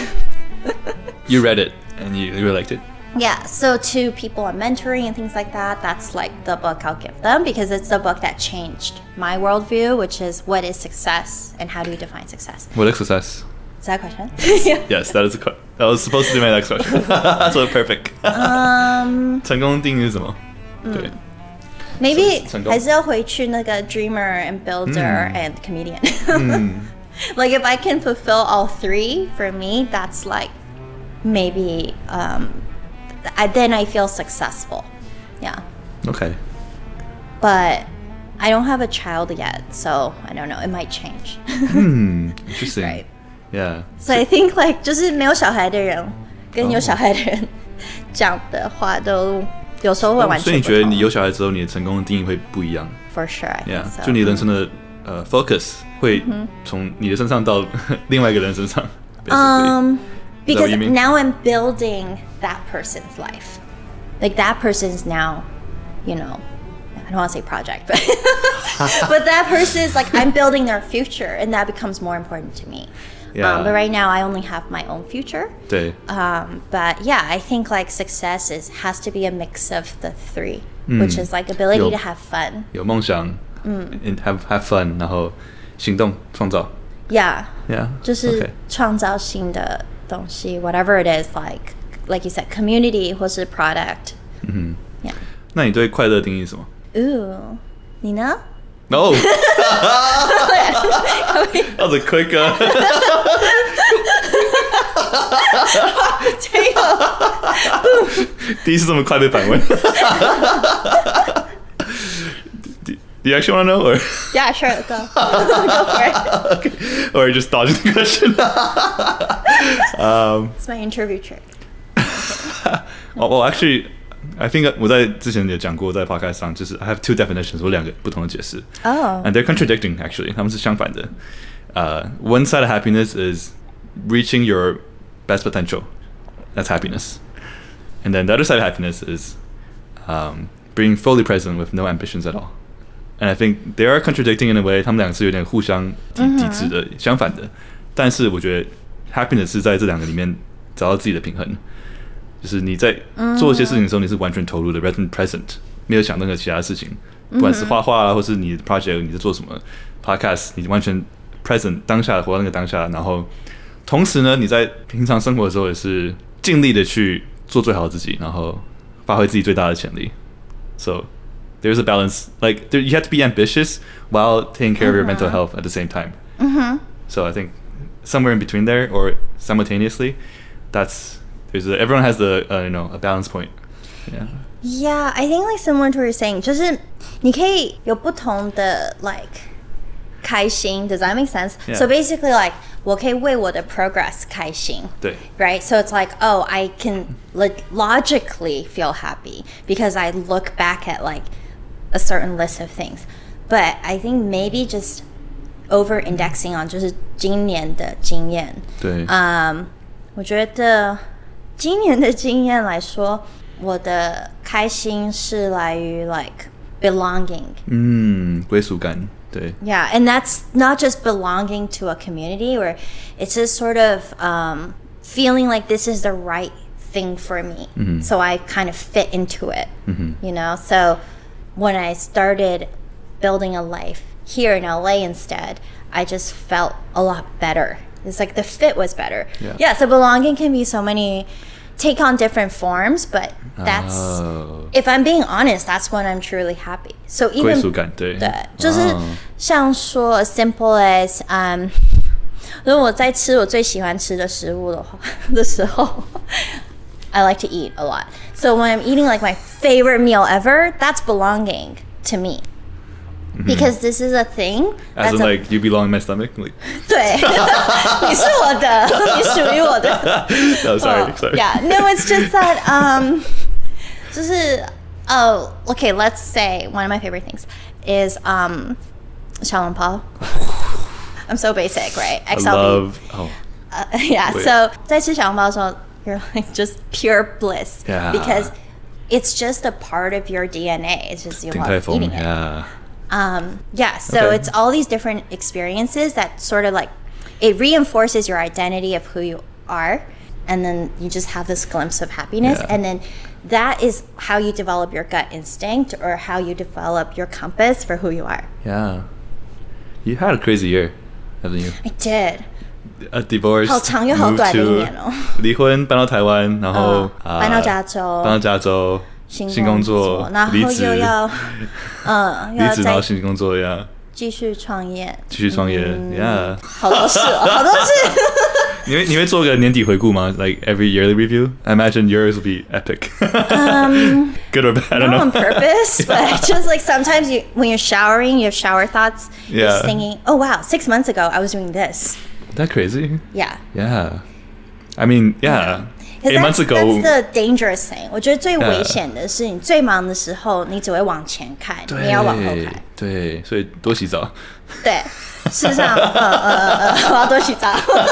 You read it and you, you really liked it? Yeah, so to people I'm mentoring and things like that, that's like the book I'll give them because it's the book that changed my worldview, which is what is success and how do you define success? What is success? Is that a question? Yes, that is a que- that was supposed to be my next question. So perfect. Um, 成功定義是什麼？對。 maybe 成功。 還是要回去那個 dreamer and builder and comedian. Like if I can fulfill all three, for me, that's like maybe um, I, then I feel successful. Yeah. Okay. But I don't have a child yet, so I don't know. It might change. Hmm. Interesting. Right. Yeah. So I think like 就是没有小孩的人跟有小孩的人講的話都有時候會完全不同。 所以你覺得你有小孩之後，你的成功的定義會不一樣 For sure, I think ？Yeah. so. 就你人生的呃 focus 會從你的身上到另外一個人身上。 Um, Is that what because you mean? now I'm building that person's life. Like that person's now, you know, I don't want to say project, but but that person is like I'm building their future, and that becomes more important to me. Yeah. Um, but right now, I only have my own future. 對。 Um, but yeah, I think like success is has to be a mix of the three, which is like ability 有 to have fun. 有夢想，and have have fun，然後行動創造。 Yeah. Yeah. 就是 Okay. 創造新的東西 whatever it is, like like you said, community 或是 product. 嗯 Yeah. 哼。那你對快樂定義是什麼 Ooh. 你呢？ ？No. That was a quick. Uh... 这个第一次這麼快被反問。do, do you actually want to know, or Yeah, sure, go. Go for it. okay. or just dodging the question? um, It's my interview trick. well, well, actually, I think 我在之前也講過，在 podcast 上，就是 I have two definitions，我兩個不同的解釋。 Oh. And they're contradicting, actually. 他們是相反的。Uh, one side of happiness is reaching your best potential. That's happiness. And then the other side of happiness is um, being fully present with no ambitions at all. And I think they are contradicting in a way， 他们兩個是有點互相抵抵制的，相反的。但是我覺得 happiness 是在這兩個裡面找到自己的平衡，就是你在做一些事情的時候，你是完全投入的 ，present present， 沒有想任何其他事情，不管是畫畫啊，或是你的 project， 你在做什麼 podcast， 你完全 present 當下活到那個當下，然後同時呢，你在平常生活的時候也是盡力的去做最好的自己，然後發揮自己最大的潛力。So there's a balance. Like there, you have to be ambitious while taking care mm-hmm. of your mental health at the same time. Mm-hmm. So I think somewhere in between there, or simultaneously, that's there's a, everyone has the uh, you know a balance point. Yeah. Yeah, I think like similar to what you're saying, 就是你可以有不同的 like 開心 Does that make sense? Yeah. So basically like 我可以為我的 progress 開心。 對。 Right? So it's like, oh, I can like logically feel happy because I look back at like a certain list of things. But I think maybe just over indexing on 就是今年的經驗。 對。 Um, 我覺得今年的經驗來說，我的開心是來於 like belonging. 嗯，歸屬感。對。 Yeah, and that's not just belonging to a community, or it's just sort of um, feeling like this is the right thing for me. Mm-hmm. So I kind of fit into it, mm-hmm. you know? So when I started building a life here in L A instead, I just felt a lot better. It's like the fit was better. Yeah, yeah so belonging can be so many, take on different forms, but that's, oh. if I'm being honest, that's when I'm truly happy. So even 歸屬感，對， 對，就是像說 as simple as, um, 如果我在吃我最喜歡吃的食物的話的時候 I like to eat a lot. So when I'm eating like my favorite meal ever, that's belonging to me. Mm-hmm. Because this is a thing. As in, a, like, you belong in my stomach? Like. 對，你是我的，你屬於我的。 No, sorry, oh, sorry. Yeah, no, it's just that, um, 就是 oh, okay, let's say one of my favorite things is um, 小籠包. I'm so basic, right? X L B. I love, oh. Uh, yeah, Wait. So 在吃小籠包的時候 you're like just pure bliss. Yeah. Because it's just a part of your D N A. It's just you love eating it. Yeah. Um, yeah, so okay. It's all these different experiences that sort of like, it reinforces your identity of who you are, and then you just have this glimpse of happiness, yeah. And then that is how you develop your gut instinct or how you develop your compass for who you are. Yeah. You had a crazy year, haven't you? I did. A divorce, 好長又好短的一年哦。 離婚，搬到台灣，然後、 uh, 搬到加州， 搬到加州。新工作， 然後又要，嗯， 離職然後新工作呀， 繼續創業， 繼續創業 ，Yeah， 好多事哦，好多事。 你會你會做個年底回顧嗎 ？Like every yearly review? I imagine yours will be epic. Um, Good or bad? I don't know. Not on purpose, but just like sometimes you, when you're showering, you have shower thoughts. Yeah. You're just thinking, oh wow, six months ago I was doing this. That crazy? Yeah. Yeah. I mean, yeah. Eight months ago, that's the dangerous thing. 我覺得最危險的是，你最忙的時候，你只會往前看，你要往後看。 對，所以多洗澡。 對，事實上，呃呃呃，我要多洗澡。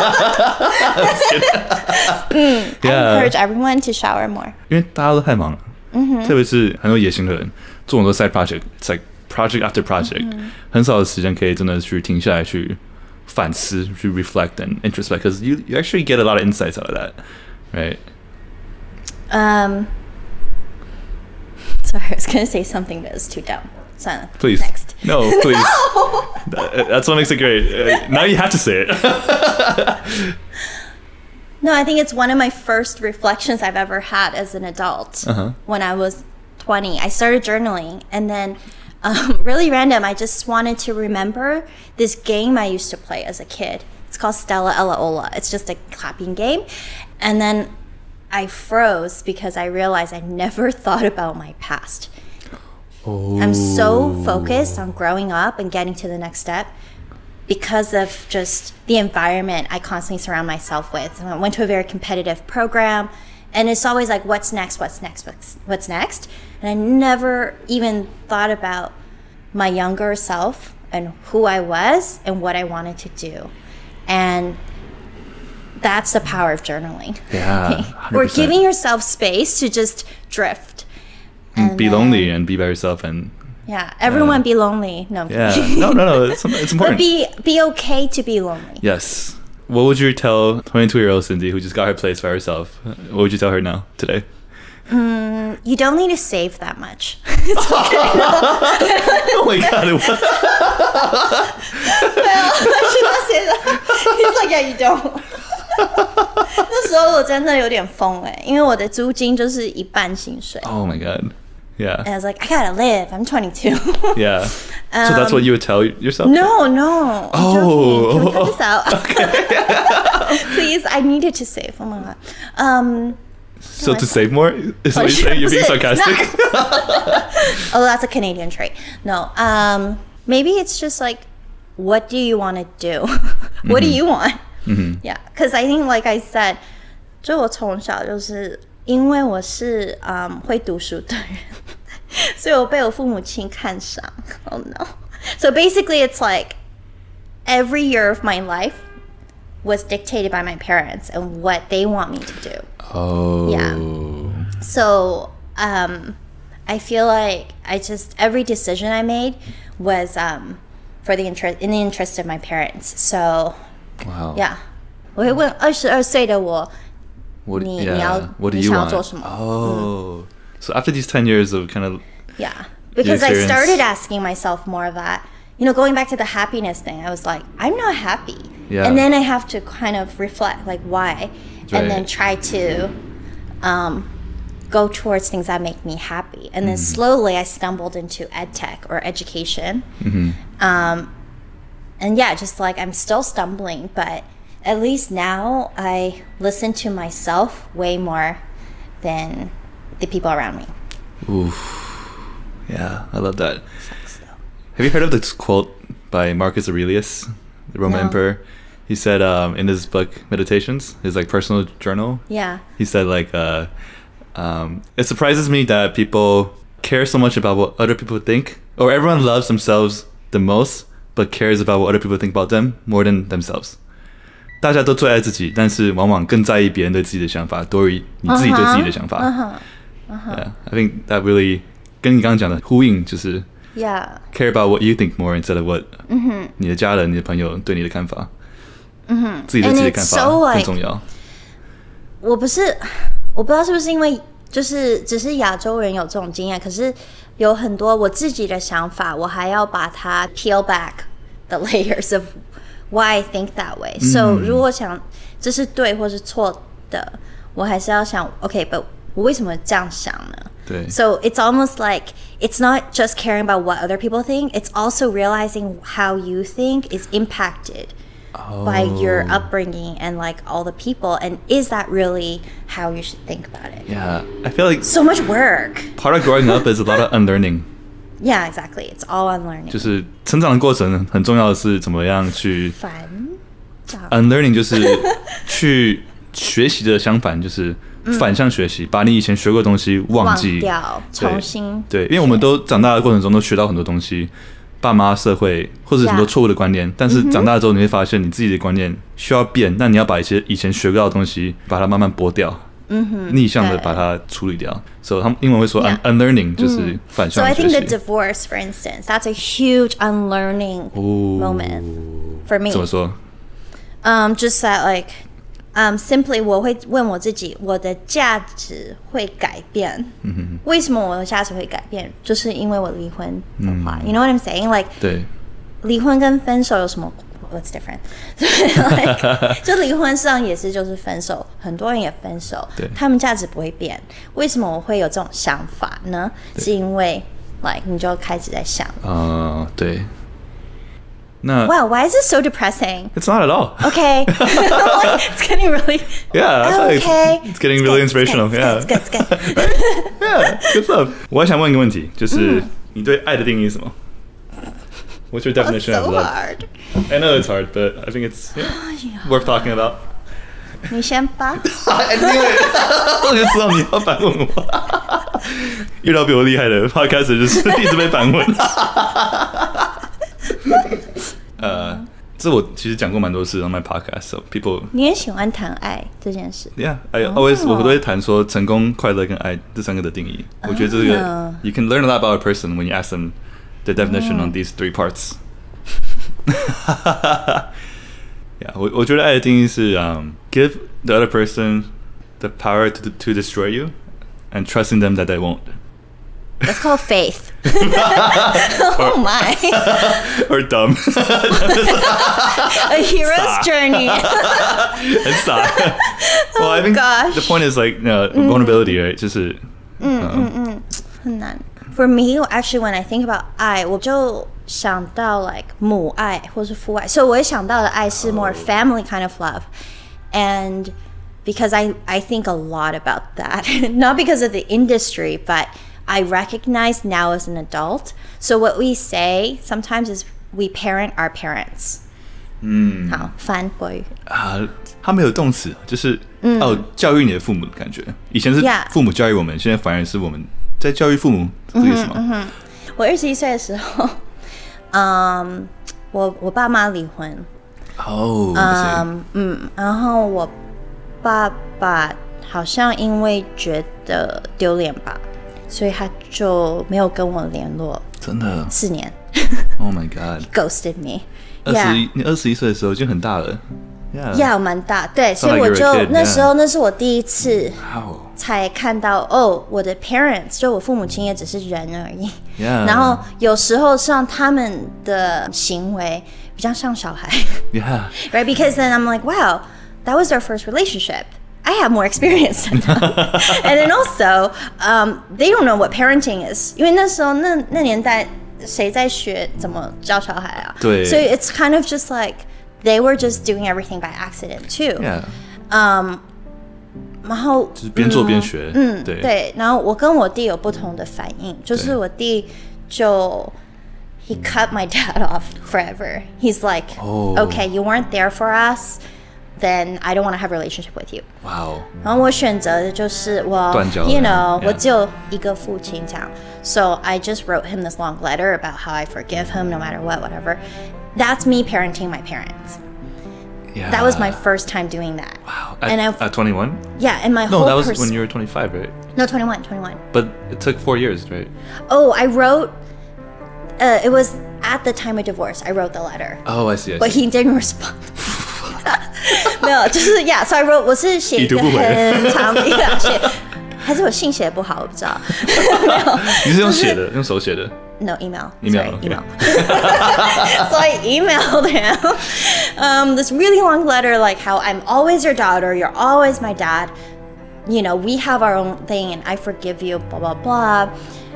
嗯 I encourage everyone to shower more. 因為大家都太忙了，特別是很多野心的人，做很多 side project，it's like project after project，很少的時間可以真的去停下來去反思，去 reflect and introspect，because you you actually get a lot of insights out of that. Right. Um. Sorry, I was gonna say something that was too dumb. So, please. Next. No, please. No. that, that's what makes it great. Uh, now you have to say it. No, I think it's one of my first reflections I've ever had as an adult. Uh-huh. When I was twenty, I started journaling, and then, um, really random, I just wanted to remember this game I used to play as a kid. It's called Stella Ella Ola. It's just a clapping game. And then I froze because I realized I never thought about my past. Oh. I'm so focused on growing up and getting to the next step because of just the environment I constantly surround myself with. I went to a very competitive program, and it's always like, what's next, what's next, what's, what's next? And I never even thought about my younger self and who I was and what I wanted to do. And that's the power of journaling. Yeah, or giving yourself space to just drift. And be then, lonely and be by yourself and Yeah, everyone uh, be lonely. No. Yeah. No, no, no. It's, it's important. But be be okay to be lonely. Yes. What would you tell twenty-two-year-old Cindy who just got her place by herself? What would you tell her now today? Mm, you don't need to save that much. Oh my god! Well, should I say that? He's like, yeah, you don't. 那时候我真的有點瘋哎，因為我的租金就是一半薪水。 Oh my god! Yeah. And I was like, I gotta live. I'm twenty-two. Yeah. Um, so that's what you would tell yourself? No, no. Oh. Can we cut this out? Okay. Please, I needed to save. Oh my god. Um. So to save more? Is what you're saying? You're being sarcastic? Oh, that's a Canadian trait. No. Um. Maybe it's just like, what do you want to do? What mm-hmm. do you want? Mm-hmm. Yeah. Because I think, like I said, 就我從小就是因為我是嗯會讀書的人，所以我被我父母親看上。Oh no. So basically, it's like every year of my life was dictated by my parents and what they want me to do. Oh. Yeah. So um, I feel like I just every decision I made was um, for the interest in the interest of my parents. So wow. Yeah. 我会問二十二歲的我。 What, 你, yeah. 你要 what do you want? Oh. Mm. So after these ten years of kind of yeah, because I started asking myself more of that. You know, going back to the happiness thing, I was like, I'm not happy. Yeah. And then I have to kind of reflect, like, why? Right. And then try to um, go towards things that make me happy. And then mm-hmm. slowly I stumbled into ed tech or education. Mm-hmm. Um, and yeah, just like I'm still stumbling, but at least now I listen to myself way more than the people around me. Oof. Yeah, I love that. Have you heard of this quote by Marcus Aurelius, the Roman no. emperor? He said um, in his book Meditations, his like personal journal. Yeah. He said like, uh, um, it surprises me that people care so much about what other people think, or everyone loves themselves the most, but cares about what other people think about them more than themselves. 大家都最愛自己，但是往往更在意別人對自己的想法，多於你自己對自己的想法。 Uh-huh. Uh-huh. Yeah, I think that really 跟你剛剛講的呼應，就是 yeah. care about what you think more instead of what 嗯你的家人、你的朋友對你的看法。 嗯哼， 自己對自己的看法更重要。 我不是，我不知道是不是因為就是只是亞洲人有這種經驗，可是有很多我自己的想法，我還要把它 peel back the layers of why I think that way. So 如果想這是對或是錯的，我還是要想 OK，but 我為什麼這樣想呢？ 對。 So it's almost like it's not just caring about what other people think, it's also realizing how you think is impacted oh. by your upbringing and like all the people, and is that really how you should think about it? Yeah, I feel like so much work. Part of growing up is a lot of unlearning. Yeah, exactly. It's all unlearning. 就是成長的過程很重要的是怎麼樣去反 unlearning 就是去學習的相反，就是反向學習，把你以前學過的東西忘記忘掉，重新對, 對，因為我們都長大的過程中都學到很多東西，爸媽、社會或者很多錯誤的觀念， yeah. 但是長大之後你會發現你自己的觀念需要變，那你要把一些以前學過的東西把它慢慢剝掉。 Mm-hmm. 逆向的把它處理掉，所以他們英文會說 un- unlearning 就是反向學習。 So I think the divorce, for instance, that's a huge unlearning moment for me. 怎麼說？ Um, just that like, um, simply 我會問我自己，我的價值會改變。 嗯、 為什麼我的價值會改變？就是因為我離婚的話、嗯、，You know what I'm saying? Like, 對， 離婚跟分手有什麼？What's different? like, 就離婚上也是就是分手，很多人也分手，他們價值不會變。為什麼我會有這種想法呢？是因為 like 你就開始在想。 啊、uh, ，對。那 Wow, why is it so depressing? It's not at all. Okay. like, it's getting really. Yeah, that's okay. It's, it's getting really it's inspirational. It's yeah. It's good. It's good. It's good. yeah, good stuff. 我還想問一個問題，就是你對愛的定義是什麼？ What's your definition oh, so of love? Hard. I know it's hard, but I think it's yeah, yeah. worth talking about. 你先吧。 因為我就知道你要反問我。遇到比我厲害的 podcaster 就是一直被反問。呃，這我其實講過蠻多次 on my podcast, so people. 你也喜歡談愛這件事。 Yeah, I always、oh. 我都會談說成功、快樂跟愛這三個的定義。Oh. 我覺得這個 you can learn a lot about a person when you ask them the definition on these three parts. Yeah, 我我觉得愛的定義是 um, give the other person the power to to destroy you and trusting them that they won't. That's called faith. Oh my. Or dumb. A hero's journey. It's sad. Well, I think gosh. the point is like, you know, vulnerability, right? 就是嗯嗯嗯，很難。For me, actually, when I think about 愛，我就想到 like 母愛或是父愛，所以我會想到的愛是 more family kind of love, and because I I think a lot about that, not because of the industry, but I recognize now as an adult. So what we say sometimes is we parent our parents. 嗯， 好，翻国語啊，他沒有動詞，就是、嗯、哦，教育你的父母的感覺。以前是父母教育我們， yeah. 現在反而是我們在教育父母，這個意思嗎？嗯嗯、 我二十一歲的時候，嗯，我我爸媽離婚。 哦， 嗯嗯，然後我爸爸好像因為覺得丟臉吧，所以他就沒有跟我聯絡。 真的？ 四年。 Oh my god! He ghosted me. 二十一，你二十一歲的時候就很大了。 Yeah， 蠻大，對，所以我就 like 那時候那是我第一次 Wow. 才看到哦，我的 parents 就我父母親也只是人而已。 Yeah. 然後有時候像他們的行為比較像小孩。 Yeah. Right? Because then I'm like, wow, that was their first relationship. I have more experience than them. And then also, um, they don't know what parenting is. 因為那時候那那年代誰在學怎麼教小孩啊？ 對。 So it's kind of just like they were just doing everything by accident too. Yeah. Um, 然後就是邊做邊學。 嗯， 對。 對，然後我跟我弟有不同的反應，就是我弟就 he cut my dad off forever. He's like, oh. okay, you weren't there for us, then I don't want to have a relationship with you. Wow. 然後我選擇的就是我 you know, 我只有一個父親這樣 So I just wrote him this long letter about how I forgive him no matter what, whatever. That's me parenting my parents. Yeah. That was my first time doing that. Wow. At, and I, at twenty-one? Yeah, and my no, whole that was pers- when you were twenty-five, right? No, twenty-one, twenty-one. But it took four years, right? Oh, I wrote, uh, it was at the time of divorce, I wrote the letter. Oh, I see, I see. But he didn't respond. 沒有，就是 yeah, so I wrote, 我是寫一個很長的寫，還是我信寫不好，我不知道。沒有， 你是用寫的，用手寫的。 No, email. Email. Sorry, Okay. email. So I emailed him um, this really long letter, like how I'm always your daughter, you're always my dad. You know, we have our own thing, and I forgive you. Blah blah blah.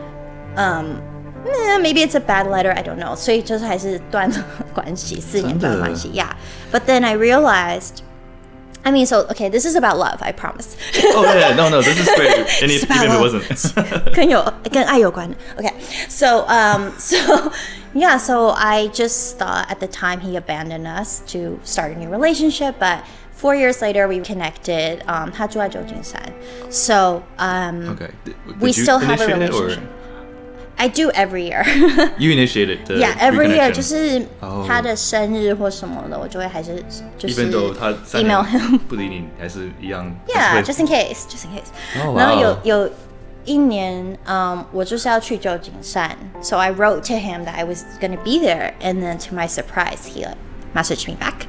Um, eh, maybe it's a bad letter. I don't know. 所以就是還是斷了關係，四年斷關係 Yeah. But then I realized. I mean, so, okay, this is about love, I promise. Oh, yeah, no, no, this is great. And if, even if it wasn't. 跟有, 跟愛有關的. Okay, so, um, so, yeah, so I just thought at the time he abandoned us to start a new relationship, but four years later we connected. Um, 他住在舊金山. So, um, okay. Did, did we still have a relationship. I do every year. You initiated the Yeah, every year 就 reconnection. 是他的生日或什麼的，我就會還是就是 Even though 他三 email 年 him. 不理你，還是一樣。 Yeah, just in case, just in case. Oh, wow. 然後有有一年，嗯，我就是要去舊金山 so I wrote to him that I was going to be there, and then to my surprise, he like, messaged me back,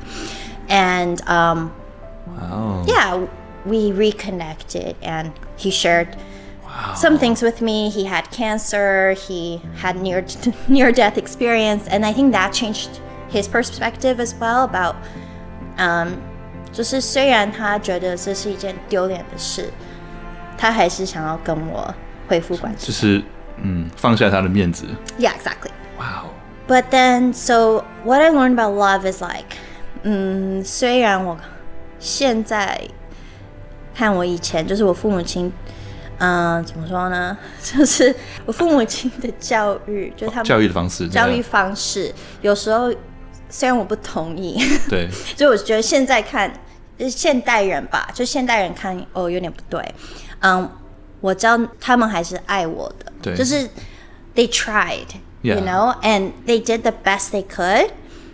and um, wow. yeah, we reconnected, and he shared. Wow. Some things with me. He had cancer. He had near near death experience, and I think that changed his perspective as well about, um, 就是雖然他覺得這是一件丟臉的事，他還是想要跟我恢復關係。 就是嗯，放下他的面子。 Yeah, exactly. Wow. But then, so what I learned about love is like, 嗯，雖然我現在看我以前，就是我父母親。嗯，怎麼說呢？就是我父母親的教育，就是他們教育的方式， 教育方式，有時候雖然我不同意， 對， 就我覺得現在看現代人吧，就現代人看哦有點不對，嗯，我知道他們還是愛我的， 對， 就是 they tried, yeah. you know, and they did the best they could,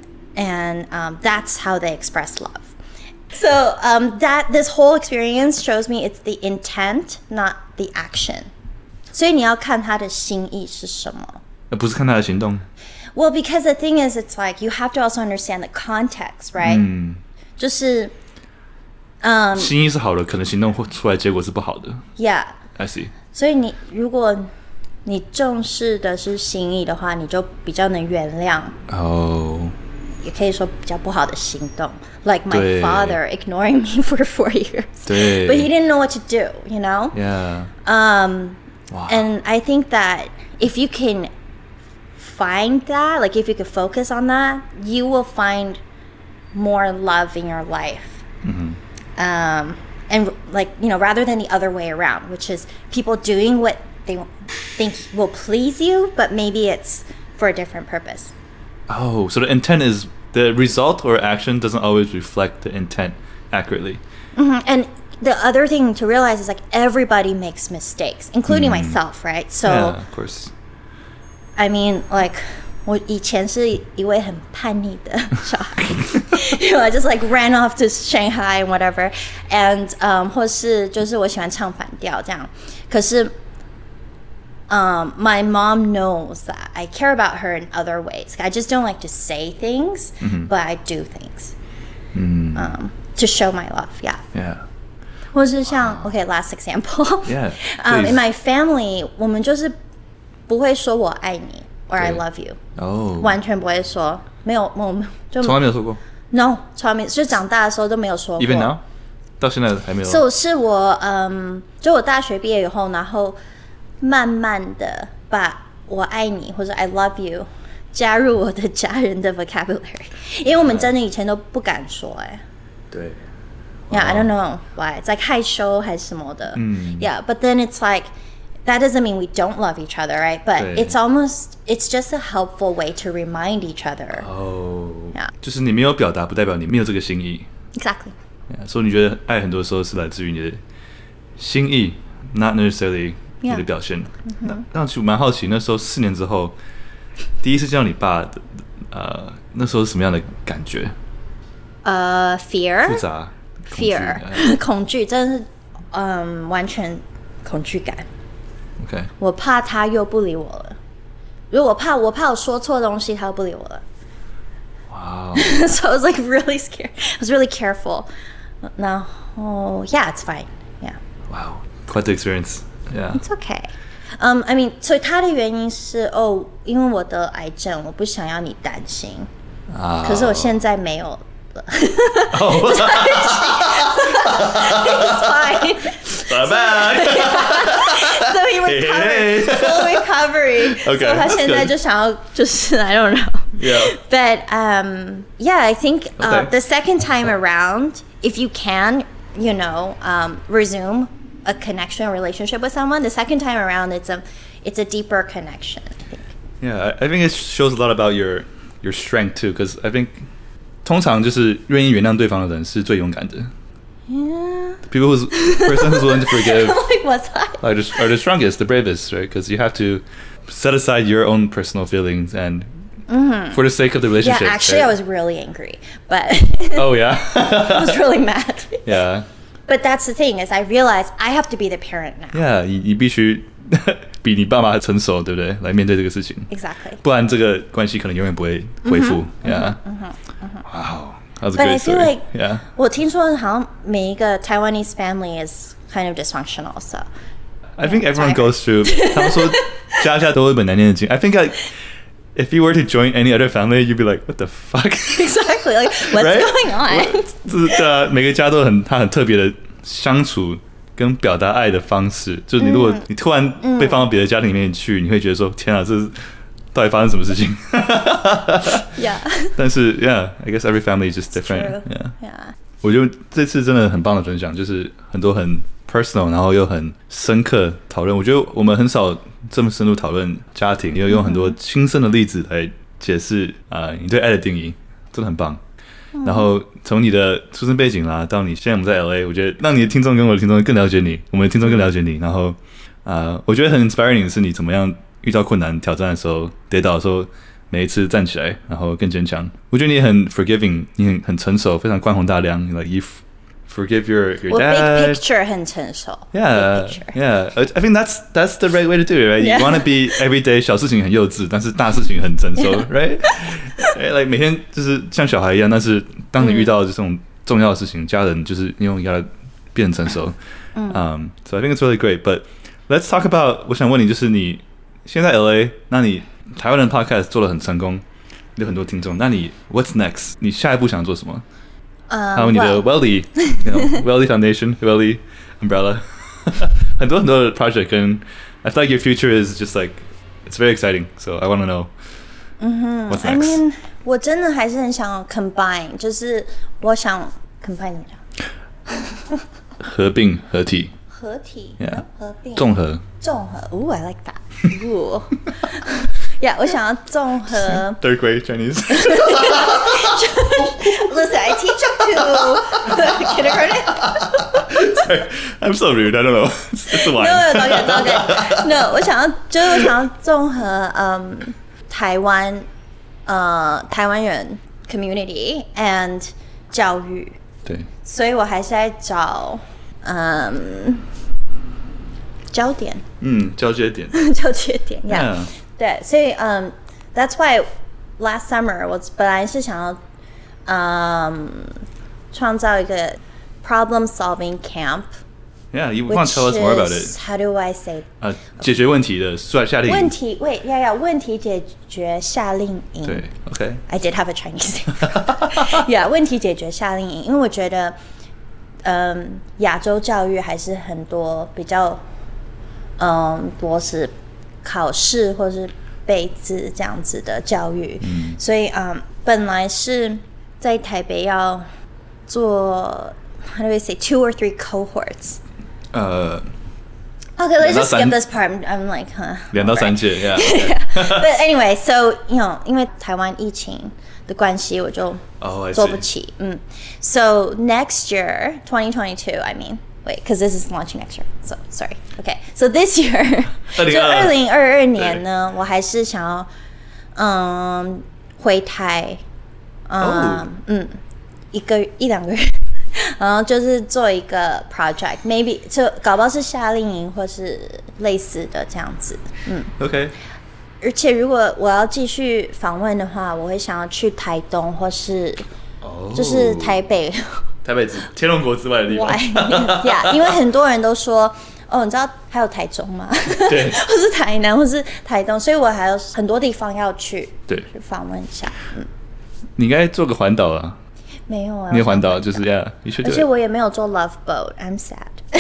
and um, that's how they express love. So um, that this whole experience shows me it's the intent, not the action. 所以你要看他的心意是什麼。 而不是看他的行動。 Well, because the thing is, it's like you have to also understand the context, right? 嗯， 就是，嗯， 心意是好的，可能行動出來結果是不好的。 Yeah, I see. 所以你如果你重視的是心意的話，你就比較能原諒。 哦。Oh. 也可以說比較不好的行動 ，like my father ignoring me for four years. 對 But he didn't know what to do, you know? Yeah. Um, wow. And I think that if you can find that, like if you could focus on that, you will find more love in your life. Mm-hmm. Um, and like, you know, rather than the other way around, which is people doing what they think will please you, but maybe it's for a different purpose. Oh, so the intent is the result or action doesn't always reflect the intent accurately. Mm-hmm. And the other thing to realize is like everybody makes mistakes, including mm. myself, right? So, yeah, of course. I mean, like, 我以前是一位很叛逆的小孩，you know, I just like ran off to Shanghai and whatever, and um, 或是就是我喜歡唱反調這樣，可是。Um, my mom knows that I care about her in other ways. I just don't like to say things, mm-hmm. but I do things mm. um, to show my love. Yeah. Yeah. 或是像 okay, last example. Yeah. um, in my family, 我們就是不會說我愛你 or I love you. Oh. 完全不會說，沒有，我們就從來沒有說過。 No, 從來沒有，就長大的時候都沒有說過。 Even now? 到現在還沒有。 So 是我，嗯，就我大學畢業以後，然後。慢慢的把我愛你或者 I love you 加入我的家人的 vocabulary， 因為我們真的以前都不敢說哎。 對。 Yeah, I don't know why. It's like 害羞還是什麼的。 嗯。 Yeah, but then it's like that doesn't mean we don't love each other, right? But it's almost it's just a helpful way to remind each other. Oh. Yeah. 就是你沒有表達，不代表你沒有這個心意。 Exactly. Yeah, 所以你覺得愛很多時候是來自於你的心意 ，not necessarily。你的表現， yeah. 那那其實蠻好奇，那時候四年之後，第一次見到你爸的，呃，那時候是什麼樣的感覺？ 呃、uh, ，fear， 複雜 ，fear， 恐懼，真的是，嗯，完全恐懼感。 OK， 我怕他又不理我了。如果我怕，我怕我說錯東西，他又不理我了。 Wow. So I was like really scared. I was really careful. No, oh yeah, it's fine. Yeah. Wow, quite the experience. Yeah. It's okay. Um, I mean, 所以他的原因是哦，因為我得癌症，我不想要你擔心。啊、oh. 可是我現在沒有了。Oh. It's fine. Bye bye. So he recovered, full recovery. Okay. So 他現在就想要就是 I don't know. Yeah. But um, yeah, I think uh, okay. the second time around, if you can, you know, um, resume a connection or relationship with someone, the second time around, it's a it's a deeper connection, I think. Yeah, I think it shows a lot about your your strength too, because I think 通常就是願意原諒對方的人是最勇敢的。 Yeah. People who's person who's willing to forgive like what's that? Are the, are the strongest, the bravest, right? Because you have to set aside your own personal feelings and mm-hmm. for the sake of the relationship. Yeah, actually, right? I was really angry, but oh yeah, I was really mad. Yeah. But that's the thing is, I realized I have to be the parent now. Yeah, 你你必須比你爸媽成熟，對不對？來面對這個事情。 Exactly. 不然這個關係可能永遠不會恢復。 Mm-hmm, yeah. Mm-hmm, mm-hmm. Wow. That was a But great I feel story. like yeah. 我聽說好像每一個 Taiwanese family is kind of dysfunctional, so. I think everyone goes through. 他們說家家都有一本難念的經。I think like if you were to join any other family, you'd be like, what the fuck? Exactly. Like what's right? going on? 就是對啊，每個家都很他很特別的相處跟表達愛的方式。就是你如果你突然被放到別的家庭裡面去，你會覺得說天啊，這是到底發生什麼事情？ Yeah. 但是 yeah, I guess every family is just different. Yeah. Yeah. 我覺得這次真的很棒的分享，就是很多很 personal， 然後又很深刻討論。我覺得我們很少這麼深入討論家庭，也有用很多親身的例子來解釋啊、呃，你對愛的定義，真的很棒。然後從你的出生背景啦，到你現在我們在 L A， 我覺得讓你的聽眾跟我的聽眾更了解你，我們的聽眾更了解你。然後啊、呃，我覺得很 inspiring 的是你怎麼樣遇到困難挑戰的時候，跌倒的時候，每一次站起來，然後更堅強。我覺得你很 forgiving， 你很很成熟，非常寬宏大量。Like you forgive your your 我 dad. Big picture 很成熟。 Yeah, yeah. I think that's that's the right way to do it, right? You want to be everyday 小事情很幼稚，但是大事情很成熟 ，right? Like 每天就是像小孩一樣，但是當你遇到這種重要的事情，家人就是因為要變成熟。Um, so I think it's really great. But let's talk about. 我想問你，就是你現在 L A， 那你台灣的 podcast 做得很成功，有很多聽眾。那你 What's next？ 你下一步想做什麼？還有你的 Welly， you know, Welly Foundation，Welly Umbrella， 很多很多的 project 跟 I feel like your future is just like it's very exciting. So I want to know. 嗯哼 What's next? I mean， 我真的還是很想 combine， 就是我想 combine 怎麼講？ 合併合體。 合體 ，yeah， 合併， 綜合， 綜合。Ooh, I like that. Ooh. Yeah， 我想要綜合。 Third grade Chinese. Listen, I teach up to kindergarten. Sorry, I'm so rude. I don't know. It's, it's the wine. No, no, it's okay, it's okay. No， 我想要，就是我想要綜合，嗯，台灣，呃，台灣人 community and 教育。 對。 所以我還是在找。嗯，焦點， 嗯，交接點， 交接點 ，Yeah， yeah. 對，所以嗯、um, ，That's why last summer 我本來是想要，嗯，創造一個 problem solving camp。Yeah, you want to tell us more about it? How do I say? 啊，解決問題的夏令營。 問題，wait，要要問題解決夏令營。 對 ，OK。 I did have a Chinese name。Yeah， 問題解決夏令營，因為我覺得。嗯，亞洲教育還是很多比較，嗯，多是考試或是背字這樣子的教育，嗯、所以嗯，本來是在台北要做 ，how do I say two or three cohorts？ 呃 ，Okay, let's just skip this part. I'm like, huh? 兩到三屆 ，Yeah. But anyway, so you know， 因為台灣疫情的關係，我就做不起。Oh, 嗯 ，So next year, twenty twenty-two, I mean, wait, because this is launching next year. So sorry. Okay, so this year, 就二零二二年呢，我還是想要，嗯，回台，嗯、oh. 嗯，一個一兩個月，然後就是做一個 project，maybe 就搞不好是夏令營或是類似的這樣子。嗯 ，OK。 而且如果我要繼續訪問的話，我會想要去台東或是，就是台北， oh, 台北之天龍國之外的地方。 Yeah, 因為很多人都說，哦，你知道還有台中嗎？對，或是台南，或是台東，所以我還有很多地方要去，對，去訪問一下。嗯，你應該做個環島啊？ 沒有啊， 你環島就是 Yeah, you should do it. 而且我也沒有做 Love Boat, I'm sad. It's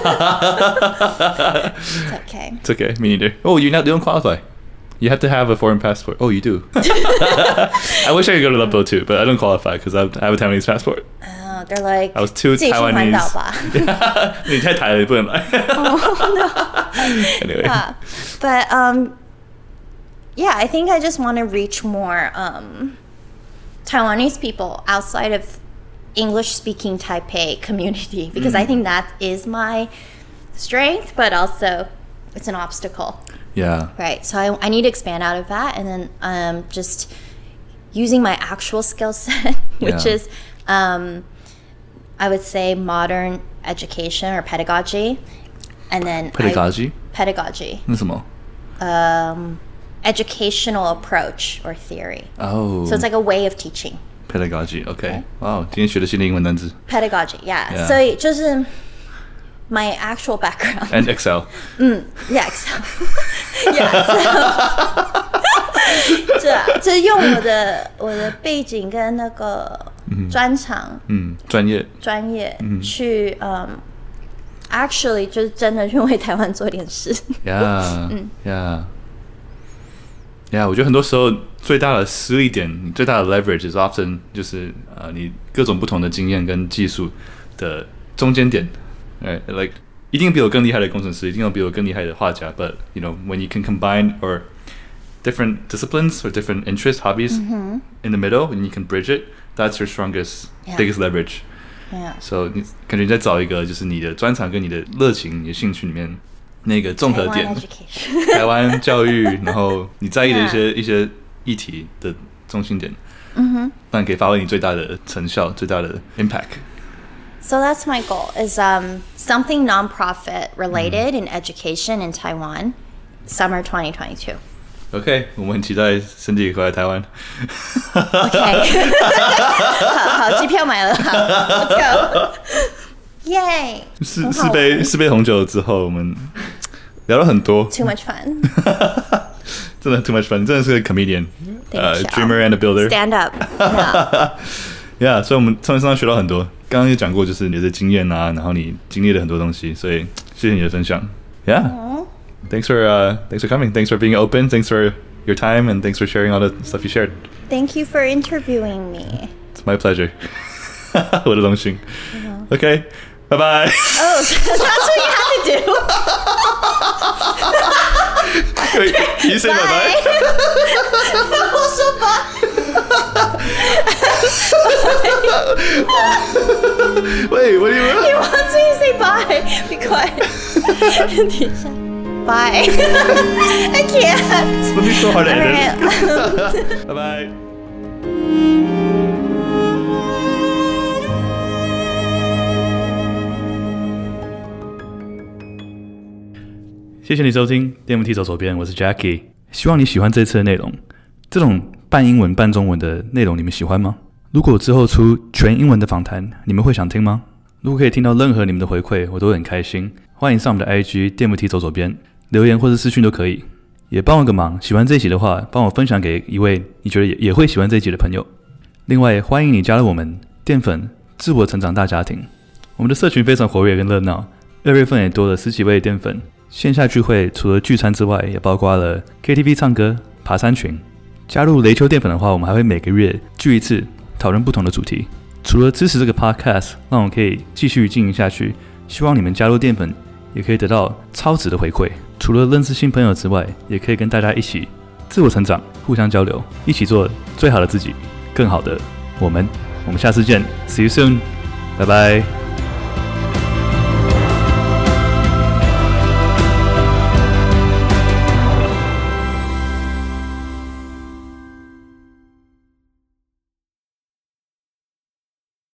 okay. It's okay, me neither. Oh, you not you don't qualify. You have to have a foreign passport. Oh, you do. I wish I could go to Love Boat too, but I don't qualify because I have a Taiwanese passport. Oh, they're like I was too Taiwanese. 你太台了，你不能來。 Oh no. Anyway. Yeah. But um, yeah, I think I just want to reach more um, Taiwanese people outside of English-speaking Taipei community because mm. I think that is my strength, but also it's an obstacle. Yeah. Right. So I, I need to expand out of that, and then um, just using my actual skill set, which yeah. is, um, I would say, modern education or pedagogy, and then pedagogy. I, pedagogy. 那什麼？ Um, educational approach or theory. Oh. So it's like a way of teaching. Pedagogy. Okay. Wow. 今天學了新的英文單詞。 Pedagogy. Yeah. 所以就是。My actual background and Excel. 嗯 yeah, Excel. Yeah, so 这啊，就是用我的我的背景跟那個專長，嗯， 專業專業去嗯 ，actually 就是真的去為台灣做點事。 Yeah, 嗯 yeah, yeah. 我覺得很多時候最大的施力點，你最大的 leverage is often 就是呃你各種不同的經驗跟技術的中間點。Right, like 一定比我更厲害的工程師，一定有比我更厲害的畫家。But you know, when you can combine or different disciplines or different interests, hobbies mm-hmm. in the middle, and you can bridge it, that's your strongest, yeah. biggest leverage. Yeah. So 你感覺你在找一個就是你的專長跟你的熱情、你的興趣裡面那個綜合點。台灣教育，然後你在意的一些、yeah. 一些議題的中心點，嗯哼，讓你可以發揮你最大的成效、最大的 impact. So that's my goal is um, something nonprofit related in education in Taiwan, summer twenty twenty-two. OK， 我们很期待Cindy回来台湾。 OK， 好好，機票買了，好 ，Let's go， 耶！ 四四杯四杯紅酒之後，我們聊了很多 ，Too much fun， 真的 too much fun， 真的是個 comedian， 呃、uh, ，dreamer and a builder，stand up，yeah， 所以我們從你身上學到很多。剛剛也講過，就是你的經驗啊，然後你經歷了很多東西，所以謝謝你的分享。Yeah。Thanks for uh, thanks for coming. Thanks for being open. Thanks for your time, and thanks for sharing all the stuff you shared. Thank you for interviewing me. It's my pleasure. 我的榮幸。Uh-huh. Okay, bye bye. Oh, that's what you have to do. Wait, can you say bye bye? 我說 bye. Wait, what do you want? He wants me to say bye. Be quiet. 等一下。Bye. I can't. It's gonna be so hard to edit. Right. Bye bye. 謝謝你收聽D M T 走左邊，我是 Jackie。希望你喜歡這次的內容。這種半英文半中文的內容你們喜歡嗎？如果之後出全英文的訪談，你們會想聽嗎？如果可以聽到任何你們的回饋，我都會很開心。歡迎上我們的 I G D M T 走左邊。留言或者私訊都可以，也幫我個忙。喜歡這一集的話，幫我分享給一位你覺得 也, 也會喜歡這一集的朋友。另外，歡迎你加入我們澱粉自我成長大家庭。我們的社群非常活躍跟熱鬧，二月份也多了十幾位澱粉。線下聚會除了聚餐之外，也包括了 K T V 唱歌、爬山群。加入雷丘澱粉的話，我們還會每個月聚一次，討論不同的主題。除了支持這個 podcast， 讓我可以繼續經營下去，希望你們加入澱粉也可以得到超值的回饋。除了認識新朋友之外，也可以跟大家一起自我成長，互相交流，一起做最好的自己，更好的我們。我們下次見 ，See you soon， 拜拜。